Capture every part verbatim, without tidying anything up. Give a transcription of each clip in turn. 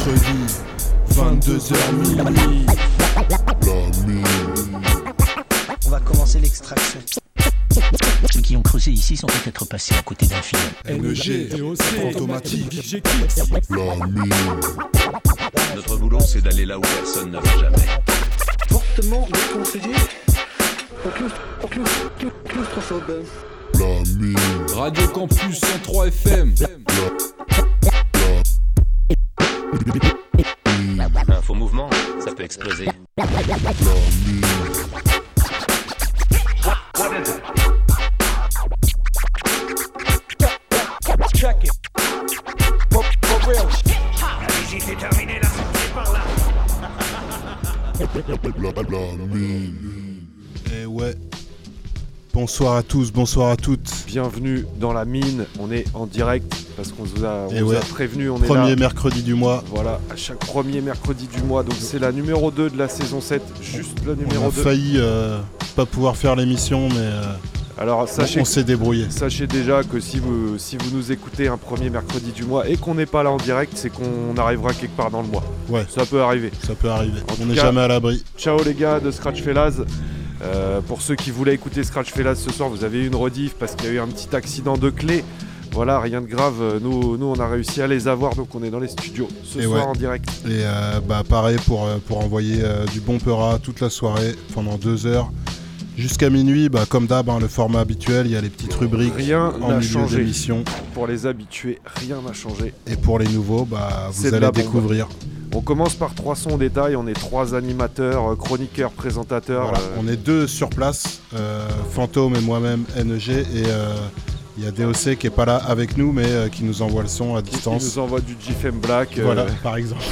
mercredi, vingt-deux heures minuit. La mine. On va commencer l'extraction. Ceux qui ont creusé ici sont peut-être passés à côté d'un film. N G, Fantomatique, La mine. Notre boulot, c'est d'aller là où personne ne va jamais. Fortement déconseillé aux claustro- aux claustro- claustrophobes. La mine. Radio Campus cent trois F M. Un faux mouvement, ça peut exploser. La mine. What is it? Check it. For, for real. La visite est terminée, la sortie par là. La, la mine. Eh ouais. Bonsoir à tous, bonsoir à toutes. Bienvenue dans la mine, on est en direct parce qu'on vous a, on Et vous ouais. a prévenu, on Premier est là. mercredi du mois. Voilà, à chaque premier mercredi du mois, donc c'est la numéro deux de la saison sept, juste la On numéro a deux. failli euh, pas pouvoir faire l'émission, mais euh, Alors on, sachez, on s'est débrouillé. sachez déjà que si vous, si vous nous écoutez un premier mercredi du mois et qu'on n'est pas là en direct, c'est qu'on arrivera quelque part dans le mois. Ouais, Ça peut arriver. ça peut arriver. En On tout n'est cas- jamais à l'abri. Ciao les gars de Scratch Fellas. Euh, pour ceux qui voulaient écouter Scratch Fellas ce soir, vous avez eu une rediff parce qu'il y a eu un petit accident de clé. Voilà, rien de grave. Nous, nous on a réussi à les avoir, donc on est dans les studios ce Et soir ouais. en direct. Et euh, bah pareil pour, euh, pour envoyer euh, du bon peura toute la soirée pendant deux heures. Jusqu'à minuit, bah, comme d'hab, hein, le format habituel, il y a les petites rubriques Rien en n'a milieu changé. d'émission. Pour les habitués, rien n'a changé. Et pour les nouveaux, bah, vous C'est de allez la bombe. découvrir. On commence par trois sons au détail. On est trois animateurs, euh, chroniqueurs, présentateurs. Voilà, euh, on est deux sur place, euh, Fantôme et moi-même, N G, et euh, il y a D O C qui est pas là avec nous, mais euh, qui nous envoie le son à qui distance. nous envoie du G F M Black. euh, Voilà, par exemple.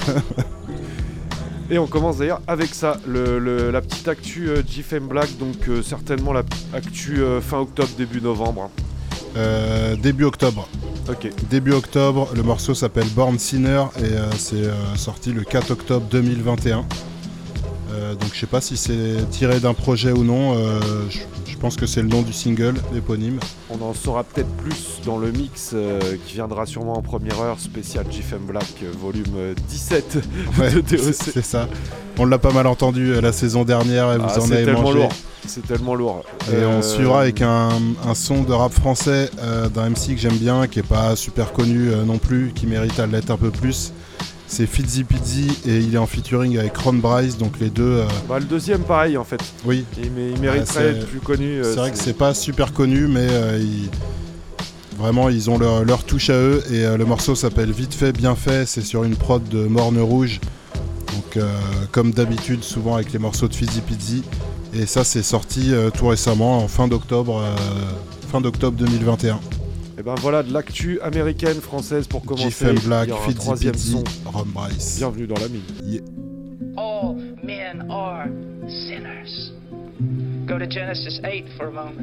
Et on commence d'ailleurs avec ça, le, le- la petite actu euh, G F M Black, donc euh, certainement la actu euh, fin octobre, début novembre. Euh, début octobre. Ok. Début octobre, le morceau s'appelle Born Sinner et euh, c'est euh, sorti le quatre octobre deux mille vingt et un. Euh, donc je sais pas si c'est tiré d'un projet ou non, euh, je, je pense que c'est le nom du single, l'éponyme. On en saura peut-être plus dans le mix euh, qui viendra sûrement en première heure, spécial G F M Black, euh, volume euh, dix-sept Ouais, de D O c'est C. c'est ça. On l'a pas mal entendu euh, la saison dernière et vous Ah, en c'est avez tellement mangé. lourd. C'est tellement lourd. Et Euh, on suivra avec un, un son de rap français euh, d'un M C que j'aime bien, qui est pas super connu euh, non plus, qui mérite à l'être un peu plus. C'est Fizzy Pizzy et il est en featuring avec Ron Bryce, donc les deux. euh, Bah, le deuxième, pareil en fait. oui, Il, mé- il mériterait c'est- d'être plus connu. euh, c'est vrai que c'est pas super connu, mais euh, ils- vraiment ils ont leur, leur touche à eux. Et euh, le morceau s'appelle Vite fait, bien fait. C'est sur une prod de Morne Rouge. Donc, euh, comme d'habitude, souvent avec les morceaux de Fizzy Pizzy. Et ça, c'est sorti euh, tout récemment, en fin d'octobre, euh, fin d'octobre deux mille vingt et un. Et ben voilà de l'actu américaine, française pour commencer. G F M Black, Il y aura un Fizzy troisième Pizzy, son. Ron Bryce. Bienvenue dans la mine. Yeah. All men are sinners. Go to Genesis eight for a moment.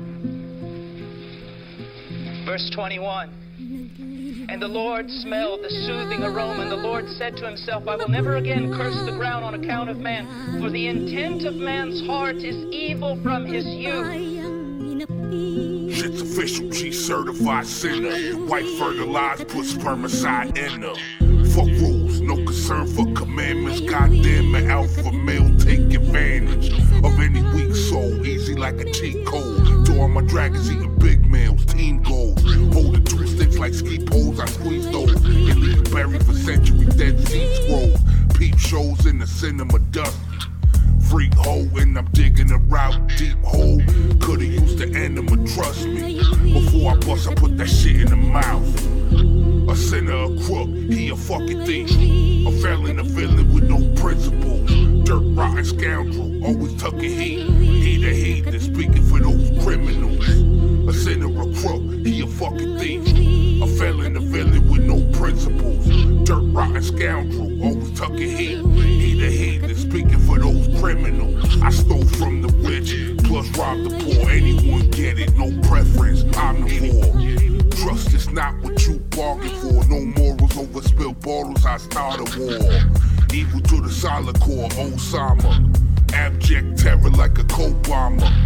Verse twenty-one. And the Lord smelled the soothing aroma, and the Lord said to himself, I will never again curse the ground on account of man, for the intent of man's heart is evil from his youth. Shit's official, G certified sinner. White fertilized, put spermicide in her. Fuck rules, no concern for commandments. Goddamn, an alpha male take advantage of any weak soul. Easy like a cheat code. To all my dragons eating big meals, team goals. Holding two sticks like ski poles, I squeeze those. And leave it buried for centuries, dead seed scrolls. Peep shows in the cinema dust. Freak hole and I'm digging a route, deep hole. Coulda used the enema, trust me. Before I bust, I put that shit in the mouth. A sinner, a crook, he a fucking thief. A felon, a villain with no principles. Dirt rotten scoundrel, always tucking heat. He the heathen, speaking for those criminals. A sinner, a crook, he a fucking thief. A felon, a villain with no principles. Dirt rotten scoundrel, always tucking heat. He the heathen, speaking for those criminals. I stole from the rich, plus robbed the poor. Anyone get it, no preference, I'm the poor. Trust is not what you bargain for. No morals over spilled bottles, I start a war. Evil to the solid core, Osama. Abject terror like a cold bomber.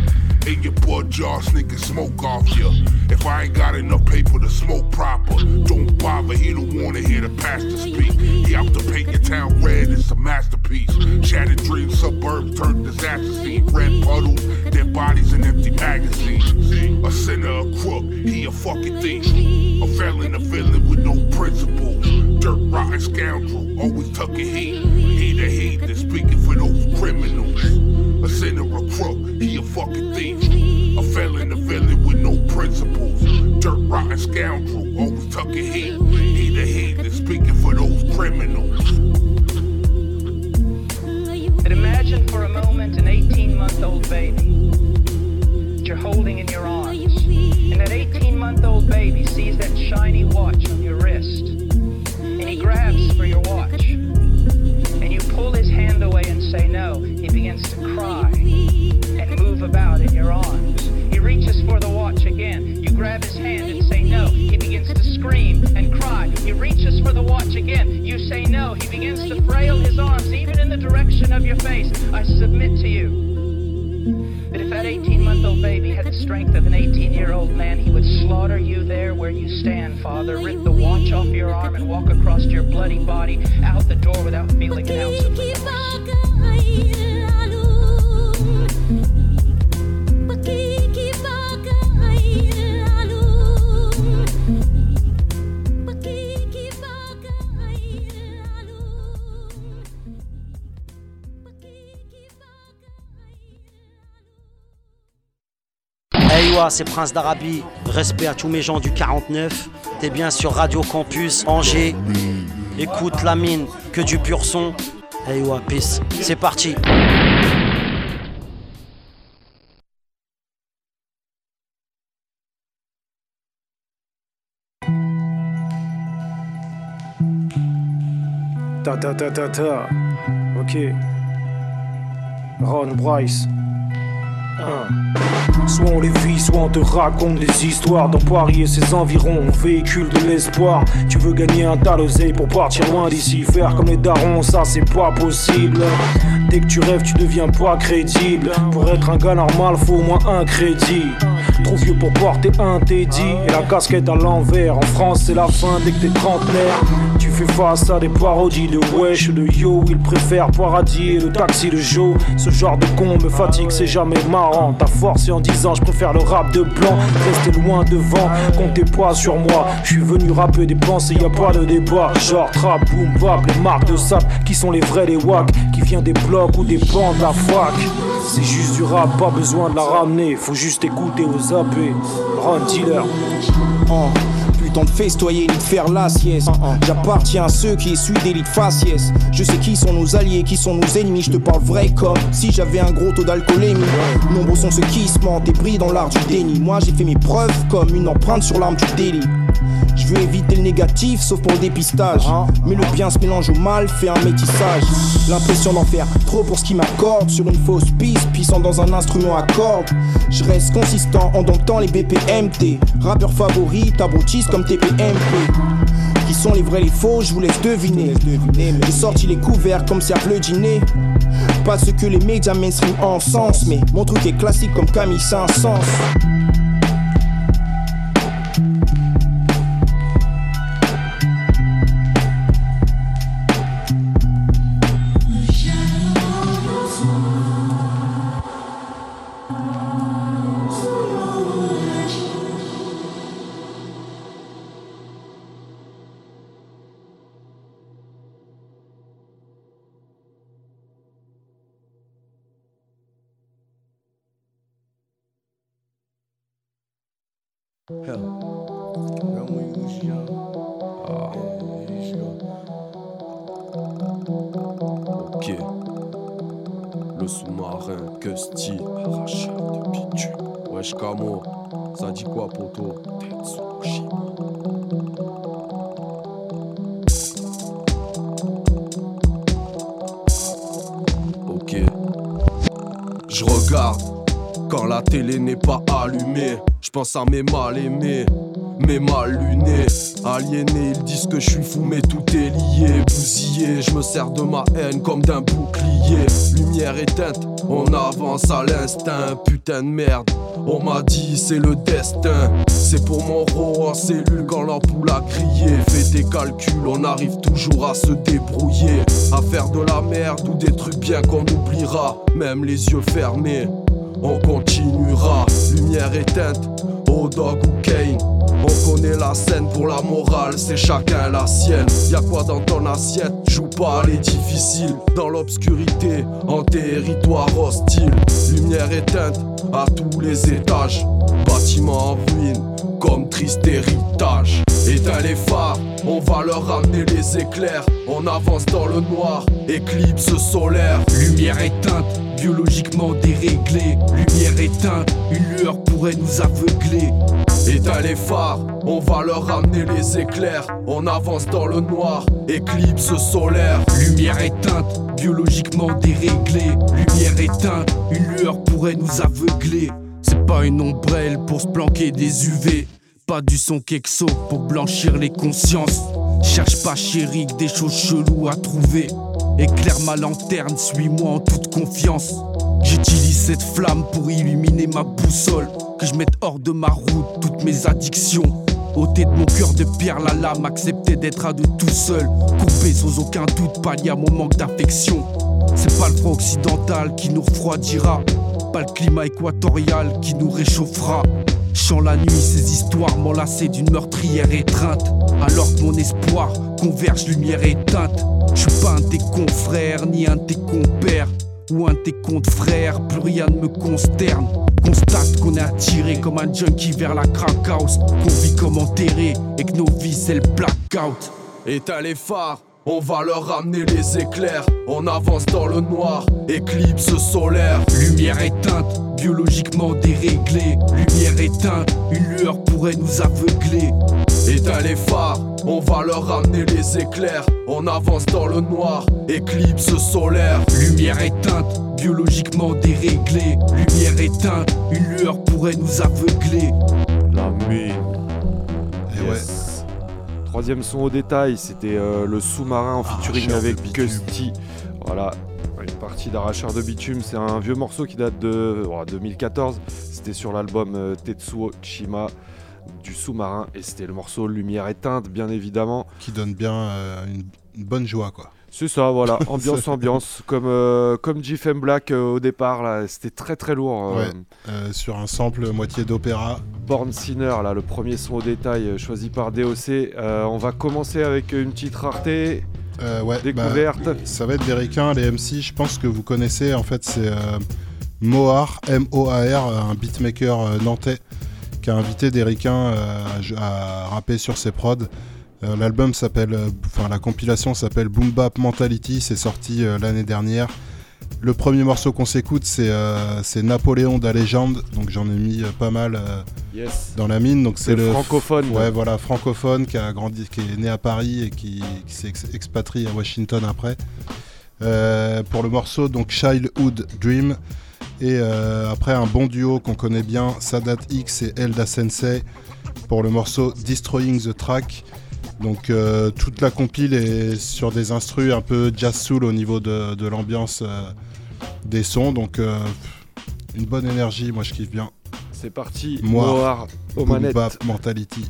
in your blood jar, sneaking smoke off ya. If I ain't got enough paper to smoke proper, don't bother, he don't wanna hear the pastor speak. He out to paint your town red, it's a masterpiece. Shattered dreams, suburbs turned disaster scene. Red puddles, dead bodies and empty magazines. A sinner, a crook, he a fucking thief. A felon, a villain with no principles. Dirt rotten scoundrel, always tucking heat. He the heathen, speaking for those criminals. A sinner, a crook, he a fucking thief. A felon, a villain with no principles. Dirt rotten scoundrel, always tucking heat. He the heathen, speaking for those criminals. And imagine for a moment an eighteen-month-old baby that you're holding in your arms. And that eighteen-month-old baby sees that shiny watch on your wrist. And he grabs for your watch. And you pull his hand away and say no. He begins to cry and move about in your arms. He reaches for the watch again. You grab his hand and say no. He begins to scream and cry. He reaches for the watch again. You say no. He begins to frail his arms even in the direction of your face. I submit to you that if that eighteen-month-old baby had the strength of an eighteen-year-old man, he would slaughter you there where you stand, Father, rip the watch off your arm and walk across your bloody body out the door without feeling an ounce of remorse. Hey ouais, c'est Prince d'Arabie, respect à tous mes gens du quarante-neuf. T'es bien sur Radio Campus Angers. Écoute la mine, que du pur son. Hey ouais, peace, c'est parti. Ta ta ta ta ta. Ok. Ron Bryce. Ah. Soit on les vit, soit on te raconte des histoires. Dans Paris et ses environs, on véhicule de l'espoir. Tu veux gagner un tas d'oseille pour partir loin d'ici. Faire comme les darons, ça c'est pas possible. Dès que tu rêves, tu deviens pas crédible. Pour être un gars normal, faut au moins un crédit. Trop vieux pour porter un Teddy et la casquette à l'envers. En France, c'est la fin dès que t'es trentenaire. Tu fais face à des parodies de wesh, de yo. Ils préfèrent paradis et le taxi de Joe. Ce genre de con me fatigue, c'est jamais marrant. T'as forcé en disant je préfère le rap de blanc. Restez loin devant, comptez pas sur moi. Je suis venu rapper des pensées, y a pas de débat. Genre trap, boom, bap, les marques de sap. Qui sont les vrais, les wack, qui viennent des blocs ou des bancs de la fac. C'est juste du rap, pas besoin de la ramener. Faut juste écouter aux A P. Run dealer. Oh. Temps de festoyer ni de faire la sieste. J'appartiens à ceux qui essuient des lits de faciès. Je sais qui sont nos alliés, qui sont nos ennemis. Je te parle vrai comme si j'avais un gros taux d'alcoolémie. Nombreux sont ceux qui se mentent et brillent dans l'art du déni. Moi j'ai fait mes preuves comme une empreinte sur l'arme du délit. Je veux éviter le négatif sauf pour le dépistage. Mais le bien se mélange au mal, fait un métissage. L'impression d'en faire trop pour ce qui m'accorde. Sur une fausse piste, puissant dans un instrument à cordes. Je reste consistant en domptant les B P M T. Rappeur favori, t'abrutistes comme T P M P. Qui sont les vrais, les faux, je vous laisse deviner. J'ai sorti les couverts comme Serge le dîner. Pas ce que les médias mainstream encensent. Mais mon truc est classique comme Camille Saint-Saëns. Ok. Le sous-marin, que style, arracheur de bitume. Wesh Camo, ça dit quoi poto? Tetsushima. Ok. Je regarde quand la télé n'est pas allumée. Je pense à mes mal-aimés. mais mal luné. Aliéné, ils disent que je suis fou, mais tout est lié. Bousillé, je me sers de ma haine comme d'un bouclier. Lumière éteinte, on avance à l'instinct. Putain de merde, on m'a dit c'est le destin. C'est pour mon ro en cellule quand l'ampoule a crié. Fais tes calculs, on arrive toujours à se débrouiller. À faire de la merde ou des trucs bien qu'on oubliera. Même les yeux fermés, on continuera. Lumière éteinte, O-Dog ou Kane. On connaît la scène, pour la morale, c'est chacun la sienne. Y'a quoi dans ton assiette, joue pas, elle est difficile. Dans l'obscurité, en territoire hostile. Lumière éteinte à tous les étages. Bâtiment en ruine, comme triste héritage. Éteins les phares, on va leur ramener les éclairs. On avance dans le noir, éclipse solaire. Lumière éteinte, biologiquement déréglée. Lumière éteinte, une lueur pourrait nous aveugler. Éteins les phares, on va leur ramener les éclairs. On avance dans le noir, éclipse solaire. Lumière éteinte, biologiquement déréglée. Lumière éteinte, une lueur pourrait nous aveugler. C'est pas une ombrelle pour se planquer des U V. Pas du son Kexo pour blanchir les consciences. Cherche pas chérie que des choses cheloues à trouver. Éclaire ma lanterne, suis-moi en toute confiance. J'utilise cette flamme pour illuminer ma boussole. Que je mette hors de ma route toutes mes addictions. Ôter de mon cœur de pierre la lame, accepter d'être à deux tout seul. Coupé sans aucun doute, pallier à mon manque d'affection. C'est pas le froid occidental qui nous refroidira. Pas le climat équatorial qui nous réchauffera. Chant la nuit ces histoires m'enlacer d'une meurtrière étreinte. Alors que mon espoir converge lumière éteinte. Je suis pas un de tes confrères ni un de tes compères ou un de tes comptes frères, plus rien ne me consterne. Constate qu'on est attiré comme un junkie vers la crack house. Qu'on vit comme enterré et que nos vies c'est le blackout. Éteins les phares, on va leur ramener les éclairs. On avance dans le noir, éclipse solaire. Lumière éteinte, biologiquement déréglée. Lumière éteinte, une lueur pourrait nous aveugler. Éteins les phares, on va leur ramener les éclairs. On avance dans le noir, éclipse solaire. Lumière éteinte, biologiquement déréglée. Lumière éteinte, une lueur pourrait nous aveugler. La mine. Et yes. Ouais. Troisième son au détail, c'était euh, le sous-marin en featuring Arracheur avec Custy. Voilà, une partie d'Arracheur de bitume. C'est un vieux morceau qui date de oh, deux mille quatorze. C'était sur l'album euh, Tetsuo Chima du sous-marin et c'était le morceau Lumière éteinte, bien évidemment. Qui donne bien euh, une, une bonne joie, quoi. C'est ça, voilà, ambiance, ambiance, comme, euh, comme G F M Black euh, au départ, là, c'était très très lourd. Euh, ouais, euh, sur un sample moitié d'opéra. Born Sinner, là, le premier son au détail euh, choisi par D O C. Euh, on va commencer avec une petite rareté, euh, ouais, découverte. Bah, ça va être des ricains, les M C, je pense que vous connaissez, en fait, c'est euh, Moar, M O A R, un beatmaker euh, nantais, qui a invité des ricains euh, à, à rapper sur ses prods. Euh, l'album s'appelle, enfin euh, la compilation s'appelle Boom Bap Mentality, c'est sorti euh, l'année dernière. Le premier morceau qu'on s'écoute, c'est, euh, c'est Napoléon da Légende, donc j'en ai mis euh, pas mal euh, yes. dans la mine. Donc c'est, c'est le francophone. F- ouais, voilà, francophone qui a grandi, qui est né à Paris et qui, qui s'est ex- expatrié à Washington après. Euh, pour le morceau, donc Childhood Dream. Et euh, après un bon duo qu'on connaît bien, Sadat X et Elda Sensei, pour le morceau Destroying the Track. Donc euh, toute la compile est sur des instrus un peu jazz soul au niveau de, de l'ambiance euh, des sons. Donc euh, une bonne énergie, moi je kiffe bien. C'est parti, Moar, au Boom manette. Bap Mentality.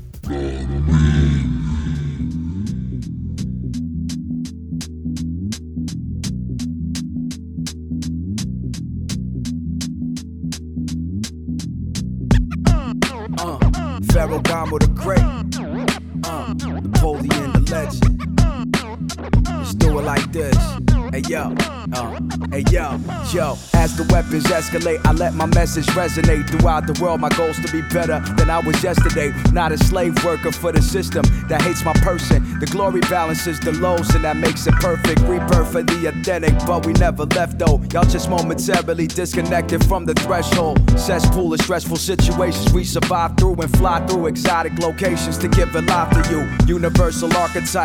Pharaoh Gamo the Great, uh, Napoleon the Legend. Let's do it like this. Hey yo, uh, hey yo, yo. As the weapons escalate, I let my message resonate throughout the world. My goal's to be better than I was yesterday. Not a slave worker for the system that hates my person. The glory balances the lows and that makes it perfect. Rebirth for the authentic, but we never left though. Y'all just momentarily disconnected from the threshold. Cesspool of stressful situations we survive through and fly through exotic locations to give a life to you. Universal archetype, me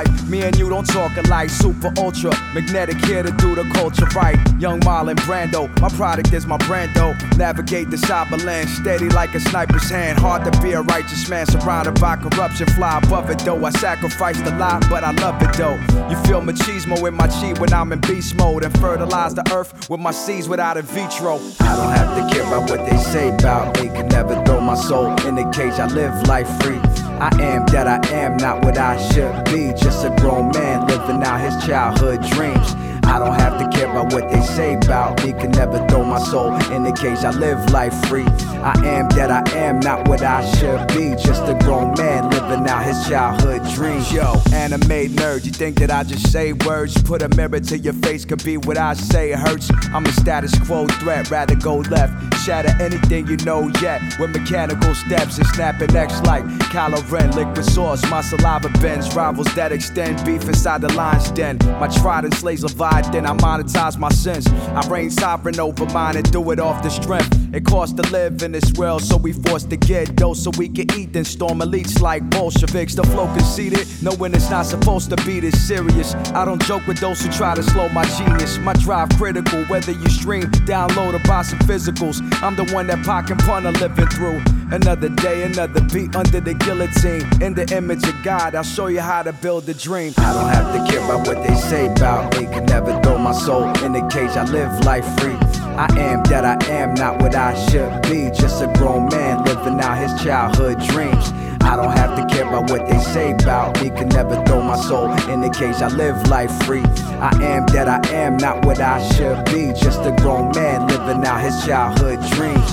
and you don't talk alike. Super ultra magnetic here to do the culture right. Young Marlon Brando, my product is my brand though. Navigate the cyberland steady like a sniper's hand. Hard to be a righteous man surrounded by corruption. Fly above it though. I sacrificed a lot, but I love it though. You feel machismo in my chi when I'm in beast mode, and fertilize the earth with my seeds without a vitro. I don't have to care about what they say about me. Can never throw my soul in the cage. I live life free. I am that I am, not what I should be. Just a grown man living out his childhood dreams. I don't have to care about what they say about me. Can never throw my soul in the cage. I live life free. I am that I am, not what I should be. Just a grown man living out his childhood dreams. Yo, anime nerd, you think that I just say words? Put a mirror to your face, could be what I say, it hurts. I'm a status quo threat, rather go left. Shatter anything you know yet with mechanical steps and snapping X like Kylo Ren, liquid sauce. My saliva bends, rivals that extend beef inside the lion's den. My trident slays Leviathan, I monetize my sins. I reign sovereign over mine and do it off the strength. It costs to live in this world, so we forced to get dough so we can eat. Then storm elites like Bolsheviks. The flow conceited, knowing it's not supposed to be this serious. I don't joke with those who try to slow my genius. My drive critical, whether you stream, download, or buy some physicals. I'm the one that Pac and Pun are living through. Another day, another beat under the guillotine. In the image of God, I'll show you how to build a dream. I don't have to care about what they say about me. Can never throw my soul in the cage. I live life free. I am that I am, not what I should be. Just a grown man living out his childhood dreams. I don't have to care about what they say about me. Can never throw my soul in the cage. I live life free. I am that I am, not what I should be. Just a grown man living out his childhood dreams.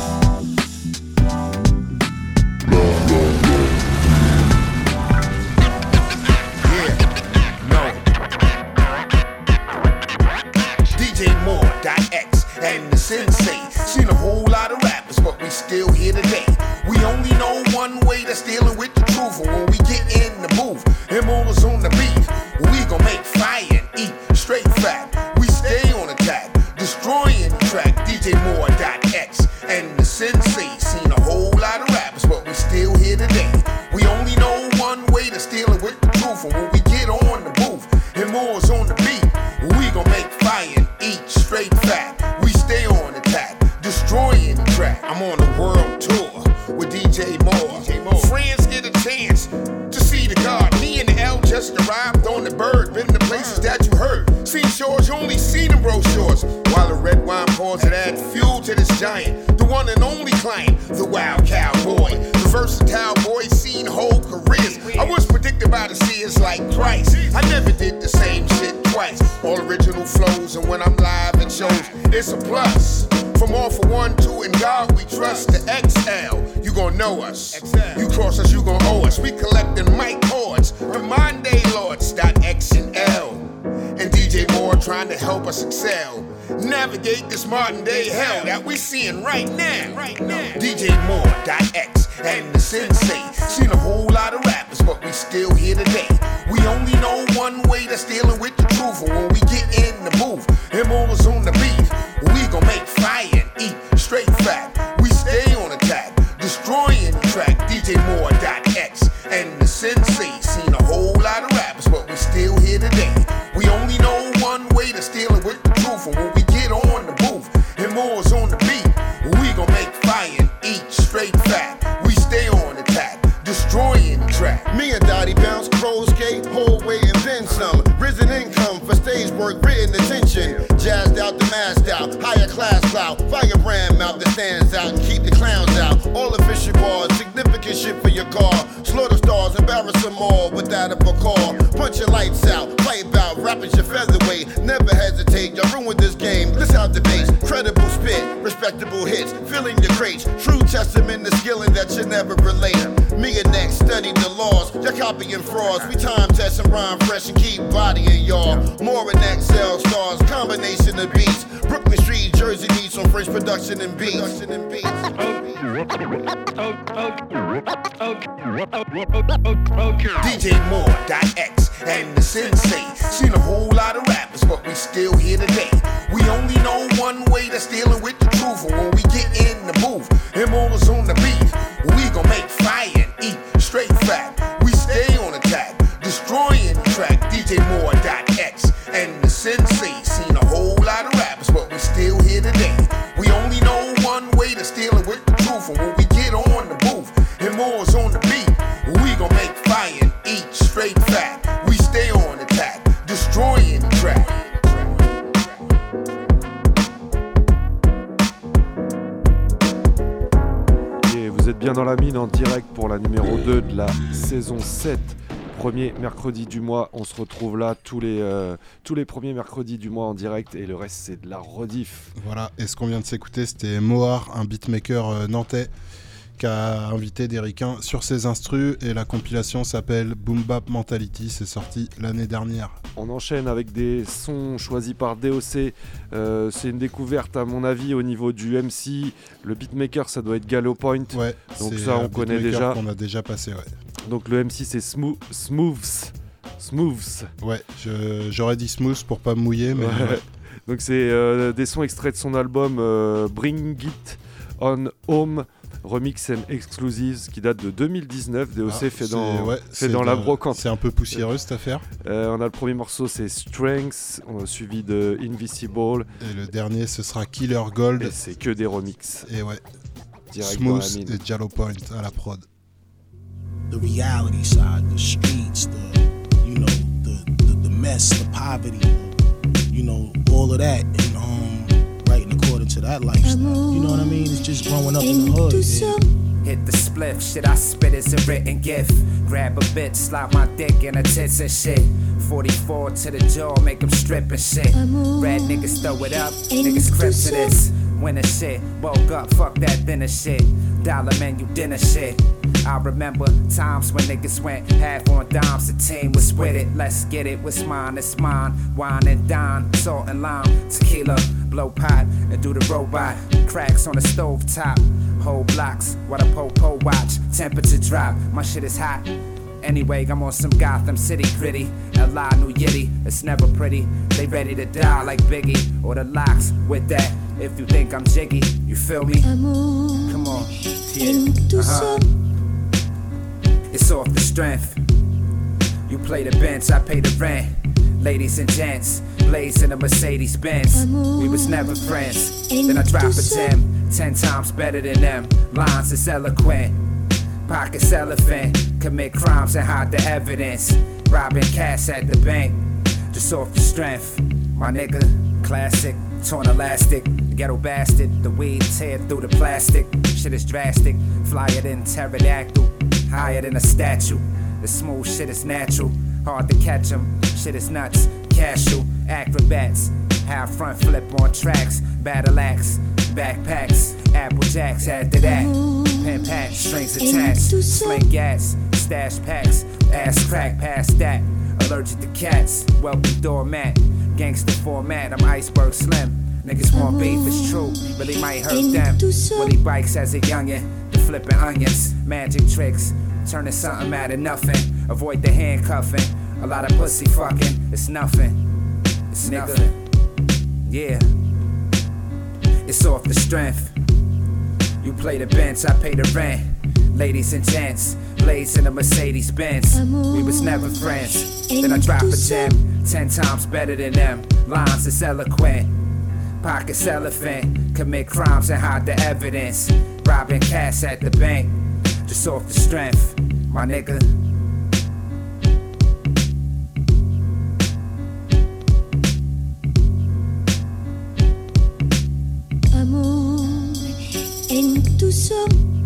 And the sensei, seen a whole lot of rappers, but we still here today. We only know one way, that's dealing with the truth. And when we get in the booth, him always on the beat, we gon' make fire and eat straight fat. We stay on attack, destroying the track. D J Moore dot X and the sensei, seen a whole lot of rappers, but we still here today. We only know one way, that's dealing with the truth. And when we get on the booth, him always on the beat, we gon' make fire and eat straight fat. Stay on attack, destroying the track. I'm on a world tour with D J Moore. D J Moore. Friends get a chance to see the God. Me and the L just arrived on the bird. Been the places that you heard. Seen shores, you only seen them brochures. While the red wine pours it add fuel to this giant. The one and only client, the wild cowboy. The versatile boy, seen whole careers. I was predicted by the seers like Christ. I never did the same shit twice. All original flows, and when I'm live it shows it's a plus. From all for one, two, and God we trust. The X L, you gon' know us. You cross us, you gon' owe us. We collecting mic chords. The Monday Lords, dot X and L. And D J Moore trying to help us excel. Navigate this modern day hell that we seeing right now. Right now. D J Moore dot X and the sensei. Seen a whole lot of rappers, but we still here today. We only know one way, that's dealing with the truth. And when we get in the booth, him always on the beat, we gon' make fire and eat straight fat. We stay on attack, destroying the track. D J Moore dot X and the sensei. Seen a whole lot of rappers, but we still here today. We only know one way, that's dealing with the truth. And when we get on the booth, him always on the beat, we gon' make fire and eat straight fat. We stay on attack, destroying the track. Me and Dottie bounce, crow skate, whole way and then some. Risen income for stage work, written attention. Jazzed out the masked out, higher class clout. Firebrand mouth that stands out and keep the clowns out. All official bars, significant shit for your car. Slaughter stars, embarrass them all without a call. Punch your lights out, play about, rapping your featherweight. Never hesitate, y'all ruined this game. Let's have debates, credible spit, respectable hits, filling the crates. True testament to skilling that you never relate. Me and Next study the laws, you're copying frauds. We time test and rhyme fresh and keep bodying y'all. More and X L stars, combination of beats. Brooklyn Street, Jersey meets on French production and beats. Production and beats. D J Moore dot X and the sensei. Seen a whole lot of rappers, but we still here today. We only know one way, that's dealing with the truth. And when we get in the booth, him always on the beat, we gon' make fire and eat straight fat. We stay on attack, destroying the track. êtes bien dans la mine en direct pour la numéro deux de la saison sept. Premier mercredi du mois, on se retrouve là tous les, euh, tous les premiers mercredis du mois en direct et le reste c'est de la rediff. Voilà, et ce qu'on vient de s'écouter c'était Mohar, un beatmaker euh, nantais qui a invité des ricains sur ses instrus et la compilation s'appelle Boom Bap Mentality, c'est sorti l'année dernière. On enchaîne avec des sons choisis par D O C, euh, c'est une découverte à mon avis au niveau du M C, le beatmaker ça doit être Gallo Point, ouais, donc ça on connaît déjà. Qu'on a déjà passé, ouais. Donc le M C c'est Smooth, Smooths, Smooths. Ouais, je, j'aurais dit Smooth pour pas me mouiller, mais... Ouais. Ouais. Donc c'est euh, des sons extraits de son album euh, Bring It On Home, Remix and Exclusives qui date de deux mille dix-neuf. D O C ah, fait dans, ouais, fait dans la brocante. C'est un peu poussiéreux cette affaire. Euh, on a le premier morceau, c'est Strength, on a suivi de Invisible. Et le dernier, ce sera Killer Gold. Et c'est que des remixes. Et ouais. Direct Smooth et Jallo Point à la prod. The reality side, the streets, the you know, the the, the mess, the poverty, you know, all of that, and um, writing according to that lifestyle. You know what I mean? It's just growing up in the hood. Yeah. Hit the spliff, shit I spit is a written gift. Grab a bitch, slap my dick in her tits and shit. forty-four to the jaw, make them strip and shit. Red niggas throw it up, niggas crip to this. Winner shit, woke up, fuck that dinner shit. Dollar menu dinner shit. I remember times when niggas went half on dimes, the team was with it. Let's get it, what's mine, it's mine. Wine and dine, salt and lime, tequila, blow pot, and do the robot. Cracks on the stove top, whole blocks, while the po-po watch. Temperature drop, my shit is hot. Anyway, I'm on some Gotham City gritty. L I New Yitty, it's never pretty. They ready to die like Biggie, or the Locks with that. If you think I'm jiggy, you feel me? Come on, yeah, uh-huh. It's off the strength. You play the bench, I pay the rent. Ladies and gents, blazing a Mercedes Benz. We was never friends. Then I drop a gem, ten times better than them. Lines is eloquent. Pockets elephant, commit crimes and hide the evidence. Robbing cash at the bank, just off the strength. My nigga, classic, torn elastic. The ghetto bastard, the weed tear through the plastic. Shit is drastic, flyer than pterodactyl. Higher than a statue, the smooth shit is natural. Hard to catch 'em, shit is nuts. Casual, acrobats, half front flip on tracks. Battle axe, backpacks, apple jacks after that. Pen patch, strings attached, sling gas, stash packs, ass crack past that. Allergic to cats, welcome doormat, gangster format, I'm iceberg slim. Niggas want beef, it's true, really might hurt them. Willie bikes as a youngin', the flipping onions, magic tricks, turning something out of nothing. Avoid the handcuffing, a lot of pussy fucking, it's nothing. It's nothing. Yeah, it's off the strength. You play the bench, I pay the rent. Ladies and gents, blazing a Mercedes Benz. We was never friends. Then I drop a gem, ten times better than them. Lines is eloquent. Pockets elephant, commit crimes and hide the evidence. Robbing cash at the bank, just off the strength, my nigga. Amour en douceur.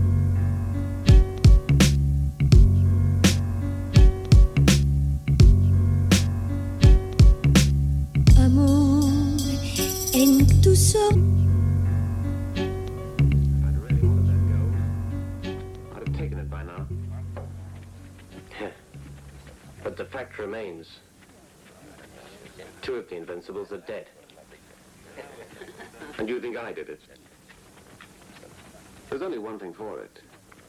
Amour en douceur. But the fact remains, two of the Invincibles are dead. And you think I did it? There's only one thing for it.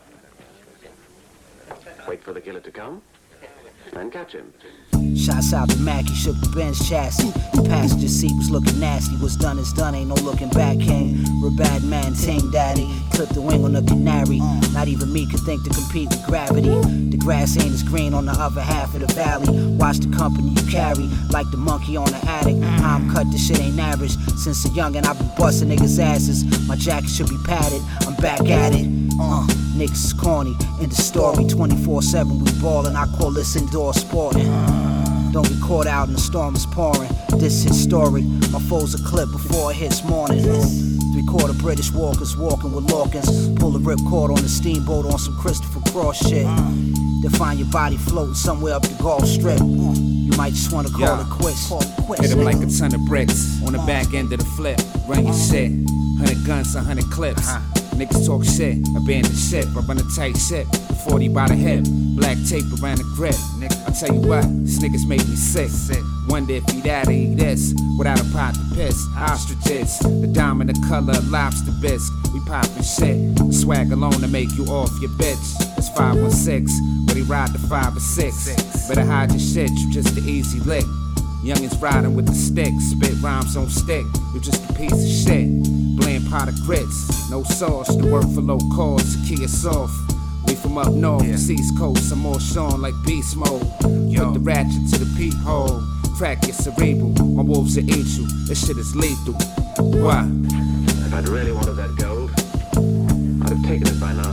Wait for the killer to come, and catch him. Shots out to Mac, he shook the Benz chassis. The passenger seat was looking nasty. What's done is done, ain't no looking back. Came bad man, ting daddy. Clipped the wing on the canary. Not even me could think to compete with gravity. The grass ain't as green on the other half of the valley. Watch the company you carry, like the monkey on the attic. I'm cut, this shit ain't average. Since a youngin', I've been busting niggas' asses. My jacket should be padded, I'm back at it. Uh, niggas is corny, in the story, twenty-four seven we ballin', I call this indoor sporting. Don't get caught out in the storm is pouring. This is story. My foes are clipped before it hits morning. Three quarter British walkers walking with Lawkins. Pull a ripcord on the steamboat on some Christopher Cross shit. Then find your body floating somewhere up the Gulf Strip. You might just wanna call Yeah. it quits. Call it quits. Hit him like a ton of bricks on the back end of the flip. Run your shit. Hundred guns, a hundred clips. Niggas talk shit, abandon ship. I run a tight ship, forty by the hip. Black tape around the grip. I tell you what, these niggas make me sick. Wonder if he'd out or eat this without a pot to piss. Ostriches, the diamond the color of lobster bisque. We poppin' shit, swag alone to make you off your bitch. It's five one six, where they ride the five or six. Better hide your shit, you just an easy lick. Youngins riding with the stick, spit rhymes on stick. You just a piece of shit. Bland pot of grits, no sauce. The work for low cost, to key us off. We from up north, yeah. East Coast, I'm more Sean like beast mode. Yo. Put the ratchet to the peephole, crack your cerebral. My wolves will eat you, this shit is lethal. Why? If I'd really wanted that gold, I'd have taken it by now.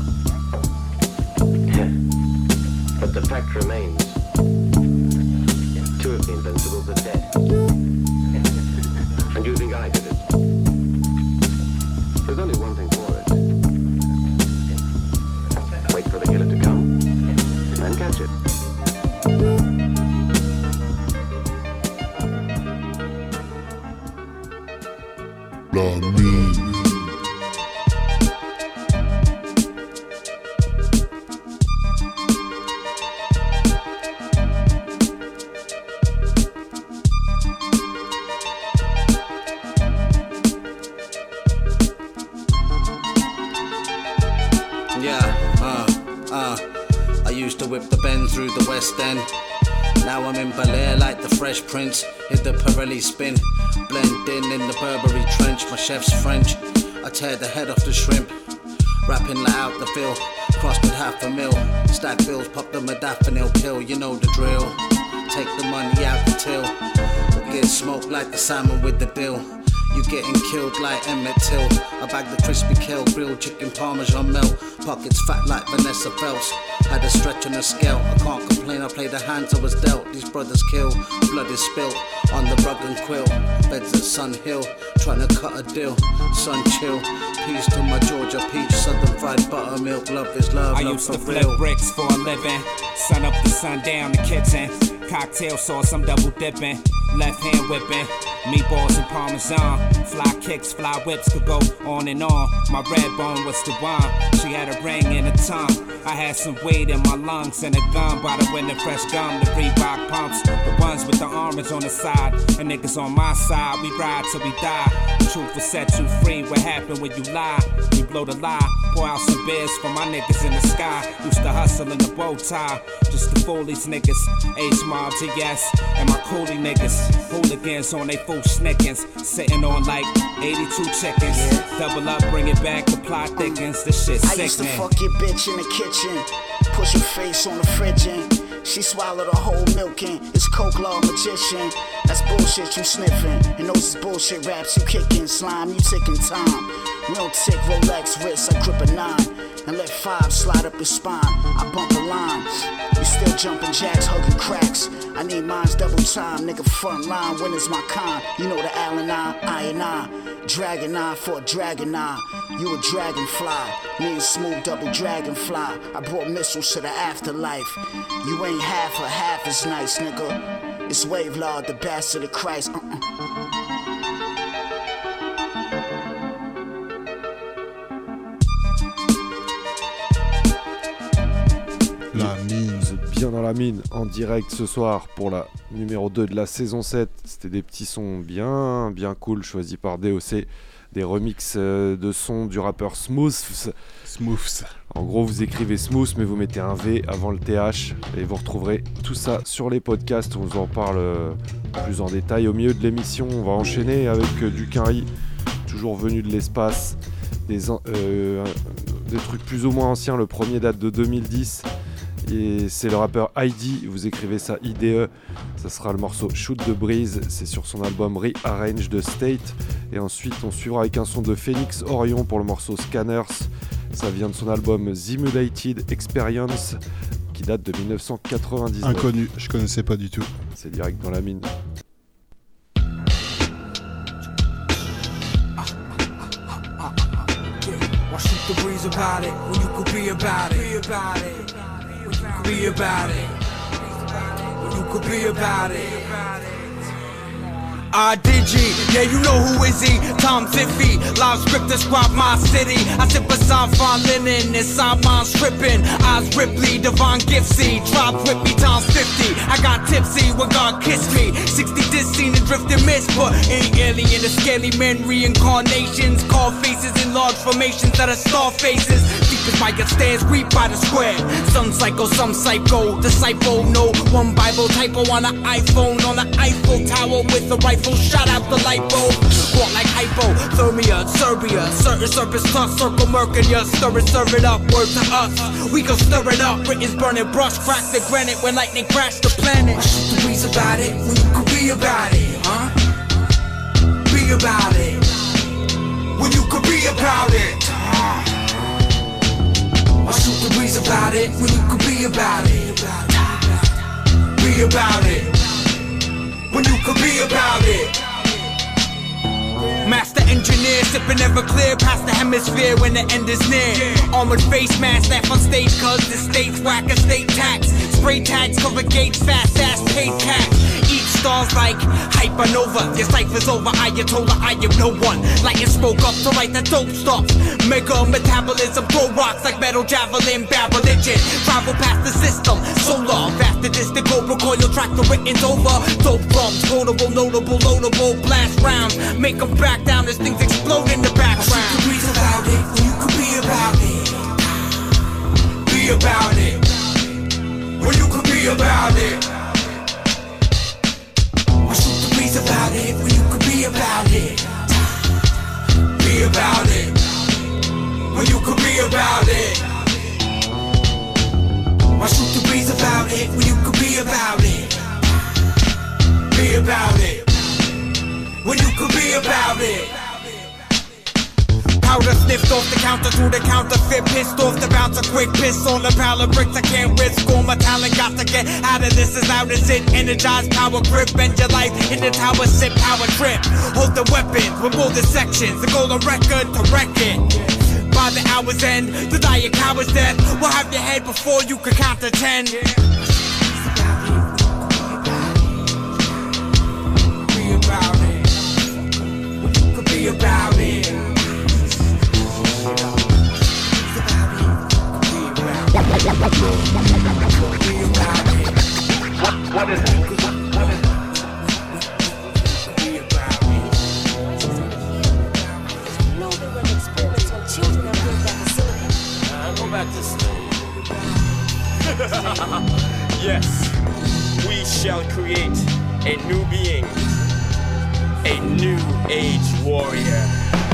But the fact remains, two of the Invincibles are dead. And you think I did it? There's only one thing for it. Wait for the killer to come, and catch it. La mine. Whip the bend through the West End. Now I'm in Bel Air like the Fresh Prince. Hit the Pirelli spin, blend in in the Burberry trench. My chef's French, I tear the head off the shrimp. Rapping like out the field, crossed with half a mil. Stack bills, pop the modafinil pill, you know the drill. Take the money out the till, or get smoked like the salmon with the dill. You getting killed like Emmett Till. I bag the crispy kill, grilled chicken parmesan melt. Pockets fat like Vanessa Phelps. Had a stretch on a scale, I can't complain, I played the hands I was dealt. These brothers kill, blood is spilt on the rug and quill. Beds at Sun Hill, trying to cut a deal. Sun chill, peace to my Georgia peach. Southern fried buttermilk, love is love, I love used for to flip real. bricks for a living. Sun up to sun down the kitchen. Cocktail sauce, I'm double dipping. Left hand whipping. Meatballs and parmesan. Fly kicks, fly whips could go on and on. My red bone was the wine. She had a ring and a tongue. I had some weight in my lungs and a gun by the window, fresh gum, the Reebok pumps. The ones with the orange on the side. And niggas on my side, we ride till we die. Truth will set you free. What happened when you lie? We blow the lie. Pour out some beers for my niggas in the sky. Used to hustle in the bow tie. Just to fool these niggas. H-Mob to yes. And my coolie niggas. Hooligans on they full snickins. Sitting on like eighty-two chickens. Double up, bring it back, the plot thickens. This shit I used to sickening. fuck your bitch in the kitchen. Push her face on the fridge and she swallowed a whole milk in. It's coke law magician. That's bullshit you sniffing. And those is bullshit raps you kicking. Slime, you ticking time. Real tick, Rolex wrist, I grip a nine. And let five slide up your spine. I bump a line. You still jumping jacks, hugging cracks. I need mine's double time, nigga front line. When is my kind? You know the Allen I, I and I. Dragon eye for a dragon eye. You a dragonfly, me and Smooth double dragonfly. I brought missiles to the afterlife. You ain't half or half as nice, nigga. It's Wave Lord, the bastard of Christ. Uh-uh. La mine. Vous êtes bien dans la mine, en direct ce soir pour la numéro deux de la saison sept. C'était des petits sons bien, bien cool choisis par D O C. Des remixes de sons du rappeur Smooths. Smooths. En gros, vous écrivez Smooth, mais vous mettez un V avant le T H. Et vous retrouverez tout ça sur les podcasts. On vous en parle plus en détail au milieu de l'émission. On va enchaîner avec du Quinry, toujours venu de l'espace. Des, euh, des trucs plus ou moins anciens. Le premier date de deux mille dix. Et c'est le rappeur I D, vous écrivez ça I D E, ça sera le morceau Shoot the Breeze, c'est sur son album Rearrange the State. Et ensuite on suivra avec un son de Phoenix Orion pour le morceau Scanners, ça vient de son album Simulated Experience qui date de dix-neuf cent quatre-vingt-dix-neuf. Inconnu, je connaissais pas du tout. c'est direct dans la mine. Why shoot the breeze about it when you could be about it? Be about it. When you could be about it. When you could be about it. I Digi, yeah, you know who is he? Tom Tiffy, live script describe my city. I sit beside fine linen, inside mine stripping. Eyes Ripley, Devon Gipsy, drop whip me times fifty. I got tipsy when God kissed me. sixty dis seen and drift and miss, but ain't alien, the scaly men reincarnations. Call faces in large formations that are star faces. Deep as my gut stands, reap by the square. Some psycho, some psycho, disciple, no one Bible typo on an iPhone, on the Eiffel Tower with a rifle. Shot out the light bulb, walk like hypothermia, Serbia, certain surface tough, circle Mercury, stir it, serve it up, word to us. We gon' stir it up, Britain's burning, brush, crack the granite when lightning crash the planet. Shoot the breeze about it when you could be about it, huh? Be about it when you could be about it. I shoot the breeze about it when you could be about it. Be about it. When you could be about it. Master engineer, sipping ever clear past the hemisphere when the end is near. Armored face mask, laugh on stage cause the state's whack a state tax. Spray tags cover gates, fast ass paid cash. Each star's like hypernova. Your cipher's over, Ayatollah, I am no one. Lightning spoke up to write the dope stuff. Mega metabolism, throw rocks like metal javelin, bad religion. Travel past the system, solar, faster distant go, recoil, track the written's over. Dope drums, quotable, notable, loadable, blast rounds. Make them back down as things explode in the background. I shoot the breeze about it when you could be about it. Be about it. When you could be about it. I shoot the breeze about it when you could be about it. Be about it. When you could be about it. I shoot the breeze about it when you could be about it. Be about it. When you could be about it. Powder sniffed off the counter to the counterfeit. Pissed off the bouncer, quick piss on the pile of bricks. I can't risk all my talent, got to get out of this as loud as it. Energized power grip, bend your life in the tower, sip power trip. Hold the weapons, remove the sections, the golden record to wreck it. By the hour's end, to die a coward's death. We'll have your head before you can count to ten. Be about it. You could be about it. What, what is it? What is it? No, they run experiments on children and bring back facility. Uh, go back to sleep. Yes, we shall create a new being, a new age warrior.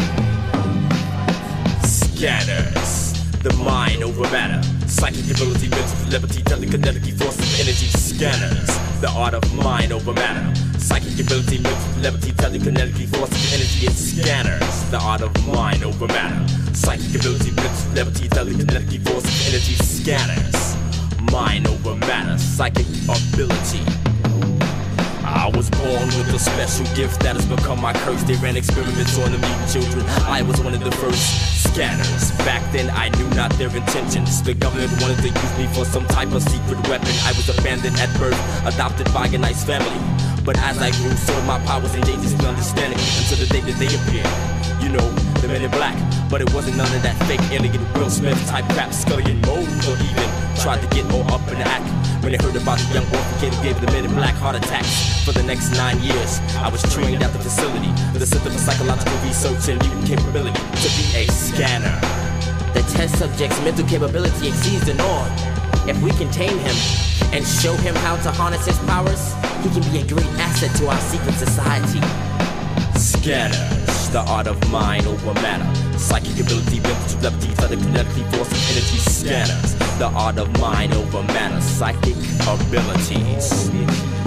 Scanners, the mind over matter. Psychic ability, mental telepathy, telekinetic force of energy. Scanners, the art of mind over matter. Psychic ability, mental telepathy, telekinetic force of energy. It's scanners, the art of mind over matter. Psychic ability, mental telepathy, telekinetic force of energy. Scanners, mind over matter. Psychic ability. I was born with a special gift that has become my curse. They ran experiments on the mutant children. I was one of the first scanners. Back then I knew not their intentions. The government wanted to use me for some type of secret weapon. I was abandoned at birth, adopted by a nice family. But as I grew, so did my powers and changes in understanding. Until the day that they appeared. You know, the men in black. But it wasn't none of that fake alien Will Smith type crap. Scully and Mold or even tried to get all up in the act. When they heard about the young orphan kid who gave the men in black heart attacks. For the next nine years, I was trained at the facility, the Center for Psychological Research and Mutant Capability, to be a scanner. The test subject's mental capability exceeds the norm. If we can tame him and show him how to harness his powers, he can be a great asset to our secret society. Scanners, the art of mind over matter. Psychic ability, mental telepathy, telekinetic force of energy. Scanners, the art of mind over matter. Psychic abilities.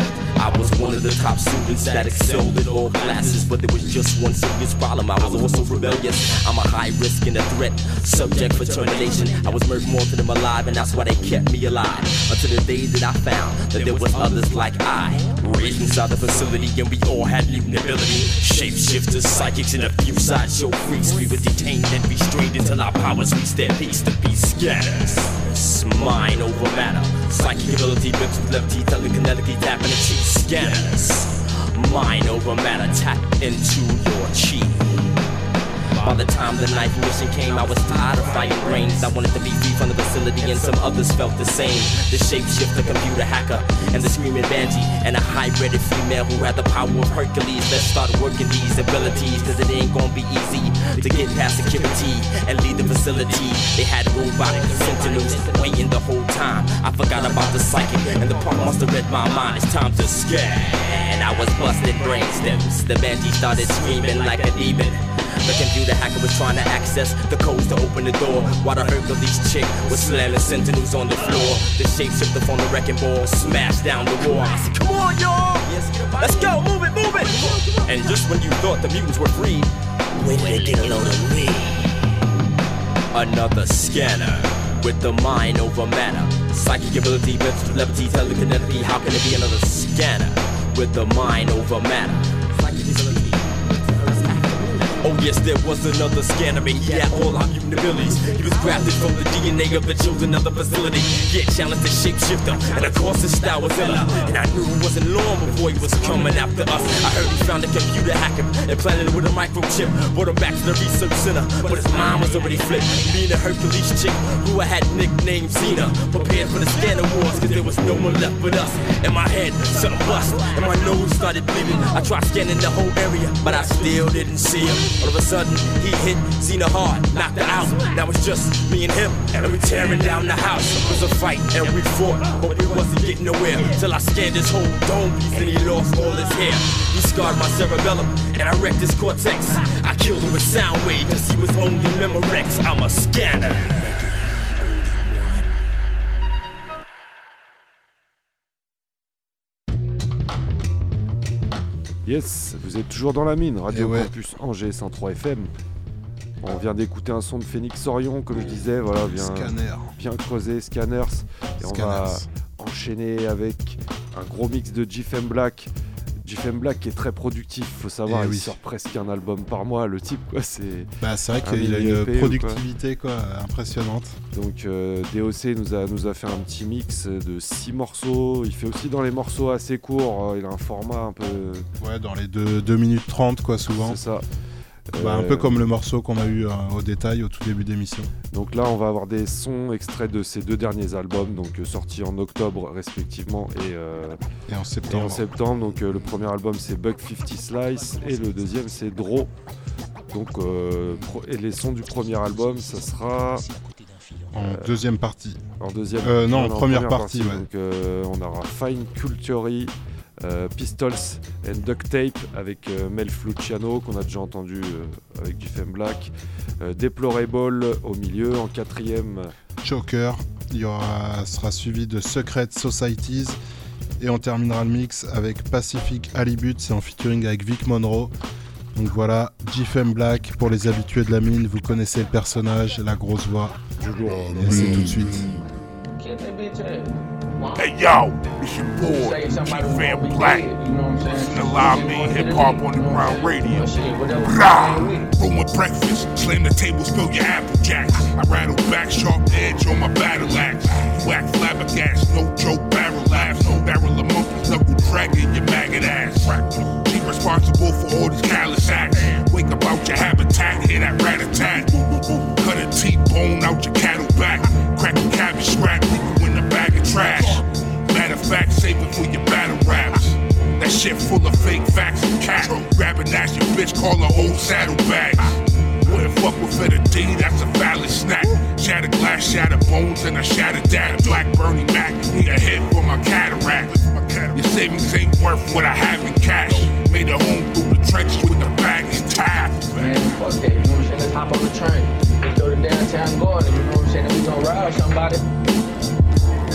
I was one of the top students that excelled in all classes, but there was just one serious problem. I was also rebellious. I'm a high risk and a threat, subject for termination. I was murdered more than them alive, and that's why they kept me alive. Until the day that I found that there was others like I, raised inside the facility, and we all had mutant ability. Shapeshifters, psychics, and a few sideshow freaks. We were detained and restrained until our powers reached their peaks to be scanners. It's mind over matter, psychic ability, mental levity, telekinetically tapping the cheek. Scanners, mind over matter, tap into your chi. By the time the ninth mission came, I was tired of fighting brains. I wanted to be free from the facility, and some others felt the same. The shapeshifter, computer hacker, and the screaming Banshee, and a hybrid female who had the power of Hercules. Let's start working these abilities, cause it ain't gonna be easy to get past security and leave the facility. They had robotic sentinels waiting the whole time. I forgot about the psychic, and the punk must have read my mind. It's time to scare. And I was busting brain stems. The Banshee started screaming like a demon. The computer hacker was trying to access the codes to open the door, while the Hercules chick was slamming sentinels on the floor. The shapeshifter from the wrecking ball smashed down the wall. I said, come on, y'all! Let's go, move it, move it! And just when you thought the mutants were free, where did they get a load of me? Another scanner with the mind over matter. Psychic ability, mental levity, telekinetically. How can it be another scanner with the mind over matter? Oh yes, there was another scanner, and he had all our mutant abilities. He was grafted from the D N A of the children of the facility. He had challenged the shapeshifter, and of course his style was illa. And I knew it wasn't long before he was coming after us. I heard he found a computer hacker and planted it with a microchip. Brought him back to the research center, but his mind was already flipped. Being a Hercules chick who I had nicknamed Xena, prepared for the scanner wars, cause there was no one left but us. In my head, something bust, and my nose started bleeding. I tried scanning the whole area, but I still didn't see him. All of a sudden, he hit Xena hard, knocked her out. Now it's just me and him, and we're tearing down the house. It was a fight, and we fought, but we wasn't getting nowhere. Till I scanned his whole dome piece, and he lost all his hair. He scarred my cerebellum, and I wrecked his cortex. I killed him with sound wave, cause he was only Memorex. I'm a scanner. Yes, vous êtes toujours dans la mine, Radio ouais. Campus Angers cent trois F M. On vient d'écouter un son de Phoenix Orion, comme je disais, voilà, bien, Scanner. bien creusé, Scanners. Et Scanners. on va enchaîner avec un gros mix de G F M Black. G F M Black qui est très productif, faut savoir, Et il oui. sort presque un album par mois, le type, quoi. C'est bah, c'est vrai un qu'il a mini une E P, productivité quoi, impressionnante. Donc euh, D O C nous a, nous a fait un petit mix de six morceaux. Il fait aussi dans les morceaux assez courts, il a un format un peu... Ouais, dans les deux minutes trente quoi, souvent. C'est ça. Bah, Euh, un peu comme le morceau qu'on a eu euh, au détail au tout début d'émission. Donc là, on va avoir des sons extraits de ces deux derniers albums, donc euh, sortis en octobre respectivement et, euh, et en septembre. Et en septembre. Donc euh, le premier album c'est Buck fifty Slice et le deuxième c'est Draw. Donc euh, pro- et les sons du premier album, ça sera en euh, deuxième partie. En deuxième. Euh, non, en en première, première partie. partie ouais. Donc euh, on aura Fine Cultury. Euh, Pistols and Duct Tape avec euh, Mel Luciano qu'on a déjà entendu euh, avec G F M Black, euh, Deplorable au milieu, en quatrième Choker, il y aura, sera suivi de Secret Societies et on terminera le mix avec Pacific Halibut, c'est en featuring avec Vic Monroe. Donc voilà, G F M Black pour les habitués de la mine, vous connaissez le personnage, la grosse voix. Et c'est tout de suite. Hey yo, it's your boy, G F M Black. Listen to Live Me Hip Hop on the Ground Radio. Rah! Ruin breakfast, slam the table, spill your apple jacks. I rattle back, sharp edge on my battle axe. You act flabbergasted, no joke, barrel laughs. No barrel of monkeys, knuckle dragging your maggot ass. She responsible for all these callous acts. Wake up out your habitat, hear that rat-a-tat. Cut a T-bone out your cattle back. Crack a cabbage scrap, leave you in a bag of trash. Matter of fact, save it for your battle raps. That shit full of fake facts and cat. Grab a nasty bitch, call her old saddlebags. Wouldn't fuck with it a D, that's a valid snack. Shatter glass, shatter bones, and I shatter that. Black Bernie Mac, need a hit for my cataract. Your savings ain't worth what I have in cash. Made a home through the trenches with the bag intact. Man, fuck that, you know what I'm saying? Let's hop on the train. Let's go to downtown Gordon, you know what I'm saying? We gon' rob somebody.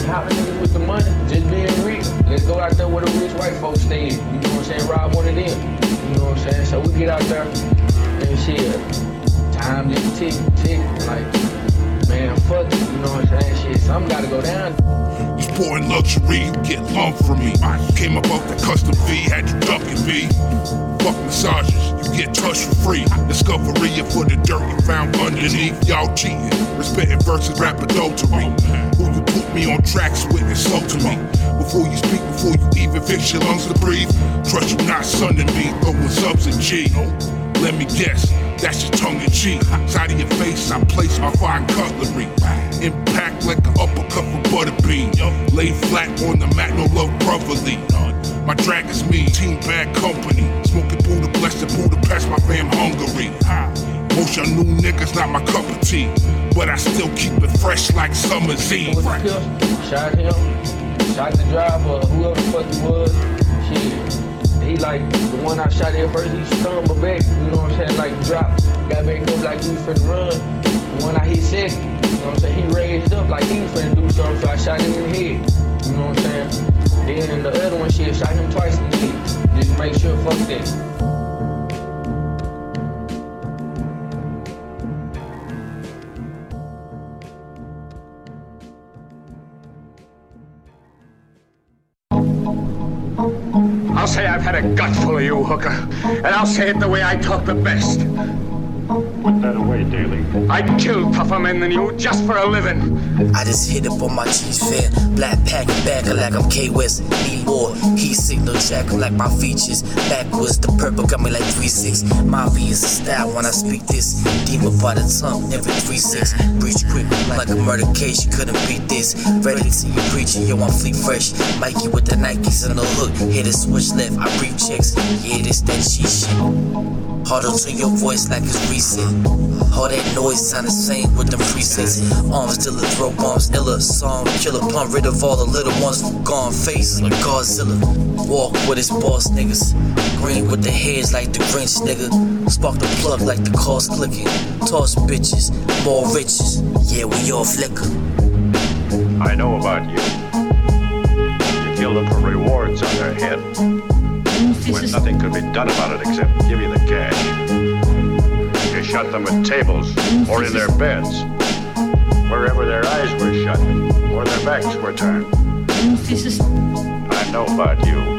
hopping niggas with the money, just being rich. Let's go out there where the rich white folks stay. You know what I'm saying? Rob one of them. You know what I'm saying? So we get out there and shit. Time just tick, tick. Like, man, fuck it. You know what I'm saying? Shit, something gotta go down. You sporting luxury, you get lump from me. I came up off the custom V, had you ducking V. Fuck massages, you get touched for free. Discovery for the dirt you found underneath. Y'all cheating, respecting versus rap adultery. Who you put me on tracks with and slow to me. Before you speak, before you even fix your lungs to breathe. Trust you not sunning me, throwing subs and G. Let me guess, that's your tongue in cheek. Side of your face, I place my fine cutlery. Impact like an uppercut from Butterbean. Lay flat on the mat, no love brotherly. My drag is me, team bad company. Smoking Buddha, blessed Buddha, past my fam Hungary. Most y'all new niggas not my cup of tea, but I still keep it fresh like summer's eve. Shot him, shot the driver, whoever the fuck he was. Shit. He like, the one I shot at first, he stumbled back, you know what I'm saying, like dropped. Got back up like he was finna run. The one I hit second, you know what I'm saying, he raised up like he was finna do something, so I shot him in the head, you know what I'm saying. Then the other one, shit, shot him twice in the head. Just make sure, fuck that. I'll say I've had a gut full of you, hooker. And I'll say it the way I talk the best. Put that away, Daly. I'd kill tougher men than you just for a living. I just hit up on my cheese fan. Black pack backer like I'm K-West. Need more. Heat signal jack like my features. Backwards, the purple got me like three six. My V is a style when I speak this. Demon by the tongue, never three six. Breach quick like a murder case, you couldn't beat this. Ready to see you preaching, yo, I'm fleet fresh. Mikey with the Nikes and the hook. Hit a switch left, I brief checks. Yeah, this that cheat shit. Harder to your voice like it's recent. All that noise sound the same with them presets. Arms still a throw bombs, illa. Song killer, pump rid of all the little ones from gone face like Godzilla. Walk with his boss niggas. Green with the heads like the Grinch nigga. Spark the plug like the cars clicking. Toss bitches, more riches. Yeah, we all flicker. I know about you. You kill them for rewards on their head. When nothing could be done about it except give you the cash. You shot them at tables or in their beds, wherever their eyes were shut or their backs were turned. I know about you.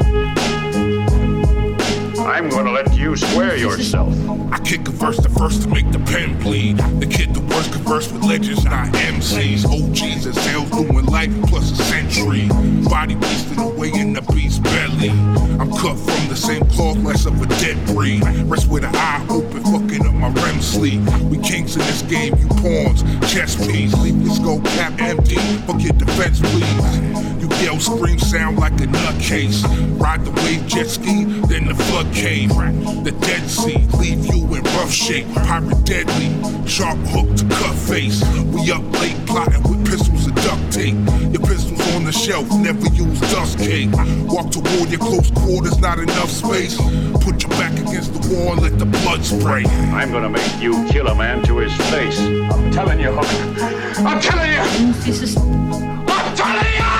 I'm gonna let you swear yourself. I kick a verse the first to make the pen bleed. The kid the worst converse with legends, not M Cs. O Gs and sales doing life plus a century. Body beasting away in the beast's belly. I'm cut from the same cloth, less of a dead breed. Rest with an eye open, fucking up my R E M sleep. We kings in this game, you pawns, chess piece. Leave your skull cap empty, fuck your defense please. You yell, scream, sound like a nutcase. Ride the wave jet ski, then the flood came. The Dead Sea, leave you in rough shape. Pirate deadly, sharp hook to cut face. We up late plotting with pistols and duct tape. Your pistols on the shelf, never use dust cake. Walk toward your close quarters, not enough space. Put your back against the wall and let the blood spray. I'm gonna make you kill a man to his face. I'm telling you, hooker. I'm telling you! I'm telling you!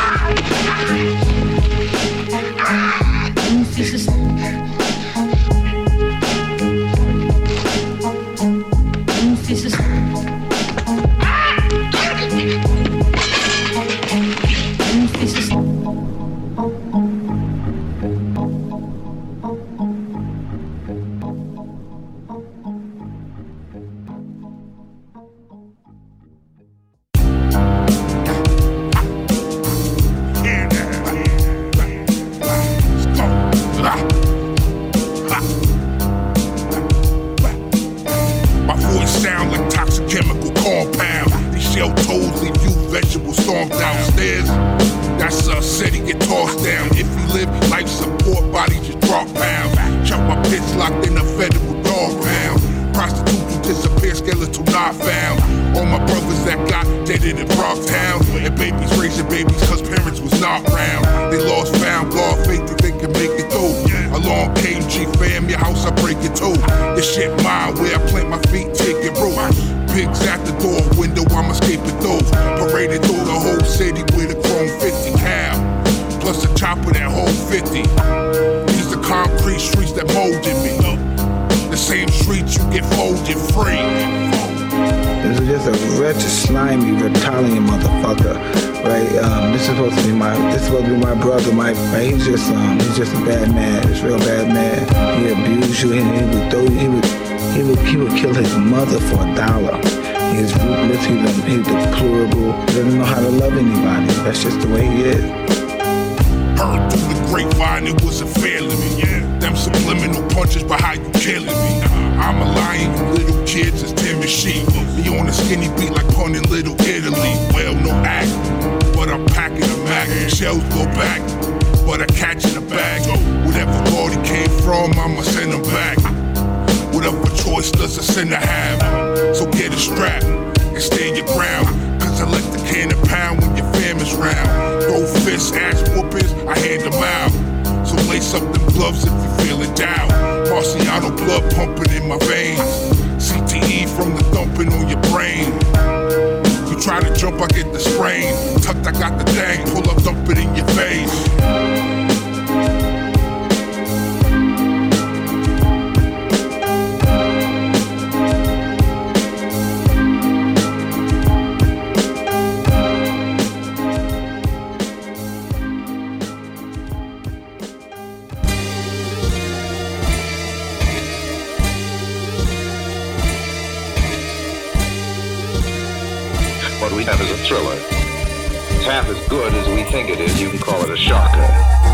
Pigs at the door, window, I'm escaping those. Paraded through the whole city with a chrome face. fifty cal, plus a chopper that hold fifty. These the concrete streets that molded me. The same streets you get folded free. This is just a wretched, slimy, reptilian motherfucker, right? Um, this is supposed to be my, this is supposed to be my brother, my, right? He's just, um, he's just a bad man. He's a real bad man. He abused you, and he would throw, he would, he would, he would kill his mother for a dollar. He's ruthless. He's, he's deplorable. He doesn't know how to love anybody. That's just the way he is. Heard through the grapevine it was a failing me, yeah. Them subliminal punches, but how you killing me? I'm a lion, you little kids is timid sheep. Me on a skinny beat like punning Little Italy. Well, no act, but I'm packing a Mac. Shells go back, but I catch in the bag. Whatever God he came from, I'ma send him back. Whatever choice does a sinner have? So get a strap and stand your ground. Cause I let the cannon pound when your family's round. Throw fists, ass whoopers, I hand them out. So lace up them gloves if you feeling down. Marciano blood pumping in my veins. C T E from the thumping on your brain. You try to jump, I get the sprain. Tucked, I got the thing. Pull up, dump it in your face. What we have is a thriller. It's half as good as we think it is. You can call it a shocker.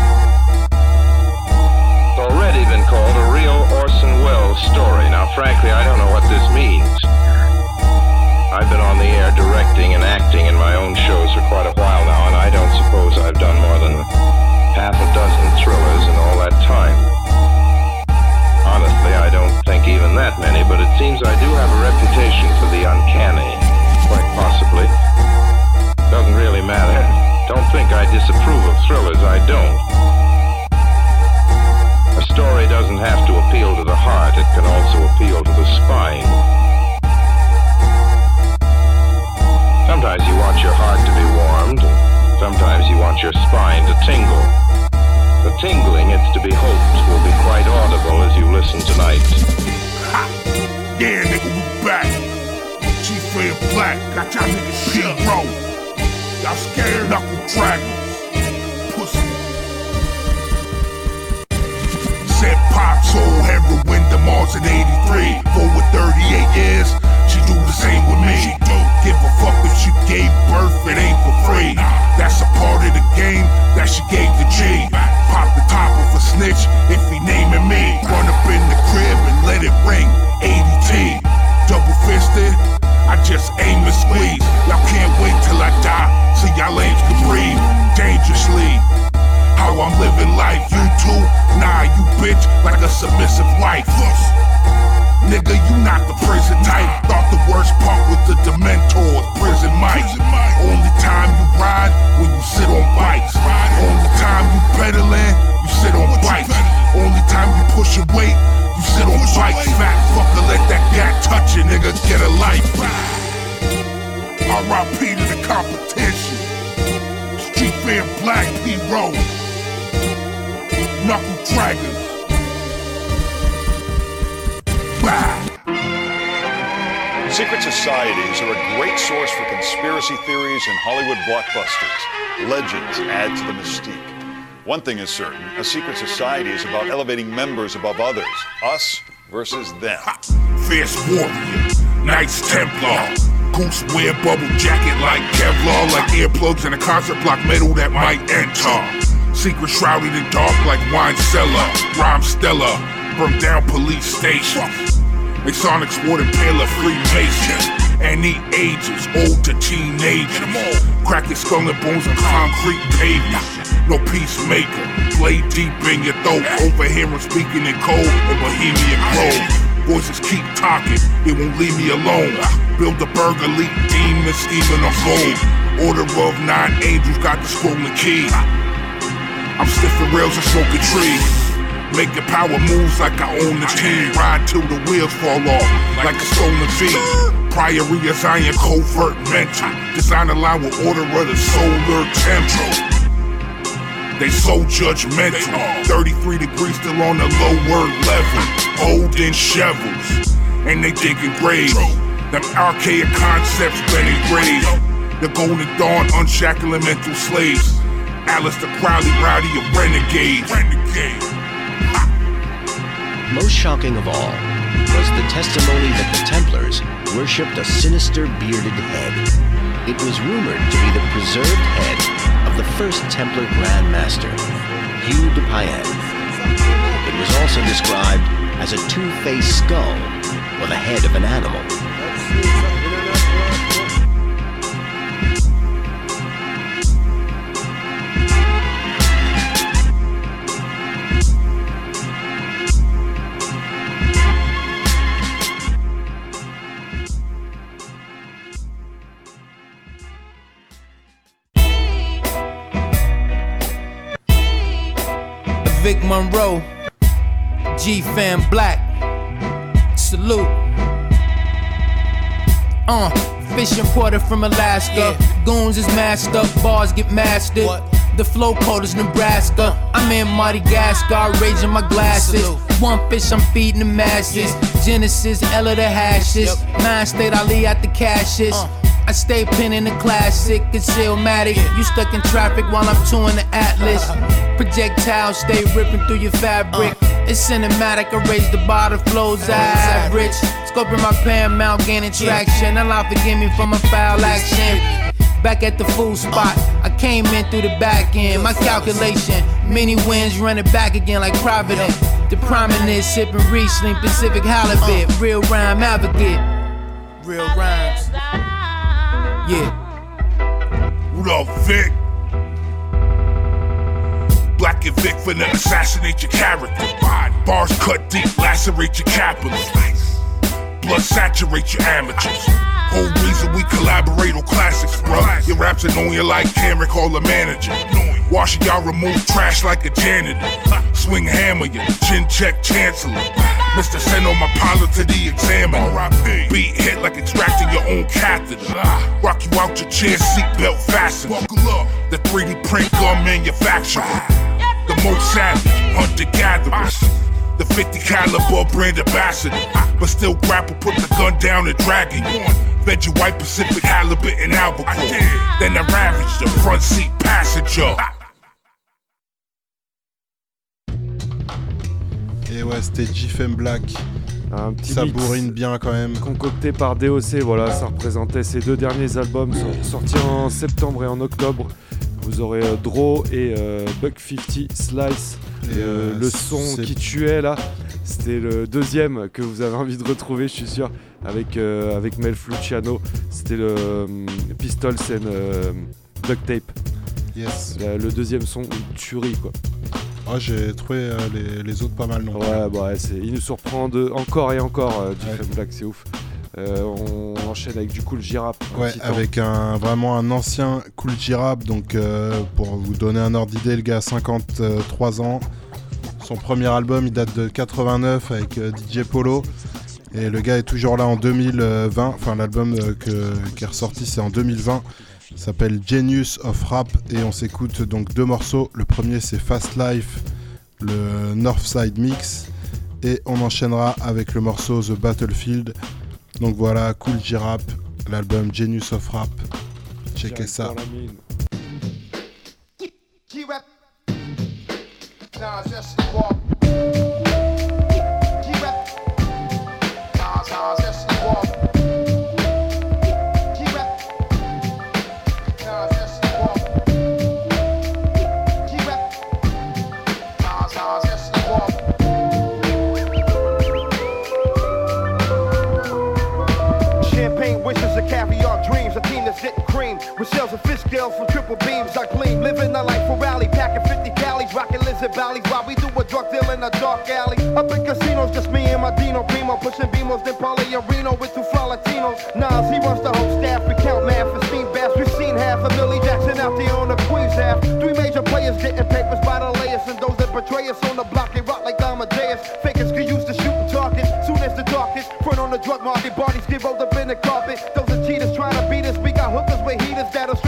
It's already been called a real Orson Welles story. Now, frankly, I don't know what this means. I've been on the air directing and acting in my own shows for quite a while now, and I don't suppose I've done more than half a dozen thrillers in all that time. Honestly, I don't think even that many, but it seems I do have a reputation for the uncanny. Quite possibly. Doesn't really matter. Don't think I disapprove of thrillers, I don't. A story doesn't have to appeal to the heart, it can also appeal to the spine. Sometimes you want your heart to be warmed, and sometimes you want your spine to tingle. The tingling, it's to be hoped, will be quite audible as you listen tonight. Ha! Yeah, nigga, we back. G-Fair Black, got y'all niggas P-Row. Y'all scared knuckle dragons. Pussy. Said Pop sold heroin to Mars in eighty-three. Forward thirty-eight years, she do the same with me. She do. Give a fuck if she gave birth, it ain't for free. That's a part of the game that she gave the G. Pop the top of a snitch if he naming me. Run up in the crib and let it ring. eighty T, double fisted. I just aim and squeeze. Y'all can't wait till I die, so y'all lames can breathe dangerously. How I'm living life, you too? Nah, you bitch, like a submissive wife. Nigga, you not the prison type. Thought the worst part was the Dementors, prison mics. Only time you ride when you sit on bikes. Only time you pedaling, you sit on bikes. Only time you push your weight, you sit on bikes. Fat fucker, let that gat touch you, nigga, get a life. R I P to the competition. Street Fair Black P-Row. Knuckle Dragons. Bah. Secret societies are a great source for conspiracy theories and Hollywood blockbusters. Legends add to the mystique. One thing is certain, a secret society is about elevating members above others. Us versus them. Fierce warrior, Knights Templar. Goose wear bubble jacket like Kevlar. Like earplugs in a concert block metal that might enter. Secret shrouded in dark like wine cellar. Rhyme stellar, burn down police stations. Masonic sword and paler Freemasons. Any ages, old to teenagers. Cracking skull and bones on concrete pavement. No peacemaker, blade deep in your throat. Overhearing speaking in code in Bohemian Grove. Voices keep talking, it won't leave me alone. Build a burger, leap demons, scheming on gold. Order of nine angels, got the scrolling key. I'm sniffing rails and smoking trees. Making power moves like I own the team. Ride till the wheels fall off, like a stolen feed. Priory of Zion, covert mental. Design align with order of the solar temple. They so judgmental. thirty-three degrees still on the lower level. Holding shovels. And they digging graves. Them archaic concepts been engraved. The golden dawn unshackling mental slaves. Alistair Crowley, rowdy a renegade. Renegade. Most shocking of all was the testimony that the Templars worshipped a sinister bearded head. It was rumored to be the preserved head of the first Templar Grand Master, Hugh de Payenne. It was also described as a two-faced skull or the head of an animal. Vic Monroe, G-Fam Black, salute. Uh, fish imported from Alaska, yeah. Goons is masked up, bars get mastered. What? The flow code is Nebraska. I'm in Madagascar, raising my glasses. Salute. One fish, I'm feeding the masses. Yeah. Genesis, Ella the hashes. Yep. Nine state Ali at the caches. Uh. I stay pinning the classic, concealmatic. You stuck in traffic while I'm touring the Atlas. Projectiles stay ripping through your fabric. It's cinematic, I raise the bar, the flows average. Scoping my Paramount, gaining traction. Allah forgive me for my foul action. Back at the full spot, I came in through the back end. My calculation, many wins running back again like Providence. The prominence, sipping Riesling, Pacific Halibut. Real rhyme advocate. Real rhymes. Yeah. Rudolph Vic. Black and Vic finna assassinate your character. Bars cut deep, lacerate your capitals. Blood saturate your amateurs. Whole reason we collaborate on classics, bro. Your raps annoying you like Cameron, call a manager. Washing y'all remove trash like a janitor. Swing hammer you, chin check chancellor. Mister Send on my pilot to the examiner. Beat hit like extracting your own catheter. Rock you out your chair, seatbelt fastened. The three D print gun manufacturer. The most savage, hunter-gatherers. The fifty caliber brand ambassador. But still grapple, put the gun down and drag it on. Fed you white Pacific halibut and albacore. Then I ravaged the front seat passenger. Et ouais, c'était G-Fam Black. Un petit ça mix bourrine bien quand même. Concocté par D O C, voilà, ça représentait ses deux derniers albums sortis en septembre et en octobre. Vous aurez euh, Draw et euh, Buck cinquante Slice. Et euh, le son qui tuait là, c'était le deuxième que vous avez envie de retrouver, je suis sûr, avec, euh, avec Mel Luciano. C'était le um, Pistols and euh, Duct Tape. Yes. La, le deuxième son, une tuerie quoi. Ah, j'ai trouvé euh, les, les autres pas mal non plus. Ouais, bah, ouais, c'est, il nous surprend de, encore et encore, euh, G-Fam Black, c'est ouf. Euh, on enchaîne avec du Kool G-Rap. Ouais, avec un, vraiment un ancien Kool G-Rap. Donc, euh, pour vous donner un ordre d'idée, le gars a cinquante-trois ans. Son premier album, il date de quatre-vingt-neuf avec euh, D J Polo. Et le gars est toujours là en deux mille vingt. Enfin, l'album euh, que, qui est ressorti, c'est en deux mille vingt. Il s'appelle Genius of Rap. Et on s'écoute donc deux morceaux. Le premier, c'est Fast Life, le Northside Mix. Et on enchaînera avec le morceau The Battlefield. Donc voilà, Kool G-Rap, l'album Genius of Rap. Checkez ça. Getting cream with shells of fish scales from triple beams. I gleam, living a life for rally, packing fifty calories, rocking lizard valleys while we do a drug deal in a dark alley. Up in casinos, just me and my Dino Primo, pushing Beamos, then Paulie and Reno with two fly Latinos. Nas, he runs the whole staff. We count math for steam baths. We've seen half of Millie Jackson out there on the Queens half. Three major players getting papers by the layers, and those that betray us on the block they rock like Amadeus. Fakers can use the shooting target soon as the darkest. Front on the drug market, bodies get rolled up in the carpet.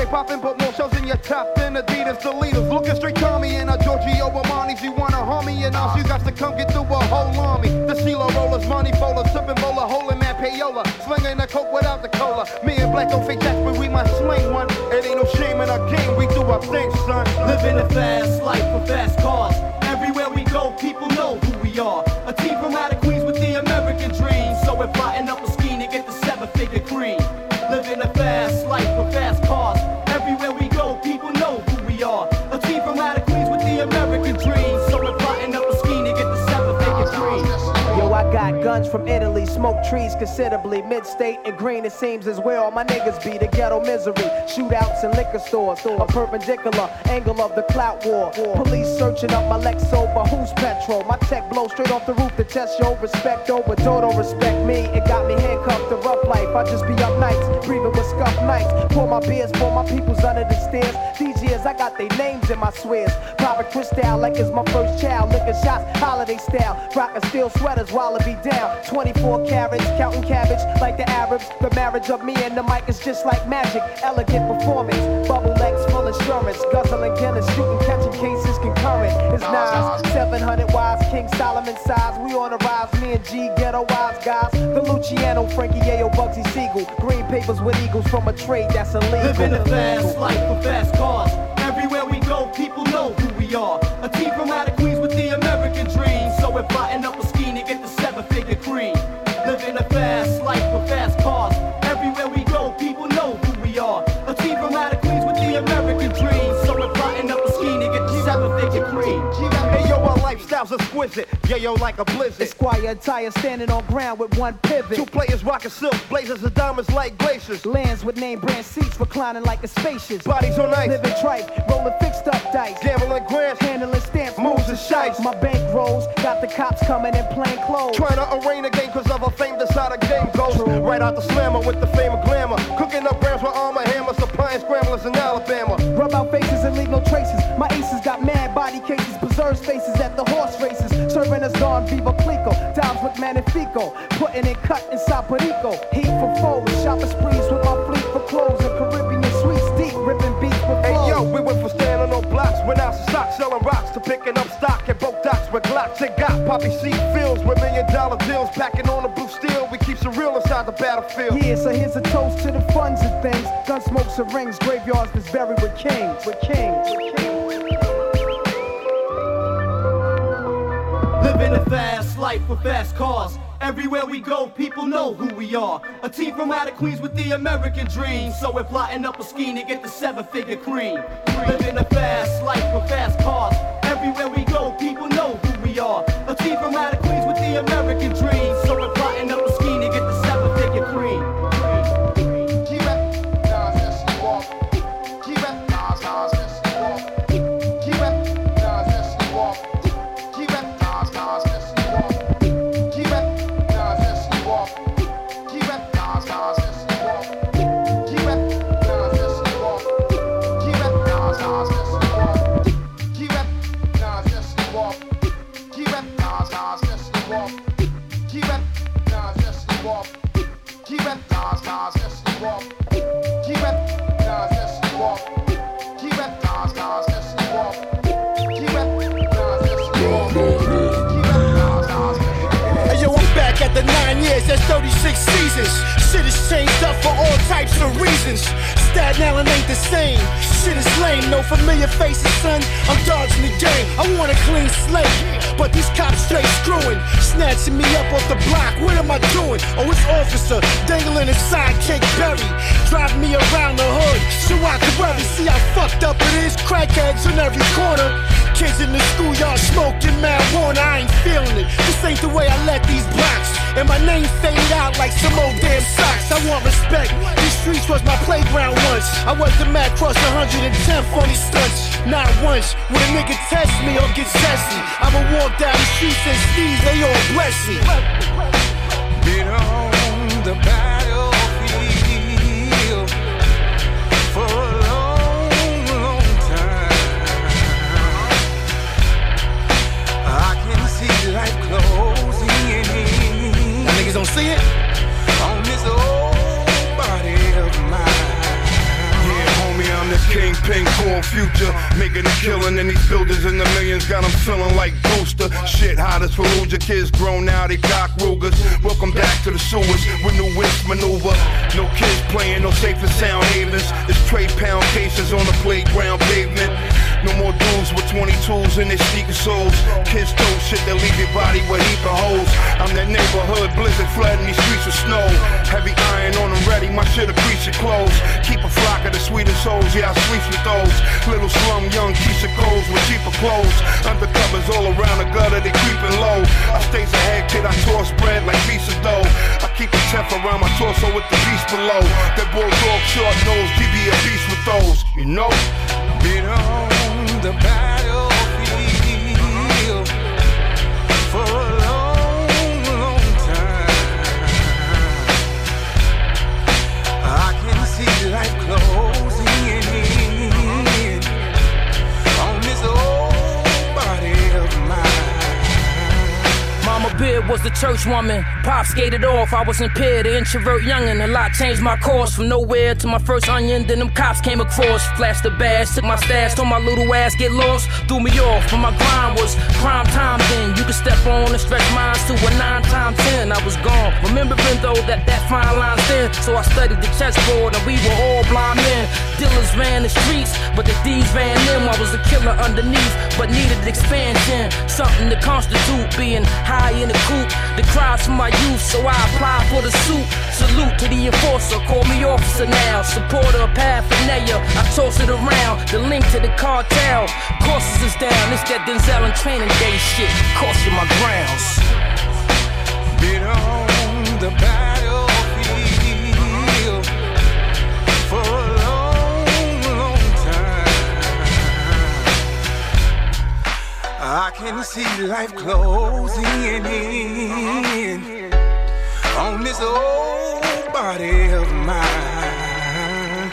popping, but more shells in your top than Adidas, the leaders. Looking straight Tommy and a Giorgio Armani's. You wanna harm me and us, you got to come get through a whole army. The CeeLo rollers, money folders, sipping bowler, holding man payola, slinging the coke without the cola. Me and Black don't fake jacks, but we might sling one. It ain't no shame in our game, we do our thing, son. Living a fast life with fast cars. Everywhere we go, people know who we are. A team from out of Queens with the American dream. So we're plotting up a scheme to get the seven-figure cream. Living a fast life with fast cars. Everywhere we go, people know who we are. A team from out of Queens with the American dream. So we're plotting up a scheme to get the seven-figure cream. Yo, I got guns from Italy, smoke trees considerably. Mid-state and green, it seems is where all my niggas be. The ghetto misery, shootouts in liquor stores. A perpendicular angle of the clout war. Police searching up my Lexo, but who's petrol? My tech blow straight off the roof to test yo. Respect over, don't respect me. It got me handcuffed to rough life. I just be up nights, breathing with scuffed nights. Pour my beers for my peoples under the stairs. These years I got their names in my swears. Private Cristal like it's my first child. Licking shots, holiday style. Rockin' steel sweaters while it be down. twenty-four carats, counting cabbage like the Arabs. The marriage of me and the mic is just like magic. Elegant performance, bubble legs, full insurance. Guzzling Guinness, shooting, catching cases concurrent. It's Nas, seven hundred wise, King Solomon size. We on the rise, me and G, ghetto wise guys. The Luciano, Frankie Yayo, Bugsy Siegel. Green papers with eagles from a trade that's illegal. Living a fast life with fast cars. Everywhere we go, people know who we are. A team from out of Queens with the American dream. So we're plotting up a scheme to get the seven-figure cream. Living a fast life with fast cars. Everywhere we go, people know who we are. A team from out of Queens with the American dream. So we're plotting up a scheme to get the seven-figure cream. Hey yo, our lifestyle's exquisite. Yeah yo, like a blizzard. Esquire attire standing on ground with one pivot. Two players rocking silk, blazers of diamonds like glaciers. Lands with name brand seats reclining like a spacious. Bodies on ice, living tripe, rolling fixed up dice. Gambling grants, handling stamps, moves and shites. My bank rolls, got the cops coming in plain clothes. Trying to arraign the game cause of a fame that's how the game goes. True. Right out the slammer with the fame of glamour. Cooking up grams with armor hammers, supplying scramblers in Alabama. Rub out faces and leave no traces. My aces got mad body cases, preserve spaces at the horse races. Serving us Don Viva Clico, dives with Magnifico. Putting it cut inside Perico. Heat for foes, shopping sprees with my fleet for clothes. And Caribbean sweets deep, ripping beats with flows. Hey yo, we went from standing on blocks, went out to stock, selling rocks, to picking up stock at both docks with Glocks. It got poppy seed fields with million dollar deals, packing on the blue steel. We keep it real inside the battlefield. Yeah, so here's a toast to the funds and things. Gun smokes and rings, graveyards that's buried with kings, with kings, with kings. Living a fast life with fast cars. Everywhere we go, people know who we are. A team from out of Queens with the American dream. So we're plotting up a scheme to get the seven-figure cream. Living a fast life with fast cars. Everywhere we go, people know who we are. A team from out of Queens with the American dream. So we're plotting up a scheme to get the seven-figure cream. There's thirty-six seasons. Shit has changed up for all types of reasons. Staten Island ain't the same. Shit is lame, no familiar faces, son. I'm dodging the game. I want a clean slate, but these cops straight screwing, snatching me up off the block. What am I doing? Oh, it's officer dangling a sidekick berry, driving me around the hood so I can worry. See how fucked up it is. Crackheads in every corner. Kids in the schoolyard smoking marijuana. I ain't feeling it. This ain't the way I let these blocks and my name fade out like some old damn socks. I want respect. These streets was my playground once. I was the man cross one hundred ten for these stunts. Not once would a nigga test me or get testy. I'ma walk down the streets and sneeze, they all bless me. Been on the battlefield for a long, long time. I can see life closing in. Y'all niggas don't see it? On this old body of mine. Yeah, homie, I'm pink core future, making a killing in these buildings in the millions. Got them feeling like Booster. Shit hot as Fallujah. Kids grown now, they cock Rugers. Welcome back to the sewers with new whisk maneuver. No kids playing, no safe and sound havens. It's tray pound cases on the playground pavement. No more dudes with twenty-twos in their sneaker soles. Kids told shit that leave your body with heap of holes. I'm that neighborhood blizzard flooding these streets with snow. Heavy iron on them ready, my shit'll crease your clothes. Keep a flock of the sweetest souls, yeah I sleep with those. Little slum young Keisha Coles with cheaper clothes. Undercovers all around the gutter, they creeping low. I stays ahead, kid, I toss bread like pieces dough. I keep a tef around my torso with the beast below. That bulldog short nose, G B a beast with those, you know? Been on the battlefield for a long, long time. I can see life closing in on this old body of mine. Mama Beard was the church woman. Pop skated off, I was impaired, an introvert youngin'. A lot changed my course from nowhere to my first onion. Then them cops came across, flashed the badge, took my stash, told my little ass get lost, threw me off. But my grind was prime time then. You could step on and stretch minds to a nine times ten. I was gone, remembering though that that fine line's thin. So I studied the chessboard and we were all blind men. Dealers ran the streets, but the thieves ran them. I was a killer underneath, but needed expansion. Something to constitute being high in the coop. The cries from my youth, so I applied for the suit. Salute to the enforcer, call me officer now. Supporter of paraphernalia, I toss it around. The link to the cartel, courses is down. It's that Denzel and Training Day shit, costing my grounds. Been on the battlefield for a long, long time. I can see life closing in on this old body of mine.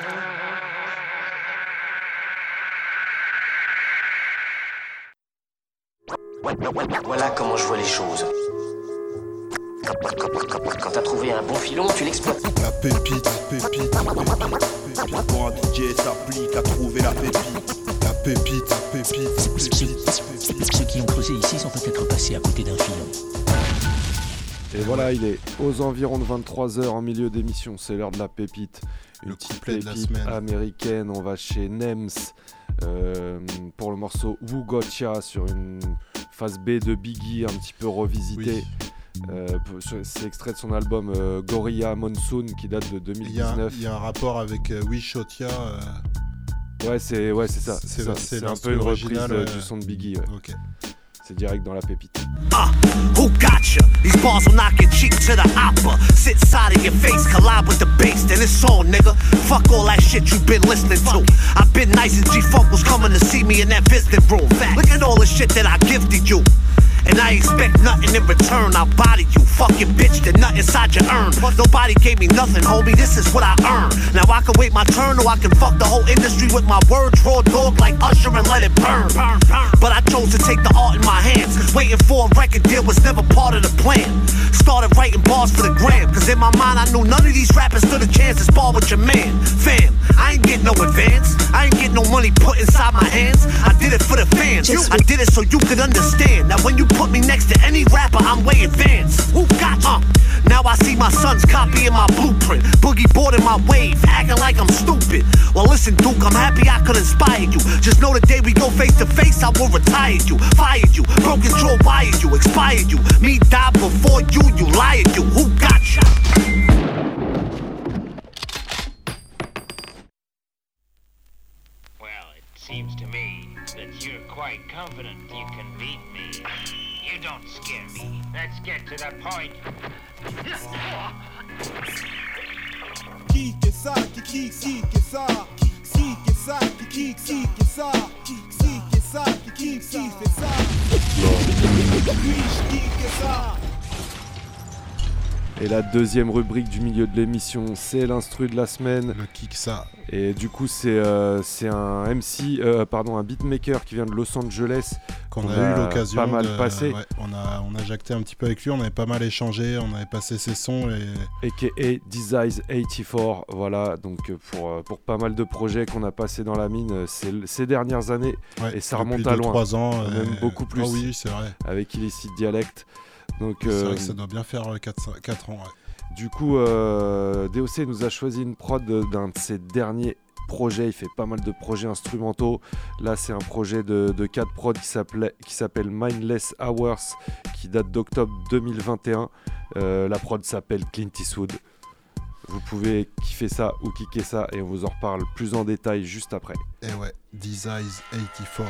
Voilà comment je vois les choses. Quand, quand, quand, quand t'as trouvé un bon filon, tu l'exploites. La pépite, pépite, pépite, pépite. Pour un D J s'applique à trouver la pépite. La pépite, pépite, pépite, pépite. Ceux qui ont creusé ici sont peut-être passés à côté d'un filon. Et voilà, il est aux environs de vingt-trois heures en milieu d'émission, c'est l'heure de la pépite. Une le petite couplet de la pépite semaine américaine, on va chez Nems euh, pour le morceau Who Gotcha sur une phase B de Biggie un petit peu revisitée. Oui. Euh, c'est extrait de son album euh, Gorilla Monsoon qui date de deux mille dix-neuf. Il y, y a un rapport avec euh, Wishotia. Euh... Ouais, c'est ouais, c'est ça. C'est, ça. c'est, c'est un peu une reprise euh, du son de Biggie. Ouais. Okay. C'est direct dans la pépite. Uh, who gotcha? These bars will knock your cheek to the opera. Sit side of your face, collide with the bass, then it's on, nigga. Fuck all that shit you been listening to. I've been nice and G-Funk was coming to see me in that visiting room. Look at all the shit that I gifted you. And I expect nothing in return, I'll body you. Fucking bitch, there's nothing inside your urn. Nobody gave me nothing, homie, this is what I earn. Now I can wait my turn or I can fuck the whole industry with my words. Raw dog like Usher and let it burn. But I chose to take the art in my hands. Waiting for a record deal was never part of the plan. Started writing bars for the gram, cause in my mind I knew none of these rappers stood a chance to spar with your man. Fam, I ain't get no advance, I ain't get no money put inside my hands. I did it for the fans, I did it so you could understand. Now when you put me next to any rapper, I'm way advanced. Who got you? Uh, now I see my sons copying my blueprint. Boogie boarding my wave, acting like I'm stupid. Well listen Duke, I'm happy I could inspire you. Just know the day we go face to face, I will retire you. Fired you, broken jaw wired you, expired you. Me die before you, you lied you. Who got you? Well, it seems to me that you're quite confident you can beat me. You don't scare me. Let's get to the point. Kike sa, kike kike sa, kike sa, kike kike sa, kike sa, kike kike sa. Kike sa. Et la deuxième rubrique du milieu de l'émission, c'est l'instru de la semaine. Le kick ça. Et du coup, c'est, euh, c'est un M C, euh, pardon, un beatmaker qui vient de Los Angeles. Qu'on, qu'on a, a eu l'occasion pas mal de, passé. Ouais, on a, on a jacté un petit peu avec lui, on avait pas mal échangé, on avait passé ses sons. Et... A K A Disease eighty-four, voilà, donc pour, pour pas mal de projets qu'on a passé dans la mine ces, ces dernières années. Ouais, et ça remonte à loin. trois ans. Même et... beaucoup plus. Oh oui, c'est vrai. Avec Illicit Dialect. Donc, c'est euh, vrai que ça doit bien faire quatre ans. Ouais. Du coup, euh, D O C nous a choisi une prod d'un de ses derniers projets. Il fait pas mal de projets instrumentaux. Là, c'est un projet de, de quatre prod qui s'appelle, qui s'appelle Mindless Hours, qui date d'octobre deux mille vingt et un. Euh, la prod s'appelle Clint Eastwood. Vous pouvez kiffer ça ou kicker ça et on vous en reparle plus en détail juste après. Et ouais, Disease eighty-four.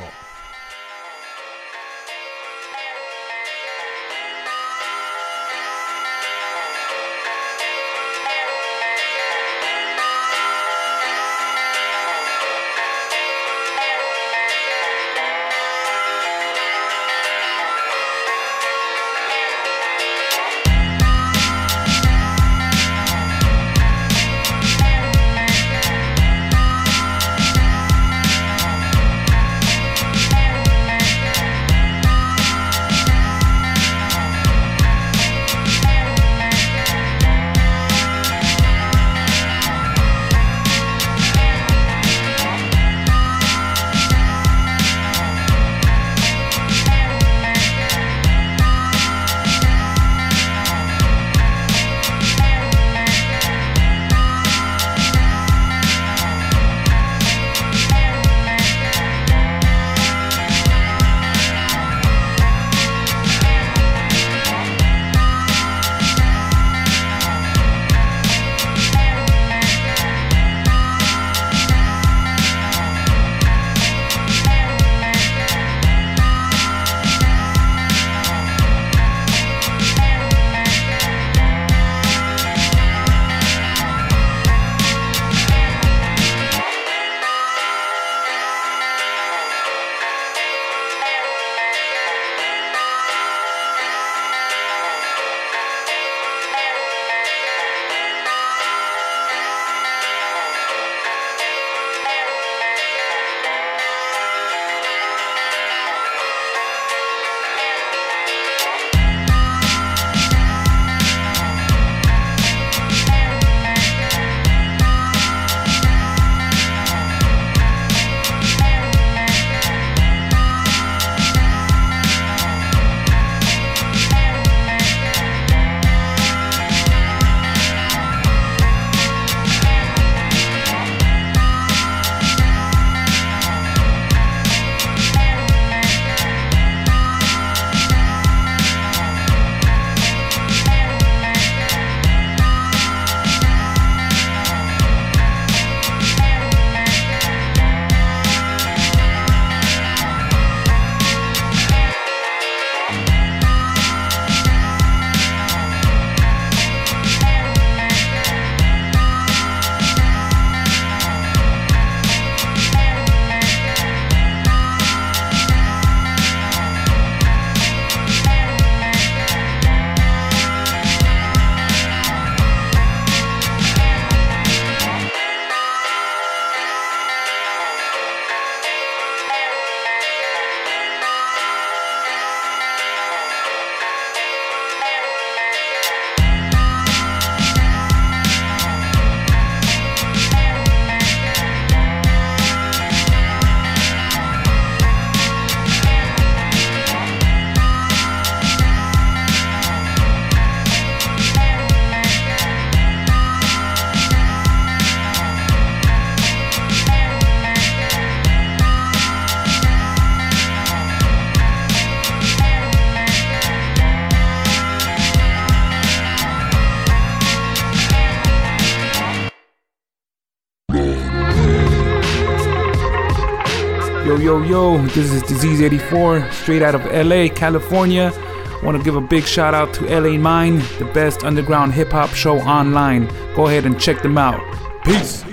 Yo, yo, yo, this is Disease eighty-four, straight out of L A, California. Want to give a big shout out to L A Mine, the best underground hip hop show online. Go ahead and check them out. Peace.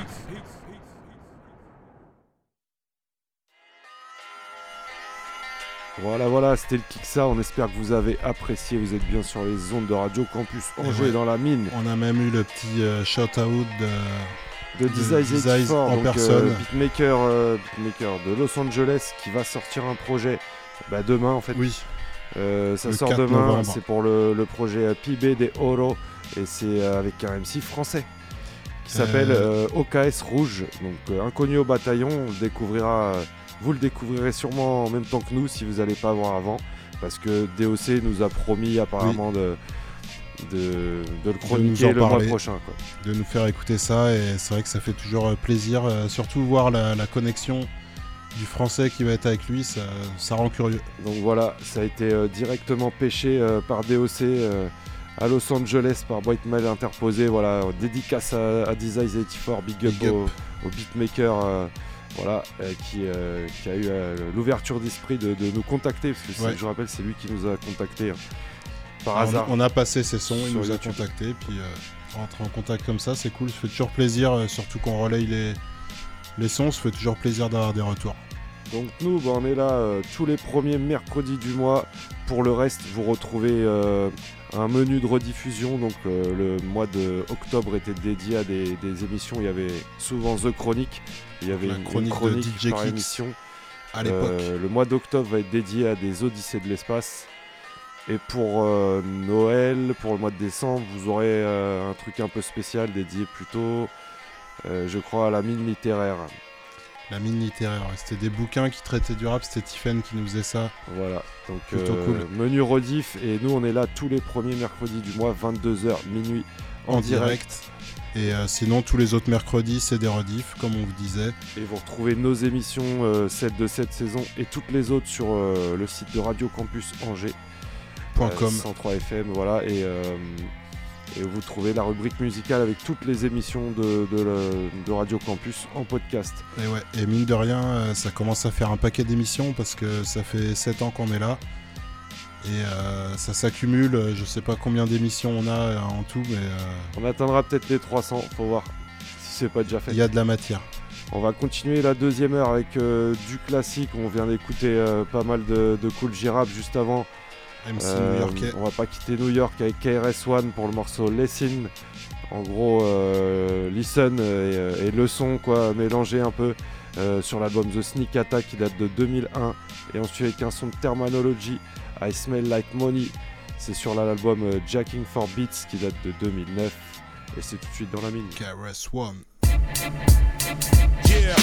Voilà, voilà, c'était le Kiksa. On espère que vous avez apprécié. Vous êtes bien sur les ondes de Radio Campus Angers ouais. dans la mine. On a même eu le petit euh, shout-out de, de, de Dizize eighty-four, en donc, personne. Euh, beatmaker, euh, beatmaker de Los Angeles qui va sortir un projet bah, demain en fait. Oui. Euh, ça le sort demain. novembre. C'est pour le, le projet P B de Oro et c'est euh, avec un M C français qui s'appelle euh... Euh, O K S Rouge. Donc euh, inconnu au bataillon. On le découvrira. Euh, Vous le découvrirez sûrement en même temps que nous si vous n'allez pas voir avant, parce que D O C nous a promis apparemment oui. de, de, de le chroniquer de le mois prochain. Quoi. De nous faire écouter ça, et c'est vrai que ça fait toujours plaisir, euh, surtout voir la, la connexion du français qui va être avec lui, ça, ça rend curieux. Donc voilà, ça a été euh, directement pêché euh, par D O C euh, à Los Angeles par White Mail interposé. Voilà, dédicace à, à Dizize eighty-four, big up, big up. Au, au beatmaker. Euh, Voilà, euh, qui, euh, qui a eu euh, l'ouverture d'esprit de, de nous contacter, parce que ouais. je rappelle, c'est lui qui nous a contactés hein, par Alors hasard. On a passé ses sons, il nous a contactés, puis euh, rentrer en contact comme ça, c'est cool, ça fait toujours plaisir, euh, surtout qu'on relaye les, les sons, ça fait toujours plaisir d'avoir des retours. Donc nous, bah, on est là euh, tous les premiers mercredis du mois. Pour le reste, vous retrouvez euh, un menu de rediffusion. Donc euh, le mois d'octobre était dédié à des, des émissions. Il y avait souvent The Chronic. Il y avait La une chronique, une chronique de D J par Kicks émission. À l'époque. Euh, le mois d'octobre va être dédié à des Odyssées de l'espace. Et pour euh, Noël, pour le mois de décembre, vous aurez euh, un truc un peu spécial dédié plutôt, euh, je crois, à la mine littéraire. La mine littéraire, c'était des bouquins qui traitaient du rap, c'était Tiffen qui nous faisait ça. Voilà, donc plutôt euh, cool. Menu rediff, et nous on est là tous les premiers mercredis du mois, vingt-deux heures, minuit, en, en direct. direct. Et euh, sinon, tous les autres mercredis, c'est des rediffs, comme on vous disait. Et vous retrouvez nos émissions, euh, celles de cette saison et toutes les autres sur euh, le site de Radio Campus Angers. Euh, cent trois F M, voilà, et, euh, et vous trouvez la rubrique musicale avec toutes les émissions de, de, de, de Radio Campus en podcast. Et ouais, et mine de rien, ça commence à faire un paquet d'émissions parce que ça fait sept ans qu'on est là. Et euh, ça s'accumule, je sais pas combien d'émissions on a en tout, mais... Euh... On atteindra peut-être les trois cents, faut voir si c'est pas déjà fait. Il y a de la matière. On va continuer la deuxième heure avec euh, du classique, on vient d'écouter euh, pas mal de, de Kool G-Rap juste avant. M C euh, new-yorkais. On va pas quitter New York avec K R S One pour le morceau Listen. En gros, euh, Listen et, et le son quoi, mélangé un peu euh, sur l'album The Sneak Attack qui date de deux mille un. Et ensuite avec un son de Terminology, I Smell Like Money. C'est sur l'album euh, Jacking for Beats qui date de deux mille neuf. Et c'est tout de suite dans la mine. K R S One. Yeah.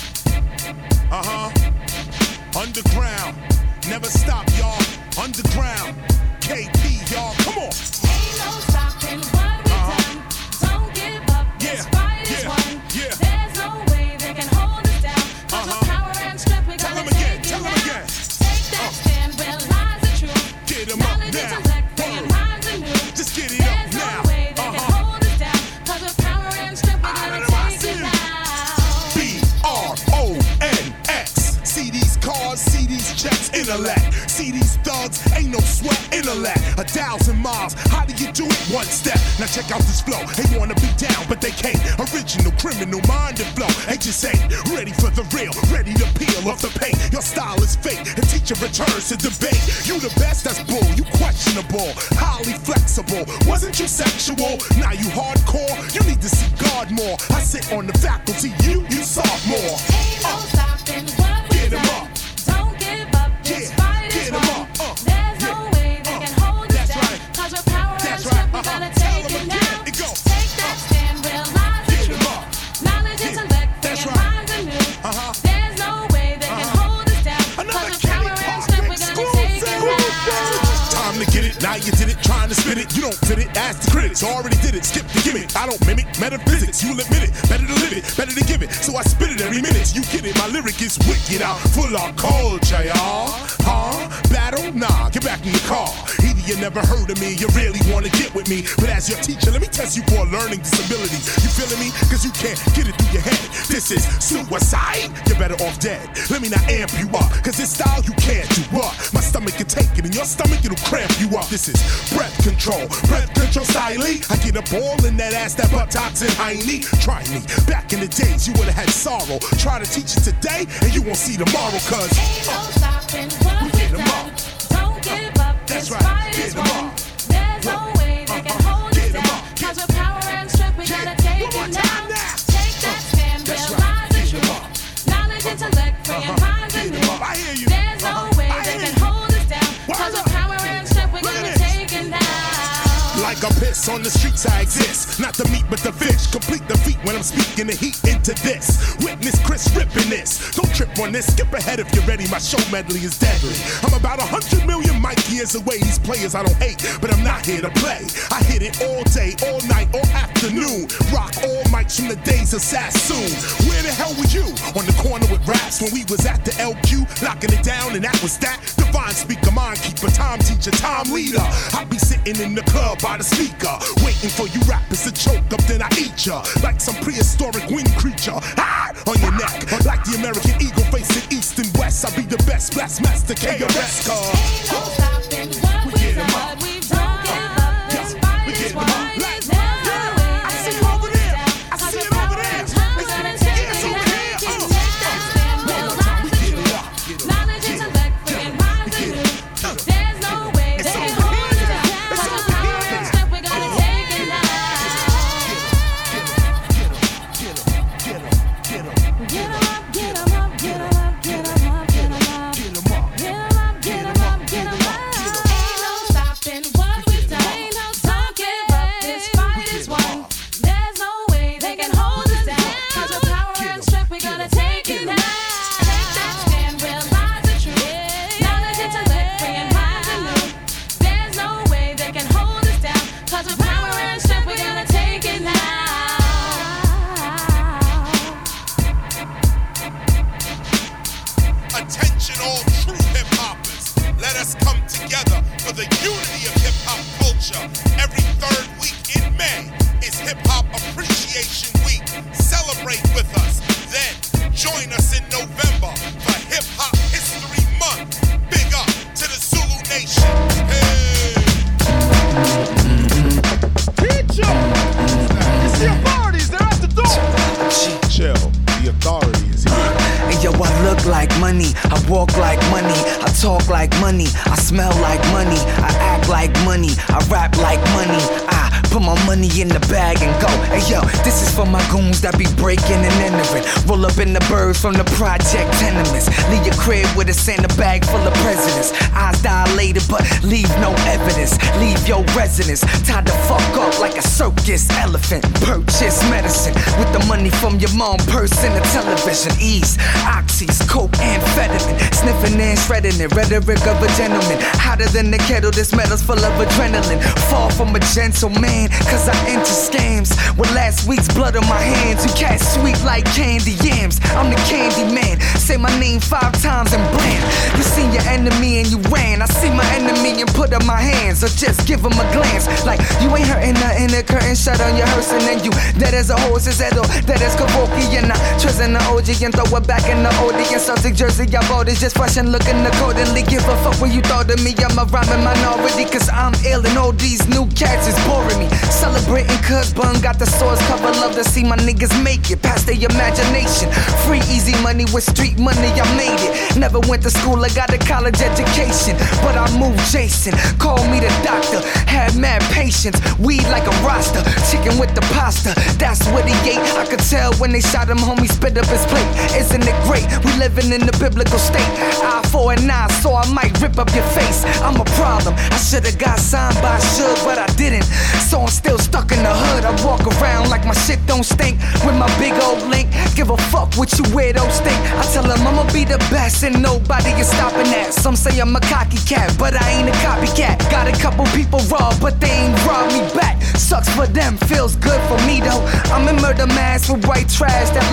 Uh-huh. Underground. Never stop, y'all. Underground, K P, y'all, come on. Ain't no stopping what we uh-huh. done. Don't give up, this yeah. fight is yeah. won. Yeah. There's no way they can hold us down. Cause uh-huh. with power and strength, we're gonna again, take it down. Again. Take that uh. stand where lies the truth. Get them Knowledge, up now. intellect, bringing rhymes anew. Just get it There's up no now. way they uh-huh. can hold us down. Cause with power and strength, we're gonna take it down. B R O N X. See these cars, see these checks, intellect. See these thugs, ain't no sweat, intellect. A thousand miles, how do you do it? One step. Now check out this flow. They wanna be down, but they can't. Original criminal minded flow. They just ain't ready for the real, ready to peel off the paint. Your style is fake, and teacher returns to debate. You the best, that's bull. You questionable, highly flexible. Wasn't you sexual? Now you hardcore. You need to see God more. I sit on the faculty, you, you sophomore. Ain't no stopping what we Get 'em done. up. Don't give up, this Yeah. fight Get is 'em won. up. Uh. There's no Yeah. way they Uh. can hold us That's down. right. Cause with power and That's strength, right. we're Uh-huh. gonna Tell take 'em it again. down. It go. Take that stand, realize the Get 'em truth. up. Knowledge, Yeah. intellect, That's bringing right. rhymes anew. Uh-huh. There's no way they can Uh-huh. hold us down. Another Cause with Kenny power and Park strength, we're gonna take it exclusive. down. Time to get it, now you did it, trying to spit it. You don't fit it, ask the critics. Already did it, skip the gimmick. I don't mimic metaphysics, you'll admit it. Better to live it, better to give it. So I spit it every minute. You get it, my lyric is wicked out, full of culture, y'all. Huh? Battle? Nah, get back in your car. Either you never heard of me, you really wanna get with me. But as your teacher, let me test you for a learning disability. You feeling me? Cause you can't get it through your head. This This is suicide. You're better off dead. Let me not amp you up, cause this style you can't do what? My stomach can take it, and your stomach it'll cramp you up. This is breath control, breath control style. I get a ball in that ass, that buttocks and hiney. Try me. Back in the days, you would've had sorrow. Try to teach it today, and you won't see tomorrow, cause ain't no stopping what we get 'em done. up. Don't give up. That's This right. fight Get is 'em won. up. There's no way they can hold us down. Cause with power and strength, we gotta take it now. Take that stand, realize the truth. Knowledge, intellect, bringing minds and new. There's no way they can hold us down. Cause with power and strength, we gotta take it now. like a piss on the streets I exist. Not the meat but the fish. Complete the feat when I'm speaking the heat into this. Witness Chris ripping this. Don't trip on this. Skip ahead if you're ready. My show medley is deadly. I'm about a hundred million mic years away. These players I don't hate, but I'm not here to play. I hit it all day, all night, all afternoon. Rock all mics from the days of Sassoon. Where the hell were you? On the corner with raps when we was at the L Q, locking it down, and that was that. Divine speaker, mind keeper, time teacher, time leader. I be sitting in the club by the speaker, waiting for you rappers to choke up, then I eat ya like some prehistoric wind creature. Ah, on your neck, like the American eagle facing east and west. I be the best, blast master, K R S car. Ain't no stopping what we've done. We've done give up. This fight is why there's no way. I see you over there. I see it over there. We're gonna take it now. Take that stand, realize the truth. Knowledge, intellect, bringing minds and new. There's no way they can hold us down. Cause the power and strength, we're gonna take it now. Get 'em up, get 'em up, get 'em up, get 'em up, get 'em up, get 'em up, get 'em up, get 'em up, get 'em up. Ain't no stopping what we've done. Ain't no don't give up. This fight is won. There's no way they can hold us down. Cause with power and strength, we're gonna take it now. Take that stand, realize the truth. Knowledge, intellect, bringing minds and new. There's no way they can hold us down. Cause with power and strength, we're gonna take it now. Attention all true hip hoppers. Let us come together for the unity of hip hop culture. Every third week in May is Hip Hop Appreciation Week. Celebrate with us. Then join us in November for Hip Hop History Month. Big up to the Zulu Nation. Hey. Teacher! It's the authorities, they're at the door! Chill, the authority is here. And yo, I look like money, I walk like money, I talk like money, I smell like money, I act like money, I rap like money, I put my money in the bag and go. Hey yo, this is for my goons that be breaking and entering. Roll up in the birds from the project tenements. Leave your crib with a Santa bag full of presidents. Eyes dilated but leave no evidence. Leave your residence tied the fuck up like a circus elephant. Purchase medicine with the money from your mom purse and the television. Ease, oxys, coke, amphetamine. Sniffing and shredding it. Rhetoric of a gentleman. Hotter than the kettle, this metal's full of adrenaline. Fall from a gentleman, cause I enter scams. With last week's blood on my hands, you cat sweet like candy yams. I'm the candy man. Say my name five times and blam. You seen your enemy and you ran. I see my enemy and put up my hands, or just give him a glance. Like you ain't hurting nothing, the curtain shut on your hearse, and then you dead as a horse, is that dead as Kavoki. And I trust in the O G and throw it back in the audience. Celtic jersey, I bought it just fresh and looking accordingly. Give a fuck when you thought of me. I'm a rhyming minority, cause I'm ill and all these new cats is boring me. Celebrating cuz bun got the source cover. Love to see my niggas make it past their imagination. Free easy money with street money, I made it. Never went to school, I got a college education, but I moved Jason. Call me the doctor, had mad patience. Weed like a roster, chicken with the pasta. That's what he ate. I could tell when they shot him, homie spit up his plate. Isn't it great? We living in the biblical state. Eye for an eye, so I might rip up your face. I'm a problem. I should've got signed by Suge, but I didn't. So I'm still stuck in the hood. I walk around like my shit don't stink. With my big old link, give a fuck what you weirdos think. I tell them I'ma be the best and nobody is stopping that. Some say I'm a cocky cat, but I ain't a copycat. Got a couple people raw, but they ain't robbed me back. Sucks for them, feels good for me though. I'm in murder mask with white trash that like cash.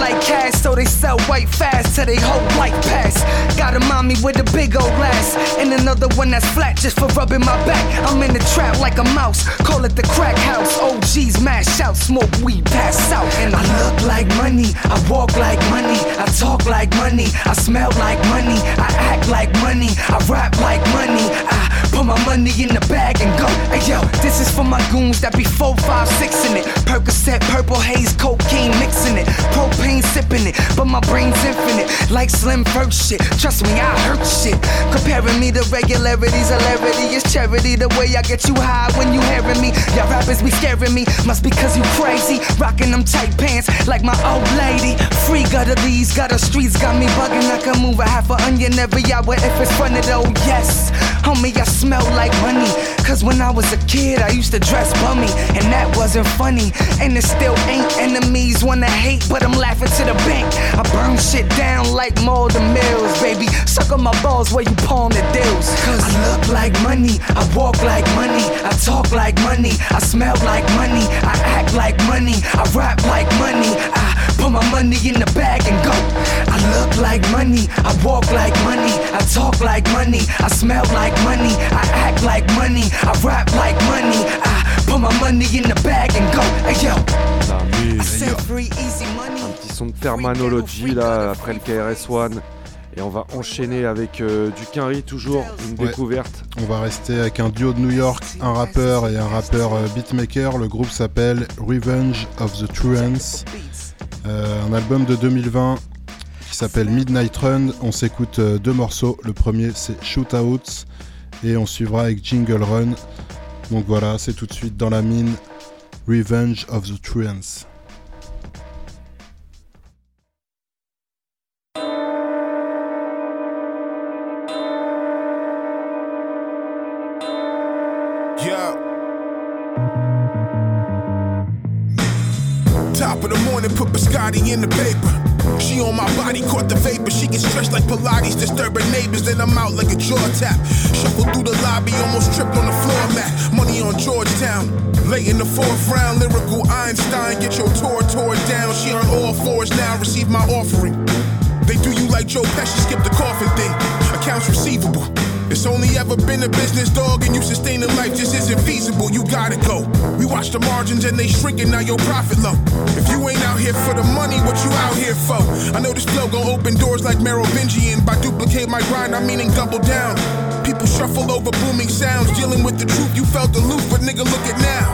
last, so they sell white fast till they whole life pass. Got a mommy with a big old ass, and another one that's flat just for rubbing my back. I'm in the trap like a mouse, call it the crack house. O Gs mash out, smoke weed, pass out. And I look like money, I walk like money, I talk like money, I smell like money, I act like money, I rap like money. I put my money in the bag and go. Hey yo, this is for my goons that be four, five, six in it. Percocet, purple haze, cocaine mixing it, propane sipping it, but my brain's infinite, like Slim First shit. Trust me, I hurt shit. Comparing me to regularities, hilarity is charity. The way I get you high when you hearing me. Y'all rappers be scaring me, must be cause you crazy. Rocking them tight pants like my old lady. Free gutter these, gutter streets got me bugging. I can move a half an onion every hour if it's funny though. Yes, homie, I smell like money. Cause when I was a kid, I used to dress bummy, and that wasn't funny. And it still ain't. Enemies wanna hate, but I'm laughing to the bank. I burn shit down like Malden Mills, baby. Suck on my balls where you pawn the deals. Cause I look like money, I walk like money, I talk like money, I smell like money, I act like money, I rap like money. I put my money in the bag and go. I look like money, I walk like money, I talk like money, I smell like money, I act like money, I rap like money. I put my money in the bag and go. Hey yo, I said free easy money. Un petit son de Termanology là après le K R S One. Et on va enchaîner avec euh, du Quinry, toujours une ouais. découverte. On va rester avec un duo de New York, un rappeur et un rappeur euh, beatmaker. Le groupe s'appelle Revenge of the Truants. Euh, un album de deux mille vingt qui s'appelle Midnight Run. On s'écoute euh, deux morceaux. Le premier c'est Shootouts et on suivra avec Jingle Run. Donc voilà, c'est tout de suite dans la mine. Revenge of the Truants. Top of the morning, put biscotti in the paper. She on my body, caught the vapor. She gets stretched like Pilates, disturbing neighbors. Then I'm out like a jaw tap. Shuffle through the lobby, almost tripped on the floor mat. Money on Georgetown, late in the fourth round. Lyrical Einstein, get your tour tore down. She on all fours now, receive my offering. They do you like Joe Pesci, skip the coffin thing. Accounts receivable. It's only ever been a business, dog, and you sustaining life just isn't feasible. You gotta go. We watch the margins and they shrinking, now your profit low. If you ain't out here for the money, what you out here for? I know this flow gon' open doors like Merovingian. By duplicate my grind, I mean and double down. People shuffle over booming sounds, dealing with the truth. You felt aloof, but nigga, look at now.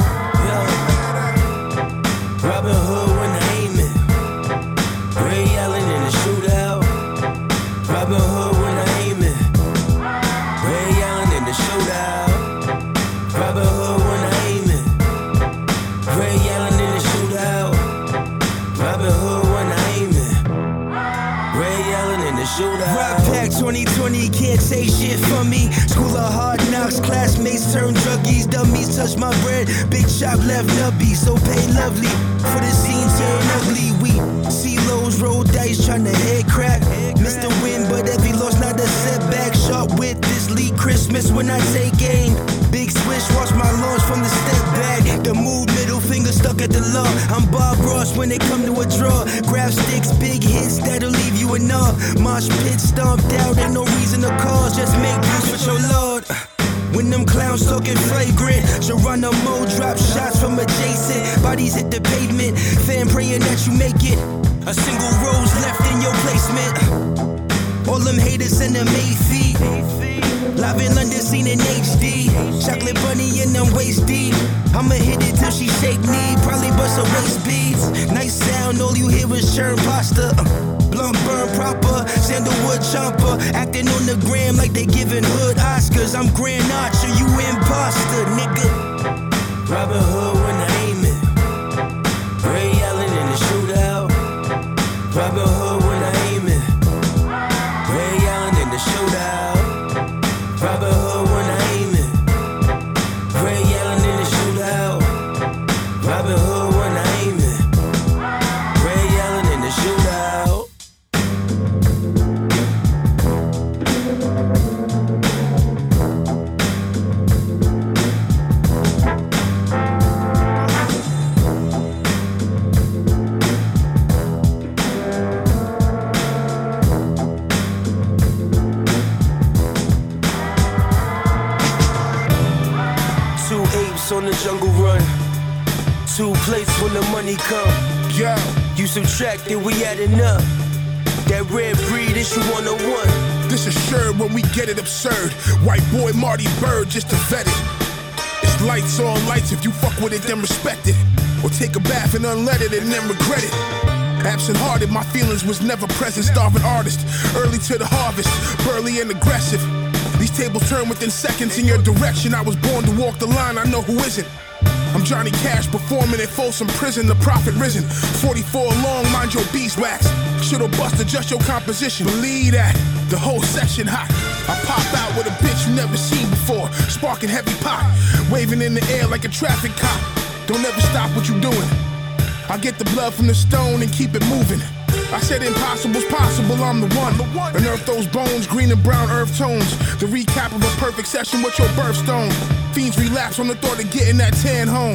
Yo. Robin Hood when I aim it. Ray Allen in the shootout. Robin Hood when I aim it. Ray Allen in the shootout. Robin Hood when I aim it. Ray Allen in the shootout. Robin Hood when I aim it. Ray Allen in the shootout. Rock Pack twenty twenty, can't say shit for me. School of hard knocks, classmates turn druggies. Dummies touch my bread, big chop left nubby. So pay lovely for the scene turn ugly. We see lows, roll dice, tryna head crack. Missed the win, but every loss not a setback. Sharp with this lead Christmas when I take aim. Big swish, watch my launch from the step back. The move, middle finger stuck at the law. I'm Bob Ross when they come to a draw. Grab sticks, big hits that'll leave you in awe. Mosh pit stomped out, ain't no reason to cause. Just make peace with your Lord. When them clowns talking flagrant, Geronimo drop shots from adjacent. Bodies hit the pavement, fan praying that you make it. A single rose left in your placement. All them haters send them eight feet. Live in London, seen in H D. Chocolate bunny in them waist deep. I'ma hit it till she shake knee. Probably bust her waist beads. Nice sound, all you hear is churn pasta. Blunt burn proper, sandalwood chomper. Acting on the gram like they giving hood Oscars. I'm Grand Archer, you imposter, nigga. Robin Hood when I aim it. Ray Allen in the shootout. Robin Hood when I aim it. Ray Allen in the shootout. Robin Hood when I aim it. Ray Allen in the shootout. Robin Hood when I aim it. Ray Allen in the shootout. jungle run. Two plates when the money come. Yo. You subtract it, we adding up. That red breed issue one oh one. This assured when we get it absurd. White boy Marty Bird just to vet it. It's lights on lights, if you fuck with it then respect it. Or take a bath and unlet it and then regret it. Absent hearted, my feelings was never present. Starving artist, early to the harvest, burly and aggressive. These tables turn within seconds in your direction. I was born to walk the line, I know who isn't. I'm Johnny Cash performing in Folsom Prison, the prophet risen. forty-four long, mind your beeswax. Should've busted just your composition. Believe that, the whole section hot. I pop out with a bitch you never seen before. Sparking heavy pot, waving in the air like a traffic cop. Don't ever stop what you doing. I get the blood from the stone and keep it moving. I said impossible's possible, I'm the one. Unearth those bones, green and brown earth tones. The recap of a perfect session with your birthstone. Fiends relapse on the thought of getting that tan home.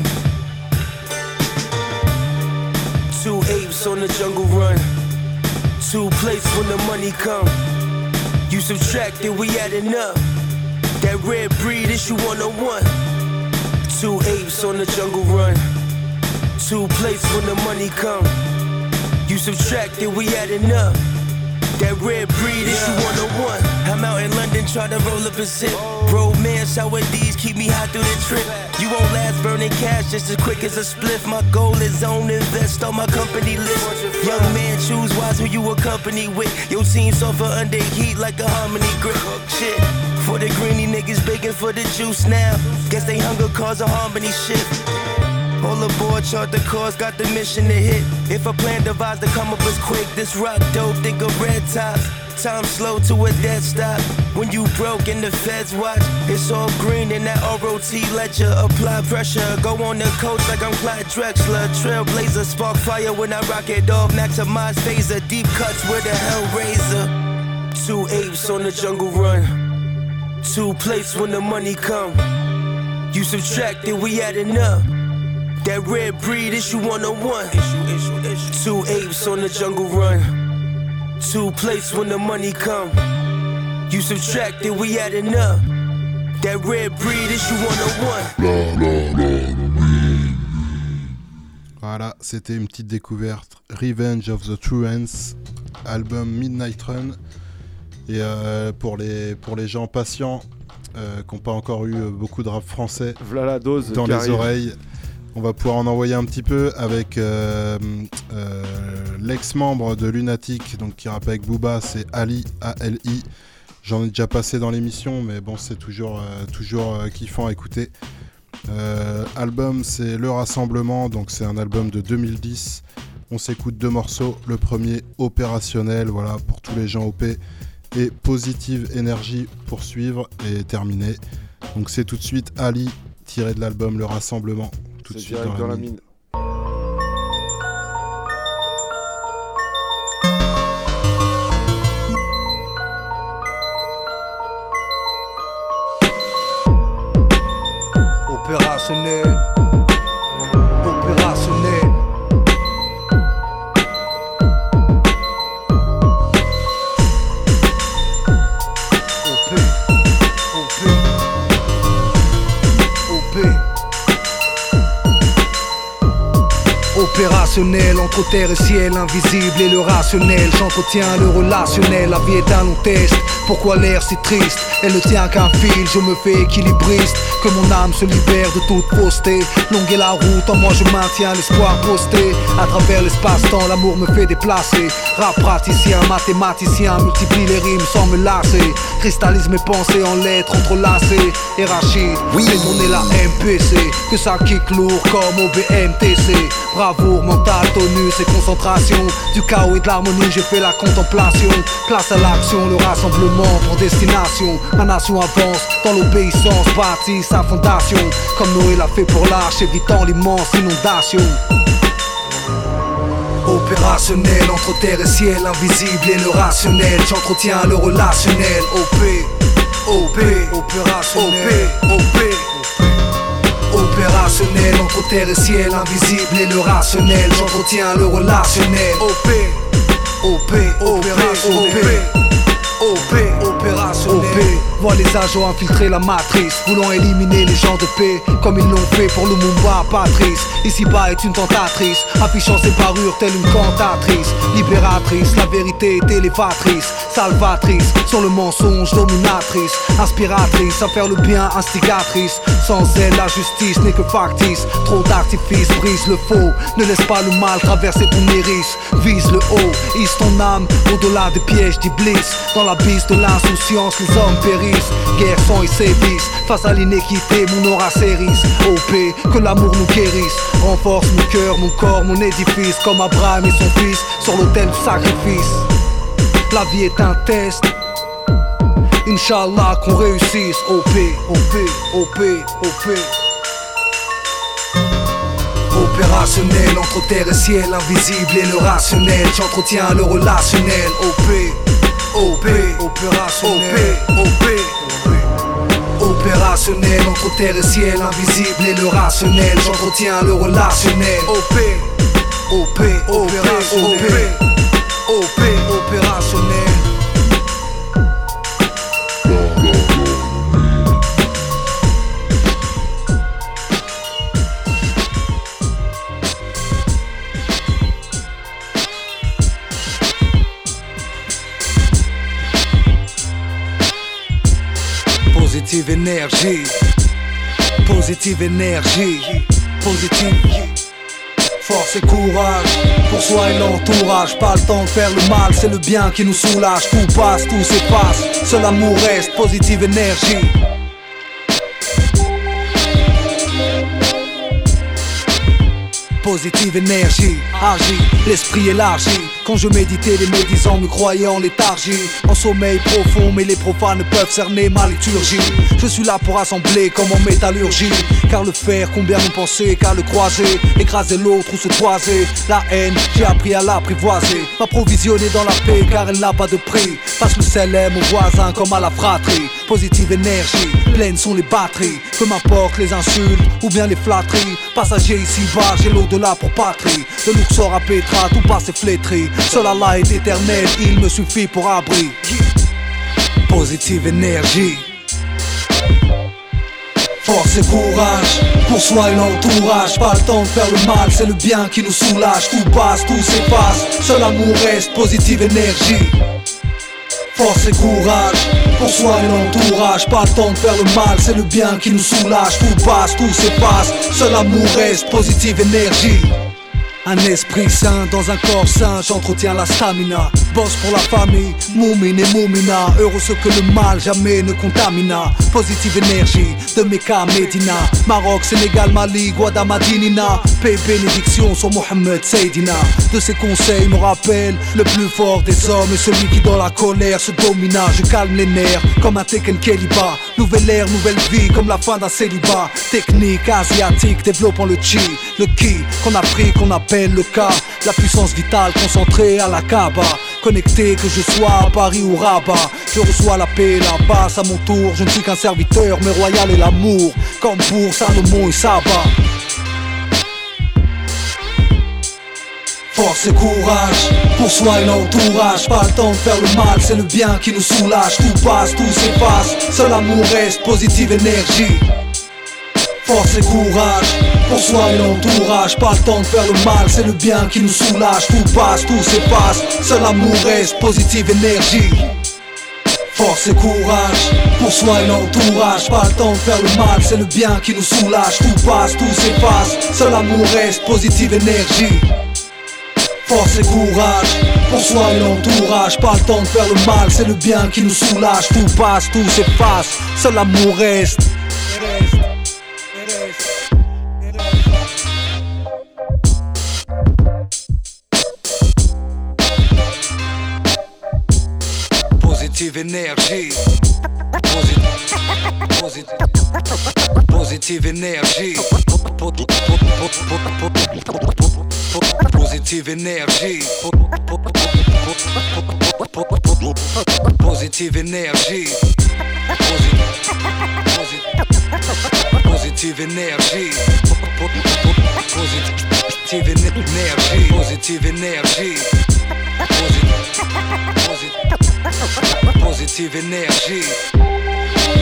Two apes on the jungle run. Two plates when the money come. You subtract it, we adding up. That red breed issue one oh one. Two apes on the jungle run. Two plates when the money come. You subtract it, we adding up. That red breed issue one oh one. I'm out in London trying to roll up a zip. Romance, how D's keep me hot through the trip. You won't last burning cash just as quick as a spliff. My goal is on invest on my company list. Young man, choose wise who you accompany with. Your team suffer under heat like a harmony grip. Shit, for the greeny niggas begging for the juice now. Guess they hunger cause a harmony shift. All aboard, chart the course, got the mission to hit. If a plan devised to come up as quick, this rock dope, think of red tops. Time slow to a dead stop. When you broke and the feds watch, it's all green in that R O T ledger. Apply pressure, go on the coach like I'm Clyde Drexler. Trailblazer, spark fire when I rock it off. Maximize phaser, deep cuts with a hellraiser. Two apes on the jungle run. Two plates when the money come. You subtract it, we adding up. That red breed issue one oh one. Two apes on the jungle run. Two plates when the money come. You subtract it, we adding up. That red breed issue one oh one. Voilà, c'était une petite découverte. Revenge of the Truants, album Midnight Run. Et euh, pour, les, pour les gens patients euh, qui n'ont pas encore eu beaucoup de rap français voilà la dose dans les arrive. oreilles, on va pouvoir en envoyer un petit peu avec euh, euh, l'ex-membre de Lunatic, donc qui rappe avec Booba, c'est Ali, A L I. J'en ai déjà passé dans l'émission, mais bon, c'est toujours, euh, toujours euh, kiffant à écouter. Euh, album, c'est Le Rassemblement, donc c'est un album de deux mille dix. On s'écoute deux morceaux. Le premier, Opérationnel, voilà, pour tous les gens O P. Et Positive Énergie pour suivre et terminer. Donc c'est tout de suite Ali, tiré de l'album Le Rassemblement. Tout de suite dans, dans la mine. Opérationnel, opérationnel. O P, O P, O P. Opérationnel entre terre et ciel, invisible et le rationnel. J'entretiens le relationnel, la vie est un long test. Pourquoi l'air si triste? Elle ne tient qu'un fil, je me fais équilibriste. Que mon âme se libère de toute fausseté. Longue est la route, en moi je maintiens l'espoir posté. À travers l'espace-temps, l'amour me fait déplacer. Rap praticien, mathématicien, multiplie les rimes sans me lasser. Cristallise mes pensées en lettres entrelacées. Et Rachid, oui, fait tourner la M P C. Que ça kick lourd comme au B M T C. Bravoure, mental, tonus et concentration. Du chaos et de l'harmonie, j'ai fait la contemplation. Place à l'action, le rassemblement pour destination. Ma nation avance dans l'obéissance, bâtit sa fondation. Comme Noé l'a fait pour l'arche, évitant l'immense inondation. Opérationnel entre terre et ciel, invisible et le rationnel. J'entretiens le relationnel. O P, O P, opérationnel. O P, O P. Opérationnel entre terre et ciel, invisible et le rationnel. J'entretiens le relationnel. O P, O P, opérationnel. O P, opérationnel. O P, vois les agents infiltrer la matrice, voulant éliminer les gens de paix, comme ils l'ont fait pour Lumumba, Patrice. Ici-bas est une tentatrice, affichant ses parures telle une cantatrice. Libératrice, la vérité est élévatrice, salvatrice, sur le mensonge dominatrice. Inspiratrice, à faire le bien, instigatrice. Sans elle, la justice n'est que factice. Trop d'artifices, brise le faux. Ne laisse pas le mal traverser ton iris. Vise le haut, hisse ton âme au-delà des pièges d'Iblis. Dans l'abysse de l'insouciance, les hommes périssent. Guerre, sang et sévices, face à l'inéquité, mon aura s'érisse. O P, que l'amour nous guérisse. Renforce mon cœur, mon corps, mon édifice. Comme Abraham et son fils, sur l'autel du sacrifice. La vie est un test. Inch'Allah qu'on réussisse. O P, O P, O P, O P. Opérationnel entre terre et ciel, invisible et le rationnel. J'entretiens le relationnel. O P, O P, opérationnel. O P, O P. Opérationnel entre terre et ciel, invisible et le rationnel. J'entretiens le relationnel. O P, O P, opérationnel. O P, opérationnel. Positive énergie, positive énergie, positive. Force et courage, pour soi et l'entourage. Pas le temps de faire le mal, c'est le bien qui nous soulage. Tout passe, tout s'efface, seul amour reste. Positive énergie. Positive énergie, agit, l'esprit élargi. Quand je méditais, les médisants me croyaient en léthargie. En sommeil profond, mais les profanes peuvent cerner ma liturgie. Je suis là pour assembler comme en métallurgie. Car le fer, combien nous penser qu'à le croiser. Écraser l'autre ou se toiser. La haine, j'ai appris à l'apprivoiser. M'approvisionner dans la paix car elle n'a pas de prix. Passe le célèbre aux voisins comme à la fratrie. Positive énergie, pleines sont les batteries. Peu m'importe les insultes ou bien les flatteries. Passager ici-bas, j'ai l'au-delà pour patrie. De Luxor à Petra, tout passe est flétri. Seul Allah est éternel, il me suffit pour abri. Positive énergie. Force et courage, pour soi et l'entourage. Pas le temps de faire le mal, c'est le bien qui nous soulage. Tout passe, tout s'efface, seul amour reste. Positive énergie. Force et courage, pour soi et l'entourage. Pas le temps de faire le mal, c'est le bien qui nous soulage. Tout passe, tout s'efface, seul amour reste. Positive énergie. Un esprit sain dans un corps sain, j'entretiens la stamina. Bosse pour la famille, moumine et moumina. Heureux ce que le mal jamais ne contamina. Positive énergie de Mecca, Medina, Maroc, Sénégal, Mali, Guadamadinina. Paix, bénédiction sur Mohamed Seydina. De ses conseils me rappelle le plus fort des hommes et celui qui dans la colère se domina. Je calme les nerfs comme un Tekken Keliba. Nouvelle ère, nouvelle vie comme la fin d'un célibat. Technique asiatique développant le chi, le ki qu'on a pris, qu'on appelle le cas, la puissance vitale concentrée à la Kaaba. Connecté que je sois à Paris ou Rabat, je reçois la paix, la passe à mon tour. Je ne suis qu'un serviteur, mais royal est l'amour, comme pour Salomon et Saba. Force et courage, pour soi et l'entourage. Pas le temps de faire le mal, c'est le bien qui nous soulage. Tout passe, tout s'efface, seul amour reste. Positive énergie. Force et courage, pour soi et l'entourage. Pas le temps de faire le mal, c'est le bien qui nous soulage. Tout passe, tout s'efface, seul amour reste. Positive énergie. Force et courage, pour soi et l'entourage. Pas le temps de faire le mal, c'est le bien qui nous soulage. Tout passe, tout s'efface, seul amour reste. Positive énergie. Force et courage, pour soi et l'entourage. Pas le temps de faire le mal, c'est le bien qui nous soulage. Tout passe, tout s'efface, seul amour reste. Positive énergie. Positive, positive énergie. Positive énergie. Positive énergie. Positive énergie. Positive énergie. Positive énergie. Positive énergie.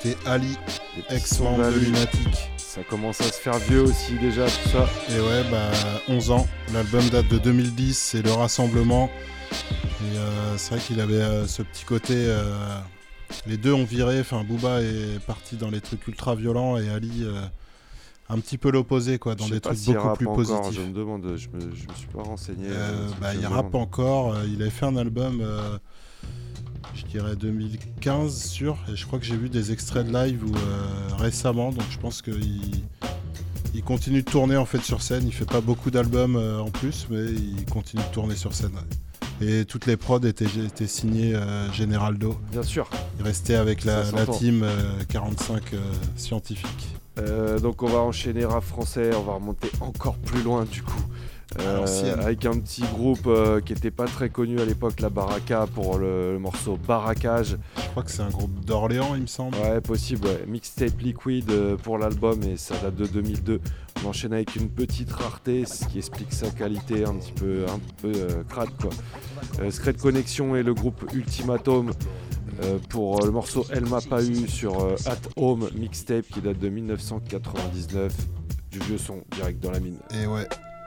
c'était Ali, ex-membre de Lunatic. Ça commence à se faire vieux aussi déjà tout ça. Et ouais, bah onze ans. L'album date de deux mille dix, c'est le rassemblement. Et euh, c'est vrai qu'il avait euh, ce petit côté... Euh, les deux ont viré, enfin Booba est parti dans les trucs ultra violents et Ali... Euh, un petit peu l'opposé, quoi, dans des trucs si beaucoup plus positifs. Encore, je me demande, je me, je me suis pas renseigné. Euh, bah, il rappe encore. Euh, il avait fait un album, euh, je dirais deux mille quinze sûr, et je crois que j'ai vu des extraits de live où, euh, récemment, donc je pense qu'il il continue de tourner en fait sur scène. Il fait pas beaucoup d'albums euh, en plus, mais il continue de tourner sur scène. Ouais. Et toutes les prods étaient, étaient signées euh, Generaldo. Bien sûr. Il restait avec la, la team euh, quarante-cinq euh, scientifiques. Euh, donc on va enchaîner rap français, on va remonter encore plus loin du coup. Euh, avec un petit groupe euh, qui était pas très connu à l'époque, la Baraka, pour le, le morceau Barracage. Je crois que c'est un groupe d'Orléans, il me semble. Ouais, possible, ouais. Mixtape Liquid euh, pour l'album, et ça date de deux mille deux. On enchaîne avec une petite rareté, ce qui explique sa qualité un petit peu, un peu euh, crade, quoi. Euh, Secret Connection et le groupe Ultimatum euh, pour euh, le morceau Elle m'a pas eu sur euh, At Home Mixtape qui date de dix-neuf cent quatre-vingt-dix-neuf. Du vieux son direct dans la mine. Et ouais.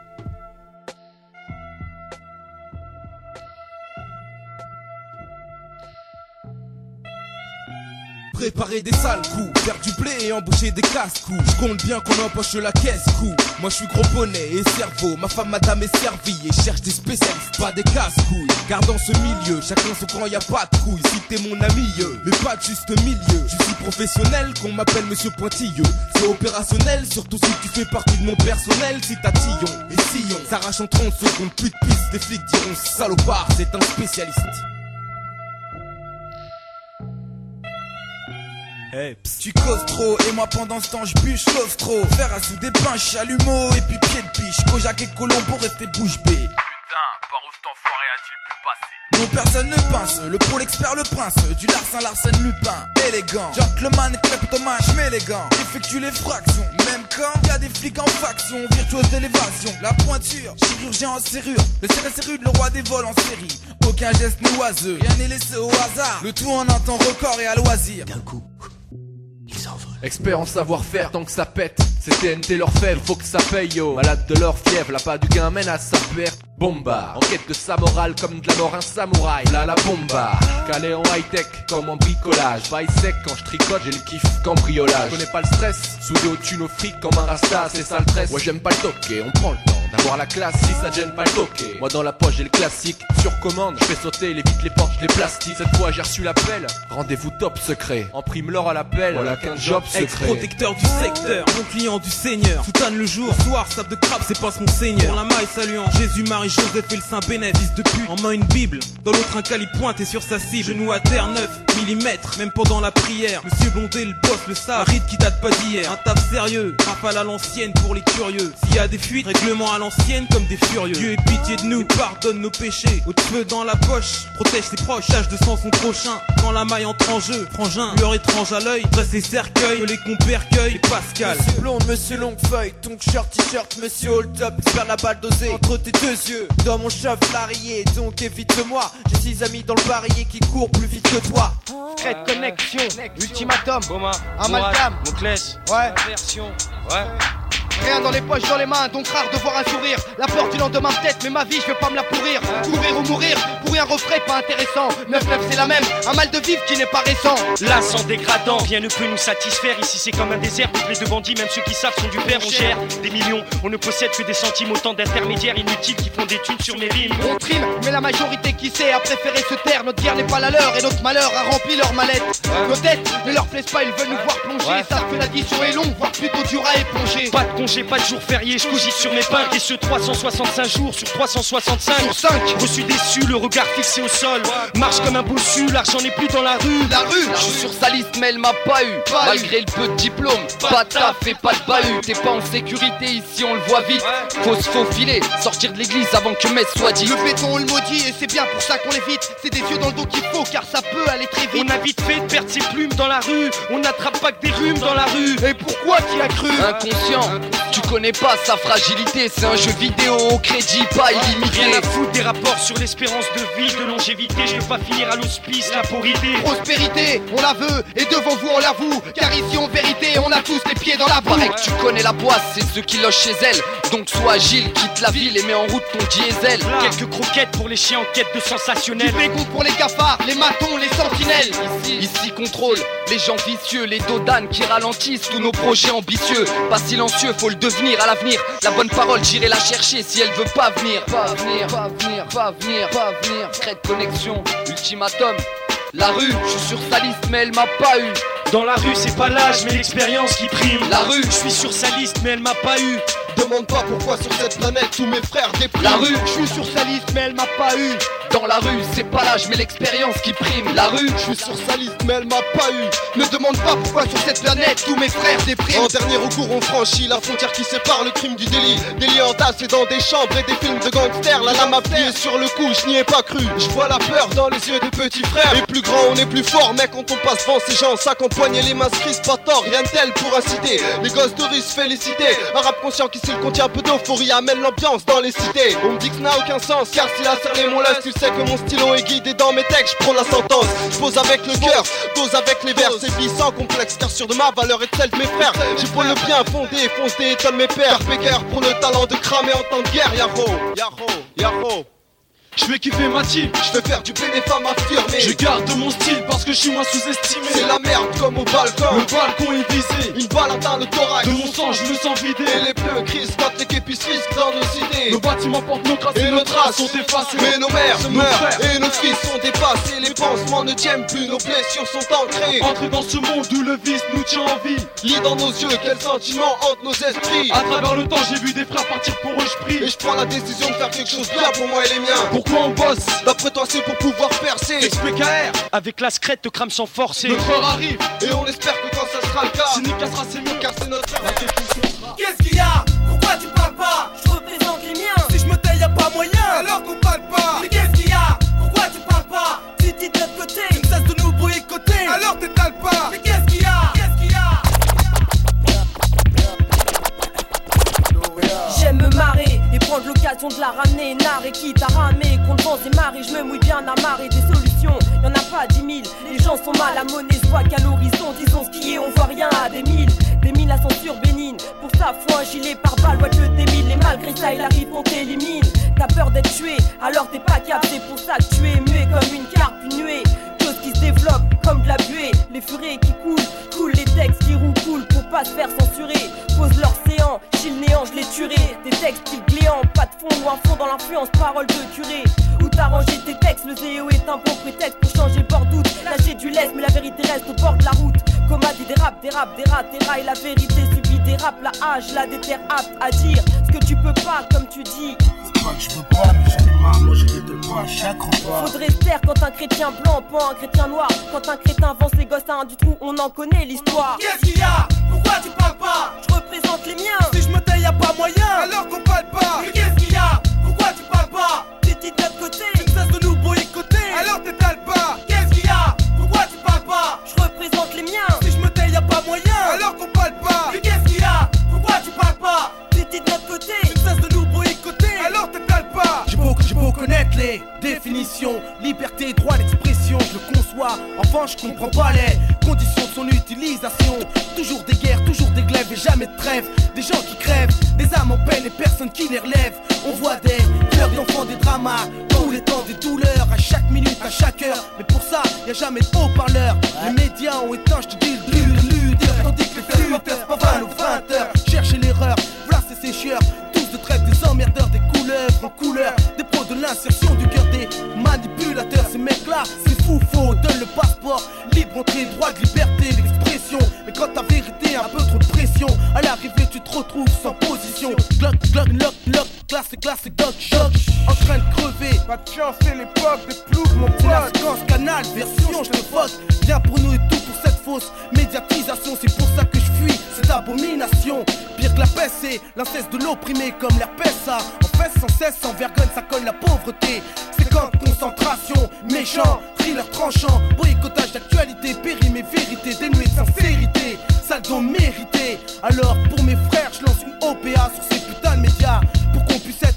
Préparer des sales coups, faire du blé et embaucher des casse-coups. Je compte bien qu'on empoche la caisse coup. Moi je suis gros bonnet et cerveau, ma femme madame est servie et cherche des spécialistes, pas des casse-couilles. Car dans ce milieu, chacun son camp, y a pas de couilles. Si t'es mon ami, mais pas de juste milieu. Je suis professionnel, qu'on m'appelle Monsieur Pointilleux. C'est opérationnel, surtout si tu fais partie de mon personnel. Si t'as Tillon et Sillon s'arrache en trente secondes, plus de piste. Les flics diront salopard, c'est un spécialiste. Hey, pss, tu causes trop et moi pendant ce temps je bûche l'ostro. Faire à sous des pains, chalumeau et puis pied de biche. Kojak et Colombo rester bouche bée. Putain, par où cet enfoiré a-t-il pu passer? Non, personne ne pince, le pro l'expert le prince. Du Larsin Larsen Lupin, élégant. Gentleman, kleptomane, j'm'élégant. Effectue les fractions, même quand y a des flics en faction. Virtuose de l'évasion, la pointure, chirurgien en serrure. Le C R S rude, le roi des vols en série. Aucun geste n'est oiseux, rien n'est laissé au hasard. Le tout en un temps record et à loisir. D'un coup, expert en savoir-faire tant que ça pète. C'est T N T leur fève, faut que ça paye yo. Malade de leur fièvre, la pas du gain mène à sa perte. Bomba, en quête de sa morale comme de la mort un samouraï. Là la bomba, calé en high-tech comme en bricolage. Vaille sec quand je tricote, j'ai le kiff cambriolage. Je connais pas le stress, soudé au thune au fric comme un rasta, c'est ça le tresse. Ouais j'aime pas le toquer, on prend le temps d'avoir la classe. Si ça gêne pas le toquer, moi dans la poche j'ai le classique. Sur commande, je fais sauter les vitres, les portes, je les plastique. Cette fois j'ai reçu l'appel, rendez-vous top secret. En prime l'or à l'appel, voilà qu'un job secret. Ex-protecteur du secteur, bon client du seigneur. Soutane le jour, soir, sable de crabe, c'est pas son seigneur. Pour la maille saluant Jésus, Marie, Joseph et le Saint Bénédicte. Fils de pute, en main une bible, dans l'autre un calibre pointé sur sa cible. Genou à terre, neuf millimètres, même pendant la prière. Monsieur Blondet, le boss, le savent, un rite qui date pas d'hier. Un taf sérieux, rafale à l'ancienne pour les curieux. S'il y a des fuites, règlement à l'ancienne comme des furieux. Dieu ait pitié de nous, pardonne nos péchés. Au feu dans la poche, protège ses proches, tâche de sang son prochain. Quand la maille entre en jeu, frangin, lueur étrange à l'œil, dresse ses cercueils, que les compères cueillent, et Pascal. Monsieur blonde, monsieur longuefeuille, ton shirt, t-shirt, monsieur hold up, faire la balle dosée entre tes deux yeux. Dans mon chef larrié, donc évite-moi. J'ai six amis dans le barillet qui courent plus vite que toi. Secret Connection, Ultimatum, Amalgame, Monclès, ouais, version, ouais. Rien dans les poches, dans les mains, donc rare de voir un sourire. La peur du lendemain peut-être, mais ma vie je vais pas me la pourrir. Courir ou mourir, pour un refrain pas intéressant. neuf neuf c'est la même, un mal de vivre qui n'est pas récent. Là sans dégradant, rien ne peut nous satisfaire. Ici c'est comme un désert, peuplé de bandits, même ceux qui savent sont du père. On gère des millions, on ne possède que des centimes. Autant d'intermédiaires inutiles qui font des thunes sur mes rimes. On trime, mais la majorité qui sait a préféré se taire. Notre guerre n'est pas la leur et notre malheur a rempli leur mallette. Nos têtes ne leur plaisent pas, ils veulent nous voir plonger. Ouais. Savent que l'addition est longue, voire plutôt dure à éponger. Pas de congé, pas de jour férié, je cougis sur mes pains. Et ce trois cent soixante-cinq jours sur trois cent soixante-cinq. Sur cinq. Reçu déçu, le regard fixé au sol. Marche comme un bossu, l'argent n'est plus dans la rue. La rue, je suis sur sa liste mais elle m'a pas eu. Pas Malgré eu. le peu de diplôme, pas, pas de taf et pas de bahut. T'es pas en sécurité ici, on le voit vite. Ouais. Faut se faufiler, sortir de l'église avant que messe soit dit. Le béton on le maudit et c'est bien pour ça qu'on l'évite. C'est des yeux dans le dos qu'il faut car ça peut aller très vite. On a vite fait de perdre ses plumes dans la rue. On n'attrape pas que des rhumes dans la rue. Et pourquoi t'y as cru? Inconscient, tu connais pas sa fragilité. C'est un jeu vidéo au crédit pas illimité. Rien à foutre des rapports sur l'espérance de vie, de longévité. Je veux pas finir à l'hospice, la porrité. Prospérité, on la veut, et devant vous on l'avoue. Car ici en vérité, on a tous les pieds dans la boue. Paraît que tu connais la boisse, c'est ceux qui logent chez elle. Donc sois agile, quitte la ville et mets en route ton diesel. Quelques croquettes pour les chiens en quête de sensationnel. Du bégon pour les cafards, les matons, les sentinelles. Ici, ici contrôle les gens vicieux, les dodanes qui ralentissent tous nos projets ambitieux. Pas silencieux, faut le devenir à l'avenir. La bonne parole, j'irai la chercher si elle veut pas venir. Pas venir, pas venir, pas venir, pas venir. Crête connexion, ultimatum. La rue, je suis sur sa liste mais elle m'a pas eu. Dans la rue c'est pas l'âge mais l'expérience qui prime. La rue, je suis sur sa liste mais elle m'a pas eu. Demande pas pourquoi sur cette planète tous mes frères dépriment. La rue, je suis sur sa liste mais elle m'a pas eu. Dans la rue, c'est pas l'âge mais l'expérience qui prime. La rue, je suis sur sa liste mais elle m'a pas eu. Ne demande pas pourquoi sur cette planète tous mes frères dépriment. En dernier recours on franchit la frontière qui sépare le crime du délit. Des liens entassés dans des chambres et des films de gangsters. La lame appuyée sur le cou, je n'y ai pas cru. Je vois la peur dans les yeux des petits frères. Et plus grand on est plus fort, mais quand on passe devant ces gens, sac en poignet, les mains se crispent, pas tort, rien de tel pour inciter les gosses de rue se féliciter. Un rap conscient qui s'il contient un peu d'euphorie amène l'ambiance dans les cités. On me dit que ça n'a aucun sens, car s'il a cerné mon lust, tu sais que mon stylo est guidé dans mes textes. Je prends la sentence, je pose avec le cœur, dose avec les vers, c'est vie sans complexe, car sûr de ma valeur et de celle de mes frères. J'ai pour le bien fondé, fonce des étonne mes pères. Pégueur pour le talent de cramer en temps de guerre, yaro, yaro, yaro. Je fais kiffer ma team, je fais faire du bien des femmes affirmées. Je garde mon style parce que je suis moins sous-estimé. C'est la merde comme au balcon. Le balcon est visé, une balle atteint le thorax. De mon sang je me sens vidé. Et les pneus crissent quand les képis risquent dans nos cités. Nos bâtiments portent nos traces et, et nos traces sont effacées. Mais nos mères se nos meurent frères. Et nos fils sont dépassés. Les pansements ne tiennent plus, nos blessures sont ancrées. Entrer dans ce monde où le vice nous tient en vie. Lis dans nos yeux quels sentiments hantent nos esprits. À travers le temps j'ai vu des frères partir pour eux je prie. Et je prends la décision de faire quelque chose bien pour moi et les miens. Pourquoi on bosse? D'après toi c'est pour pouvoir percer. X P K R avec la scrète te crame sans forcer. Notre heure arrive et on espère que quand ça sera le cas, si Nick cassera c'est mieux car c'est notre frère. Qu'est-ce qu'il y a? Pourquoi tu parles pas? Je représente les miens. Si je me taille y'a pas moyen, alors qu'on parle pas. Mais qu'est-ce qu'il y a? Pourquoi tu parles pas? Tu dis de notre côté, tu ne cesses de nous boycotter. Alors t'étales pas. Mais qu'est-ce qu'il y a? Qu'est-ce qu'il y a? J'aime me marrer et prendre l'occasion de la ramener. Narrer quitte à ramer, contre vents et marées. Je me mouille bien à marrer des solutions. Y'en a pas dix mille, les gens sont mal à monnaie. Je vois qu'à l'horizon, disons ce qui est, on voit rien à des mille. Des mille à censure bénigne. Pour ça, faut un gilet par balle, ouais, je démile. Et malgré ça, il arrive, on t'élimine. T'as peur d'être tué, alors t'es pas capté. Pour ça que tu es muet comme une carpe, une nuée. Chose qui se développe comme de la buée. Les furets qui coulent, coulent les textes qui roulent, coulent pour pas se faire censurer. Pose l'océan, chie le néant, je l'ai tué. Des textes style gléant, pas de fond ou un fond dans l'influence, parole de curé. Où t'as rangé tes textes, le zéo est un bon prétexte pour changer le bord doute. Lâcher du lest, mais la vérité reste au bord de la route. Coma dit des raps, des raps, des rats, des rails. La vérité subit des raps, la hache, la déterre apte à dire ce que tu peux pas, comme tu dis. C'est pas que je peux pas, mais j'en ai marre, moi j'ai des deux points à chaque repas. Faudrait se taire quand un chrétien blanc pend un chrétien noir. Quand un crétin avance les gosses à un du trou, on en connaît l'histoire. Qu'est-ce qu'il y a? Pourquoi tu parles pas? Je représente les miens. Si je me taille y'a pas moyen, alors qu'on parle pas. Mais qu'est-ce qu'il y a? Pourquoi tu parles pas? T'es dit de notre côté, tu ne cesses de nous boycotter, alors t'étales pas. Qu'est-ce qu'il y a? Pourquoi tu parles pas? Je représente les miens. Si je me taille y'a pas moyen, alors qu'on parle pas. Mais qu'est-ce qu'il y a? Pourquoi tu parles pas? T'es dit de notre côté, tu ne cesses de nous boycotter, alors t'étales pas. J'ai beau, j'ai beau connaître les définitions, liberté, droit d'expression, je le conçois. Enfin, je comprends pas les conditions de son utilisation. Toujours des guerres, toujours des glaives et jamais de trêve. Des gens qui crèvent, des âmes en peine et personne qui les relève. On voit des fleurs d'enfants, des dramas, tous les temps des douleurs, à chaque minute, à chaque heure. Mais pour ça, y a jamais de haut-parleur. Les médias ont éteint, je te dis le but de lutte. Tandis que les flûteurs, pas vingt ou vingt heures. Cherchez l'erreur, voilà ces sécheurs. Tous de traite des emmerdeurs, des couleuvres en couleur. Des pros de l'insertion du cœur des manipulateurs. Ces mecs-là, c'est fou, faux, donne le passeport. Libre entrée, droit de liberté, l'expression. Mais quand ta vérité a un peu trop de pression, à l'arrivée tu te retrouves sans position. Glock, glock, lock, lock, classique, classique, doc, choc. En train de crever, pas de chance, c'est l'époque des ploucs, mon pote. C'est la séquence canal, version, je te fuck. Viens pour nous et tout pour cette fausse médiatisation. C'est pour ça que je fuis cette abomination. Pire que la peste, c'est l'inceste de l'opprimé comme l'herpès, ça. En fait, sans cesse, sans vergogne, ça colle la pauvreté. C'est camp de concentration, méchant, thriller tranchant. Boycottage d'actualité, périmé, vérité, dénué de sincérité. Ça le mérité. Alors pour mes frères, je lance une O P A sur ces putains de médias. Pour qu'on puisse être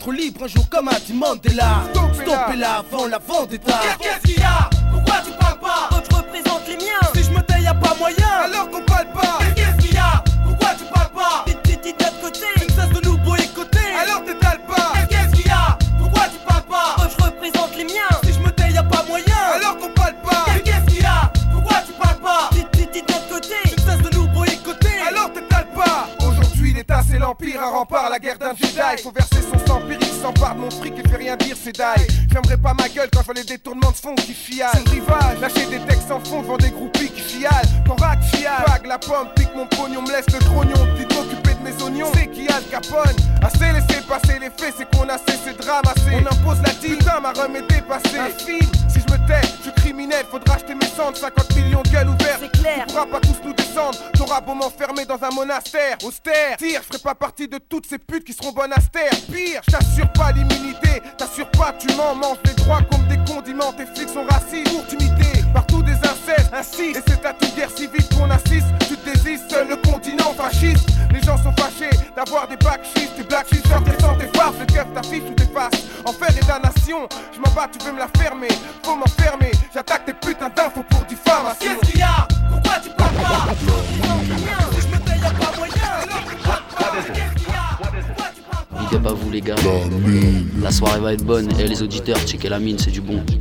être libre un jour comme un Mandela. Stoppez-la avant la vendetta. Qu'est-ce qu'il y a? Pourquoi tu parles pas? Je représente les miens. Si je me tais y'a pas moyen, alors qu'on parle pas. Qu'est-ce qu'il y a? Pourquoi tu parles pas? Petite petite de notre côté. Tu ne cesses de nous boycotter, alors t'étales pas. Qu'est-ce qu'il y a? Pourquoi tu parles pas? Je représente les miens. Si je me tais y'a pas moyen, alors qu'on parle pas. Qu'est-ce qu'il y a? Pourquoi tu parles pas? Petite petite de notre côté. Tu ne cesses de nous boycotter, alors t'étales pas. Aujourd'hui l'État c'est l'empire, un rempart, la guerre d'un Jedi. Faut verser son sang empirique, s'empare de mon fric et fait rien dire, c'est die. J'aimerais pas ma gueule quand je vois les détournements de fonds qui fialent. C'est le rivage, lâcher des textes sans fond devant des groupies qui fialent. Quand rack fiale, vague la pomme, pique mon pognon, me laisse le trognon. Plutôt occupé de mes oignons, c'est qui a le Capone. Assez laisser passer les faits, c'est qu'on a cessé de ramasser. On impose la dîme, putain ma rhum est dépassée. Un film, si je me tais, je suis criminel, faudra acheter mes cendres. Cinquante millions de gueules ouvertes, c'est clair. Tu pourras pas tous nous descendre, t'auras beau m'enfermer dans un monastère austère. Tire, je ferai pas partie de toutes ces putes qui seront bonnes à se taire. Pire, je t'assure pas l'immunité, t'assures pas, tu m'en manges des droits comme des condiments. Tes flics sont racistes, pour t'imiter, partout des incestes, ainsi. Et c'est à toute guerre civile qu'on assiste, tu te désistes, seul le continent fasciste. Les gens sont fâchés d'avoir des backshifts, des black shifts, tes sans tes farces, le keuf t'affiche ou tes faces. Enfer et damnation, je m'en bats, tu veux me la fermer, faut m'enfermer, j'attaque tes putains d'infos pour diffamation. Qu'est-ce qu'il y a? Pourquoi tu parles pas? Si je me tais y'a pas moyen, alors que parle pas. Qu'est-ce qu'il y a? Pourquoi tu parles pas? Big up à vous les gars. La soirée va être bonne et les auditeurs, checkez la mine, c'est du bon.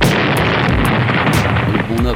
Le bon up.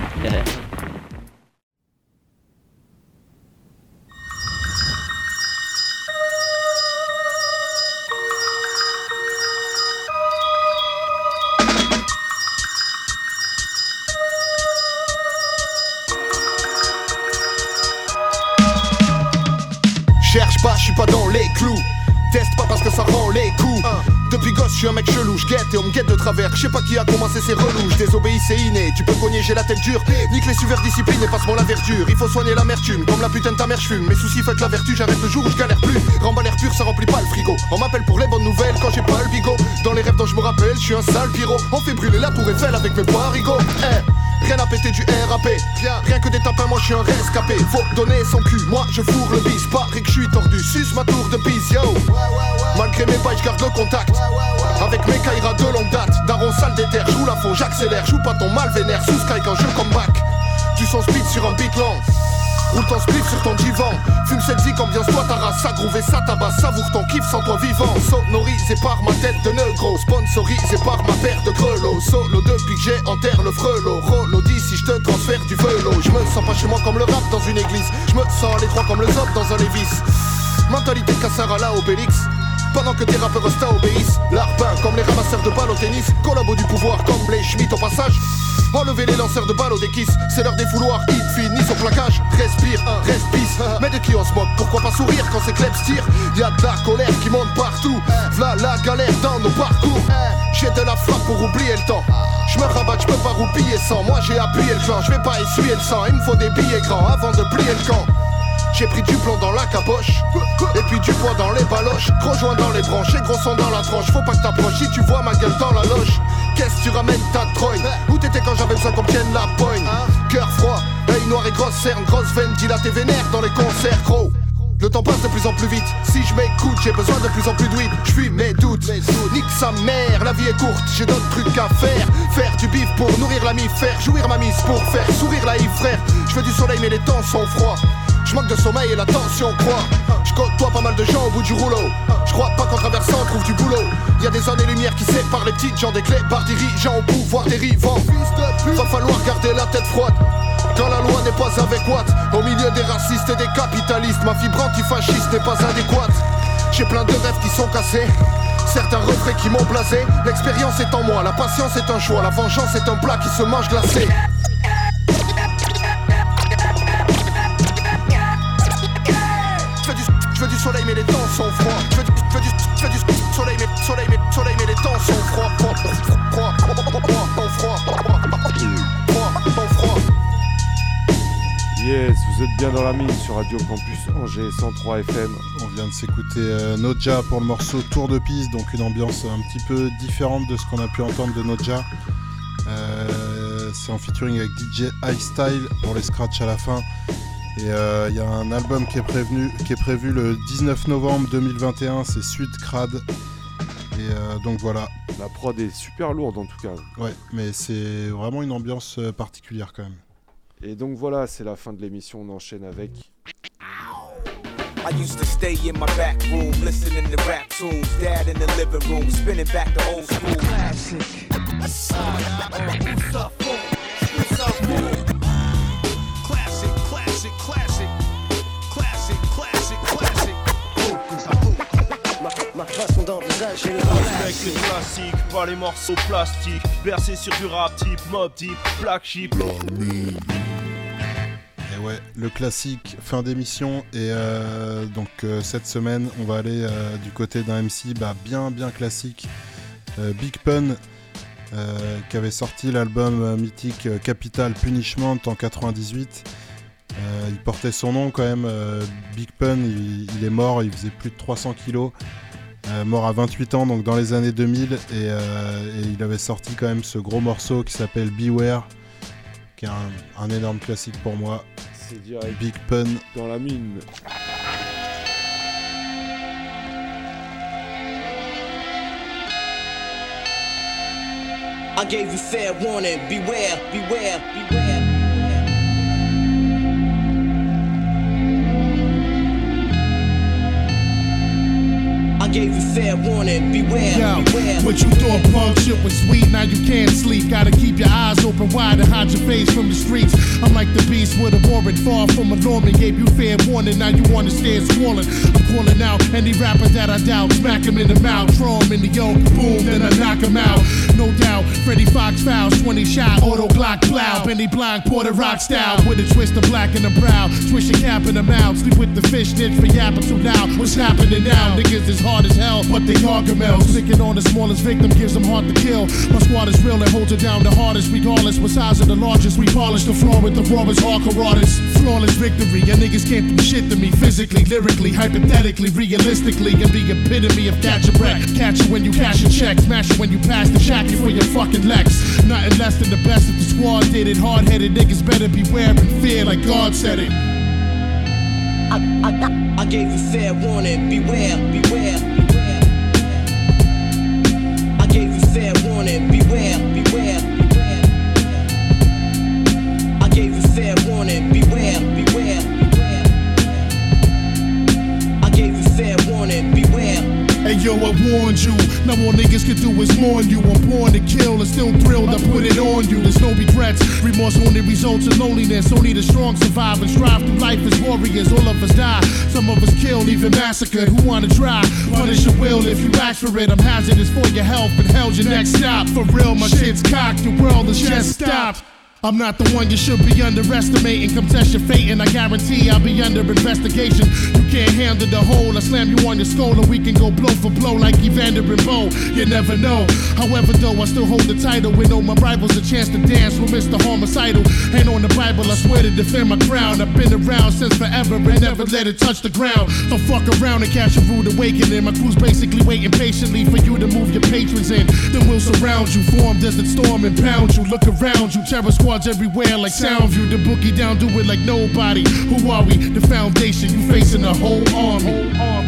Cherche pas, je suis pas dans les clous. Teste pas parce que ça rend les coups. Depuis gosse, je suis un mec chelou, je guette et on me guette de travers. Je sais pas qui a commencé ces relous, je désobéis, c'est inné. Tu peux cogner, j'ai la tête dure. Nique les suiveurs discipline et passe-moi la verdure. Il faut soigner l'amertume, comme la putain de ta mère, je fume. Mes soucis faites la vertu, j'arrête le jour où je galère plus. Remballe l'air pur, ça remplit pas le frigo. On m'appelle pour les bonnes nouvelles quand j'ai pas le bigot. Dans les rêves dont je me rappelle, je suis un sale pyro. On fait brûler la tour Eiffel avec mes parigots. Eh, rien à péter du R A P. Rien que des tapins, moi je suis un rescapé. Faut donner son cul, moi je fourre le bis. Pareil que je suis tordu, suce ma tour de bise, yo. Malgré mes bails, je garde le contact. Avec mes Kaira de longue date. Daron sale d'éther, joue la faux, j'accélère. Joue pas ton mal vénère, sous Sky quand je comeback. Tu sens speed sur un beat lent. Roule ton split sur ton divan. Fume cette zik, ambiance-toi ta race. Ça groove et ça tabasse, savoure ton kiff sans toi vivant. Sonorisé par ma tête de negro, sponsorisé par ma paire de grelots. Solo depuis que j'ai enterre le frelot. Rollo dit si je te transfère du velo. Je me sens pas chez moi comme le rap dans une église. Je me sens à l'étroit comme le zop dans un Lévis. Mentalité de casseur à la Obélix. Pendant que tes rappeurs resta obéissent. L'arpin comme les ramasseurs de balles au tennis. Collabo du pouvoir comme les Schmitt au passage. Enlevez les lanceurs de balles au déquiss. C'est l'heure des fouloirs, hit finissent au plaquage. Respire, respire, mais de qui on se moque? Pourquoi pas sourire quand ces clubs tirent? Y'a de la colère qui monte partout. V'là la galère dans nos parcours. J'ai de la frappe pour oublier le temps. J'me rabatte, j'peux pas roupiller sans. Moi j'ai appuyé le clan, j'vais pas essuyer le sang. Il me faut des billets grands avant de plier le camp. J'ai pris du plomb dans la caboche. Et puis du poids dans les baloches. Gros joint dans les branches et gros son dans la tranche. Faut pas que t'approches si tu vois ma gueule dans la loge. Qu'est-ce que tu ramènes ta trogne? Où t'étais quand j'avais besoin qu'on tienne la poigne? Cœur froid, œil noir et grosse cerne. Grosse veine dilatée vénère dans les concerts gros. Le temps passe de plus en plus vite. Si je m'écoute, j'ai besoin de plus en plus de weed. J'fuis mes doutes, nique sa mère. La vie est courte, j'ai d'autres trucs à faire. Faire du bif pour nourrir la mif. Faire jouir ma mise pour faire sourire la hive frère. Je veux du soleil mais les temps sont froids. Je manque de sommeil et la tension croît. Je côtoie pas mal de gens au bout du rouleau. Je crois pas qu'en traversant on trouve du boulot. Y'a des années-lumière qui séparent les petites gens des clés par dirigeants au pouvoir dérivant. Va falloir garder la tête froide quand la loi n'est pas avec Watt. Au milieu des racistes et des capitalistes, ma fibre antifasciste n'est pas adéquate. J'ai plein de rêves qui sont cassés, certains refrains qui m'ont blasé. L'expérience est en moi, la patience est un choix. La vengeance est un plat qui se mange glacé. Je veux du soleil mais les temps sont froids. Je veux du, je veux du, je veux du soleil mais soleil mais soleil mais les temps sont froids. Froid, froid, froid, froid, froid, froid, froid. Yes, vous êtes bien dans la mine sur Radio Campus Angers cent trois F M. On vient de s'écouter euh, Noja pour le morceau Tour de piste, donc une ambiance un petit peu différente de ce qu'on a pu entendre de Noja. Euh, c'est en featuring avec D J Highstyle pour les scratchs à la fin. Et il euh, y a un album qui est, prévenu, qui est prévu le dix-neuf novembre deux mille vingt et un, c'est Suite Crade. Et euh, donc voilà. La prod est super lourde en tout cas. Ouais, mais c'est vraiment une ambiance euh, particulière quand même. Et donc voilà, c'est la fin de l'émission, on enchaîne avec... I used to stay in my back room, listening to rap tunes. Dad in the living room, spinning back the old school. Classic. Classic, classic, classic. Classic, classic, classic. Ma façon d'envisager le Respecte les classiques, pas les morceaux plastiques. Bercé sur du rap type, mob type, black sheep. Et ouais, le classique, fin d'émission. Et euh, donc euh, cette semaine, on va aller euh, du côté d'un M C bah, bien bien classique, euh, Big Pun, euh, qui avait sorti l'album euh, mythique euh, Capital Punishment en quatre-vingt-dix-huit. Euh, il portait son nom quand même, euh, Big Pun, il, il est mort, il faisait plus de trois cents kilos, euh, mort à vingt-huit ans, donc dans les années deux mille, et, euh, et il avait sorti quand même ce gros morceau qui s'appelle Beware, qui est un, un énorme classique pour moi. C'est direct. Big Pun dans la mine. I gave you fair warning, beware, beware, beware. I gave you fair warning, beware, Yo, beware. what you thought punk shit was sweet, now you can't sleep. Gotta keep your eyes open wide and hide your face from the streets. I'm like the beast with a warrant, far from a Norman. Gave you fair warning, now you wanna stand swollen. I'm calling out any rapper that I doubt. Smack him in the mouth, throw him in the yoke, boom, then I knock him out. No doubt, Freddie Fox fouls, twenty shot, auto Glock plow. Benny Blanc, Porter Rock style, with a twist of black in the brow. Swish a cap in the mouth, sleep with the fish ditch for yapping too loud. What's happening now? Niggas is hard as hell, but they gargamels. Picking on the smallest victim gives them hard to kill. My squad is real and holds it down the hardest. Regardless, what size of the largest, we polish the floor with the rawest hardcore artists. Flawless victory, your niggas can't do shit to me. Physically, lyrically, hypothetically, realistically, and the epitome of catch a wreck. Catch you when you cash a check, smash you when you pass the shack for your fucking Lex. Nothing less than the best if the squad did it. Hard-headed niggas better beware and fear like God said it. I, I, I gave you fair warning, beware, beware, beware. I gave you fair warning, beware, beware, beware. I gave you fair warning, beware, beware, beware. I gave you fair warning, beware. Hey yo, I warned you. Now all niggas can do is mourn you. I'm born to kill and still thrilled I put it on you. There's no regrets. Remorse only results in loneliness. Only the strong survive and strive through life as warriors. All of us die. Some of us killed, even massacred. Who wanna try? Punish your will if you ask for it. I'm hazardous for your health and hell's your next stop. For real, my shit's cocked. Your world is just stopped. I'm not the one you should be underestimating. Come test your fate and I guarantee I'll be under investigation. You can't handle the whole. I slam you on your skull and we can go blow for blow like Evander and Bo. You never know. However though, I still hold the title. We know my rivals a chance to dance with Mister Homicidal. Ain't on the Bible, I swear to defend my crown. I've been around since forever and never let it touch the ground. Don't fuck around and catch a rude awakening. My crew's basically waiting patiently for you to move your patrons in. Then we'll surround you, form desert storm and pound you. Look around you, terror squad everywhere like Soundview. The boogie down, do it like nobody. Who are we? The foundation. You facing a whole army.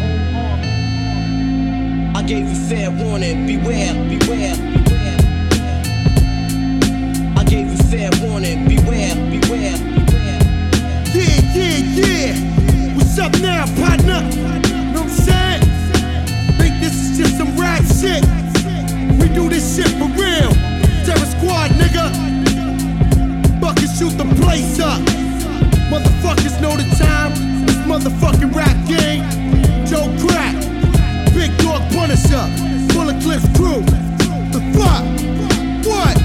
I gave you fair warning, beware, beware, beware. I gave you fair warning, beware, beware, beware. Yeah, yeah, yeah. What's up now, partner? Know what I'm saying? Think this is just some rap shit? We do this shit for real. Terror Squad, nigga. Fucking shoot the place up. Motherfuckers know the time. This motherfucking rap game. Joe Crack, Big Dog Punisher, Bullet Clips Crew. The fuck? What?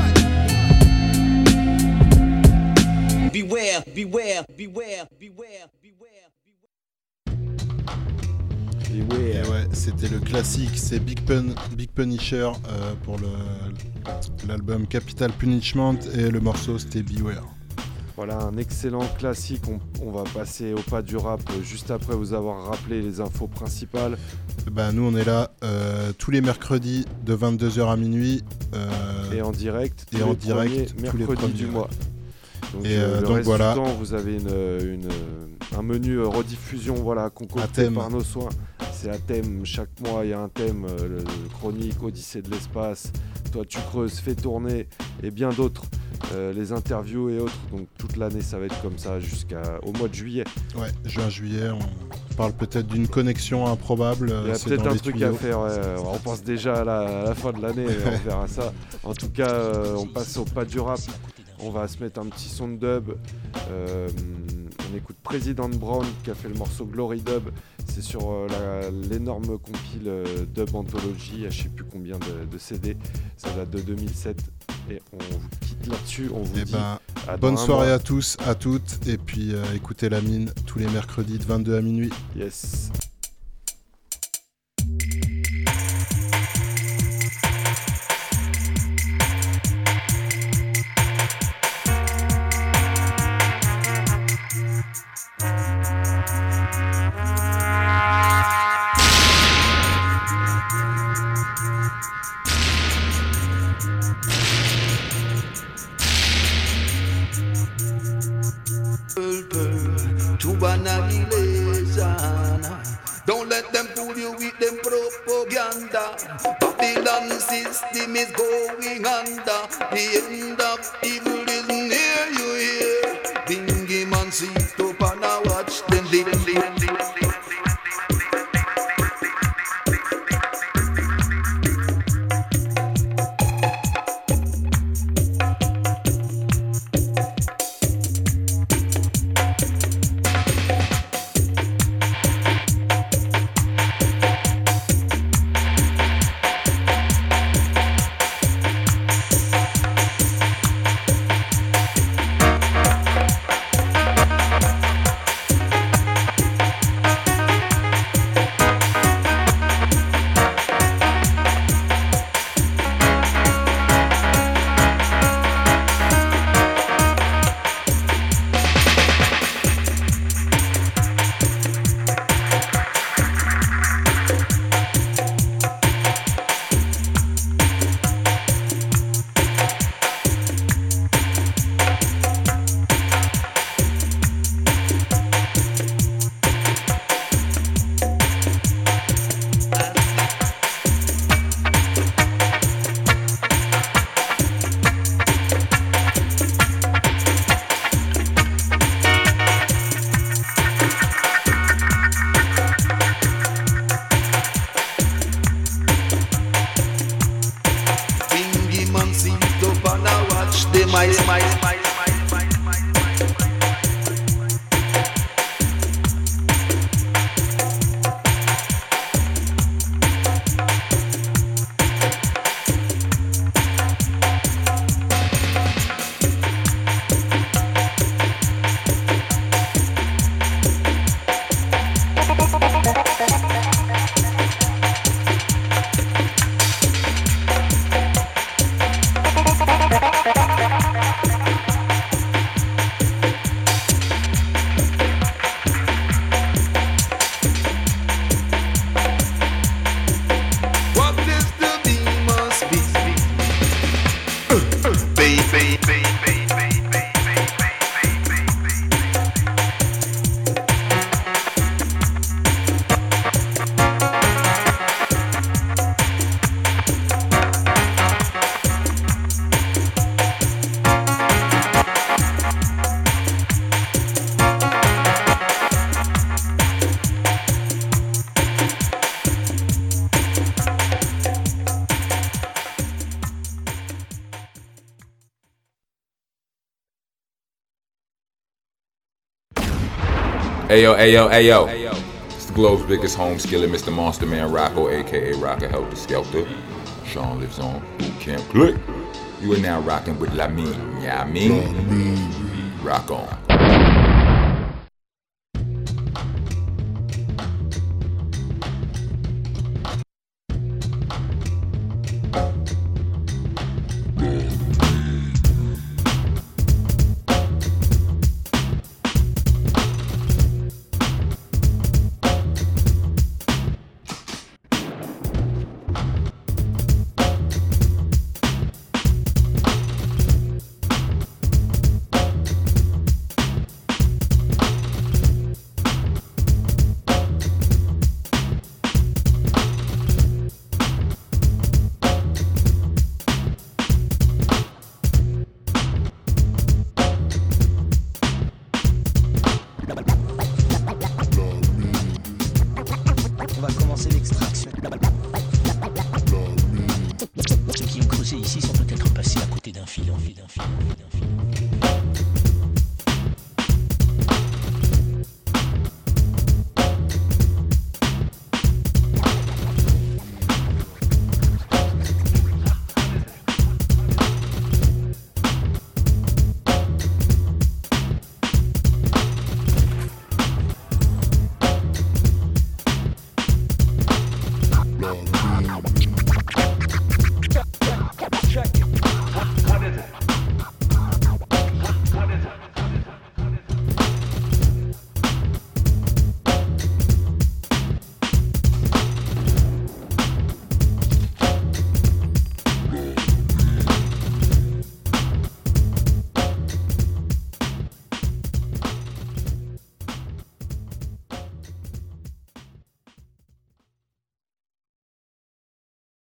Beware, beware, beware, beware, beware. Et ouais, ouais, c'était le classique, c'est Big Pun, Big Punisher euh, pour le, l'album Capital Punishment et le morceau c'était Beware. Voilà un excellent classique, on, on va passer au pas du rap juste après vous avoir rappelé les infos principales. Bah, nous on est là euh, tous les mercredis de vingt-deux heures à minuit. Euh, et en direct, et en direct tous les mercredis du mois. Donc, et euh, euh, le donc reste voilà. du temps, vous avez une, une, un menu euh, rediffusion voilà, concocté par nos soins. C'est à thème, chaque mois il y a un thème, euh, le, le chronique, Odyssée de l'espace, Toi tu creuses, fais tourner et bien d'autres, euh, les interviews et autres. Donc toute l'année ça va être comme ça jusqu'au mois de juillet. Ouais, juin-juillet, on parle peut-être d'une connexion improbable. Il y a c'est peut-être dans un les truc tuyaux. à faire, ouais. On pense déjà à la, à la fin de l'année, on verra ça. En tout cas, euh, on passe au pas du rap. On va se mettre un petit son de dub. Euh, on écoute President Brown qui a fait le morceau Glory Dub. C'est sur euh, la, l'énorme compile euh, Dub Anthology, à je sais plus combien de, de C D. Ça date de deux mille sept. Et on vous quitte là-dessus. On vous Eh dit ben, à bonne dans un soirée mois. à tous, à toutes. Et puis euh, écoutez La Mine tous les mercredis de vingt-deux à minuit. Yes. Don't let them fool you with them propaganda. Babylon system is going under. The end of evil is near you here. Bingy man sit up and I watch them live, live, live, live. Ayo, ayo, ayo. It's the globe's biggest home skillet, Mister Monster Man Rocco, aka Rocker Helter Skelter. Sean lives on Boot Camp Click. You are now rocking with La Mine, yeah, I mean? Rock on. passés ici sont peut-être passés à côté d'un filon, d'un filon, d'un filon.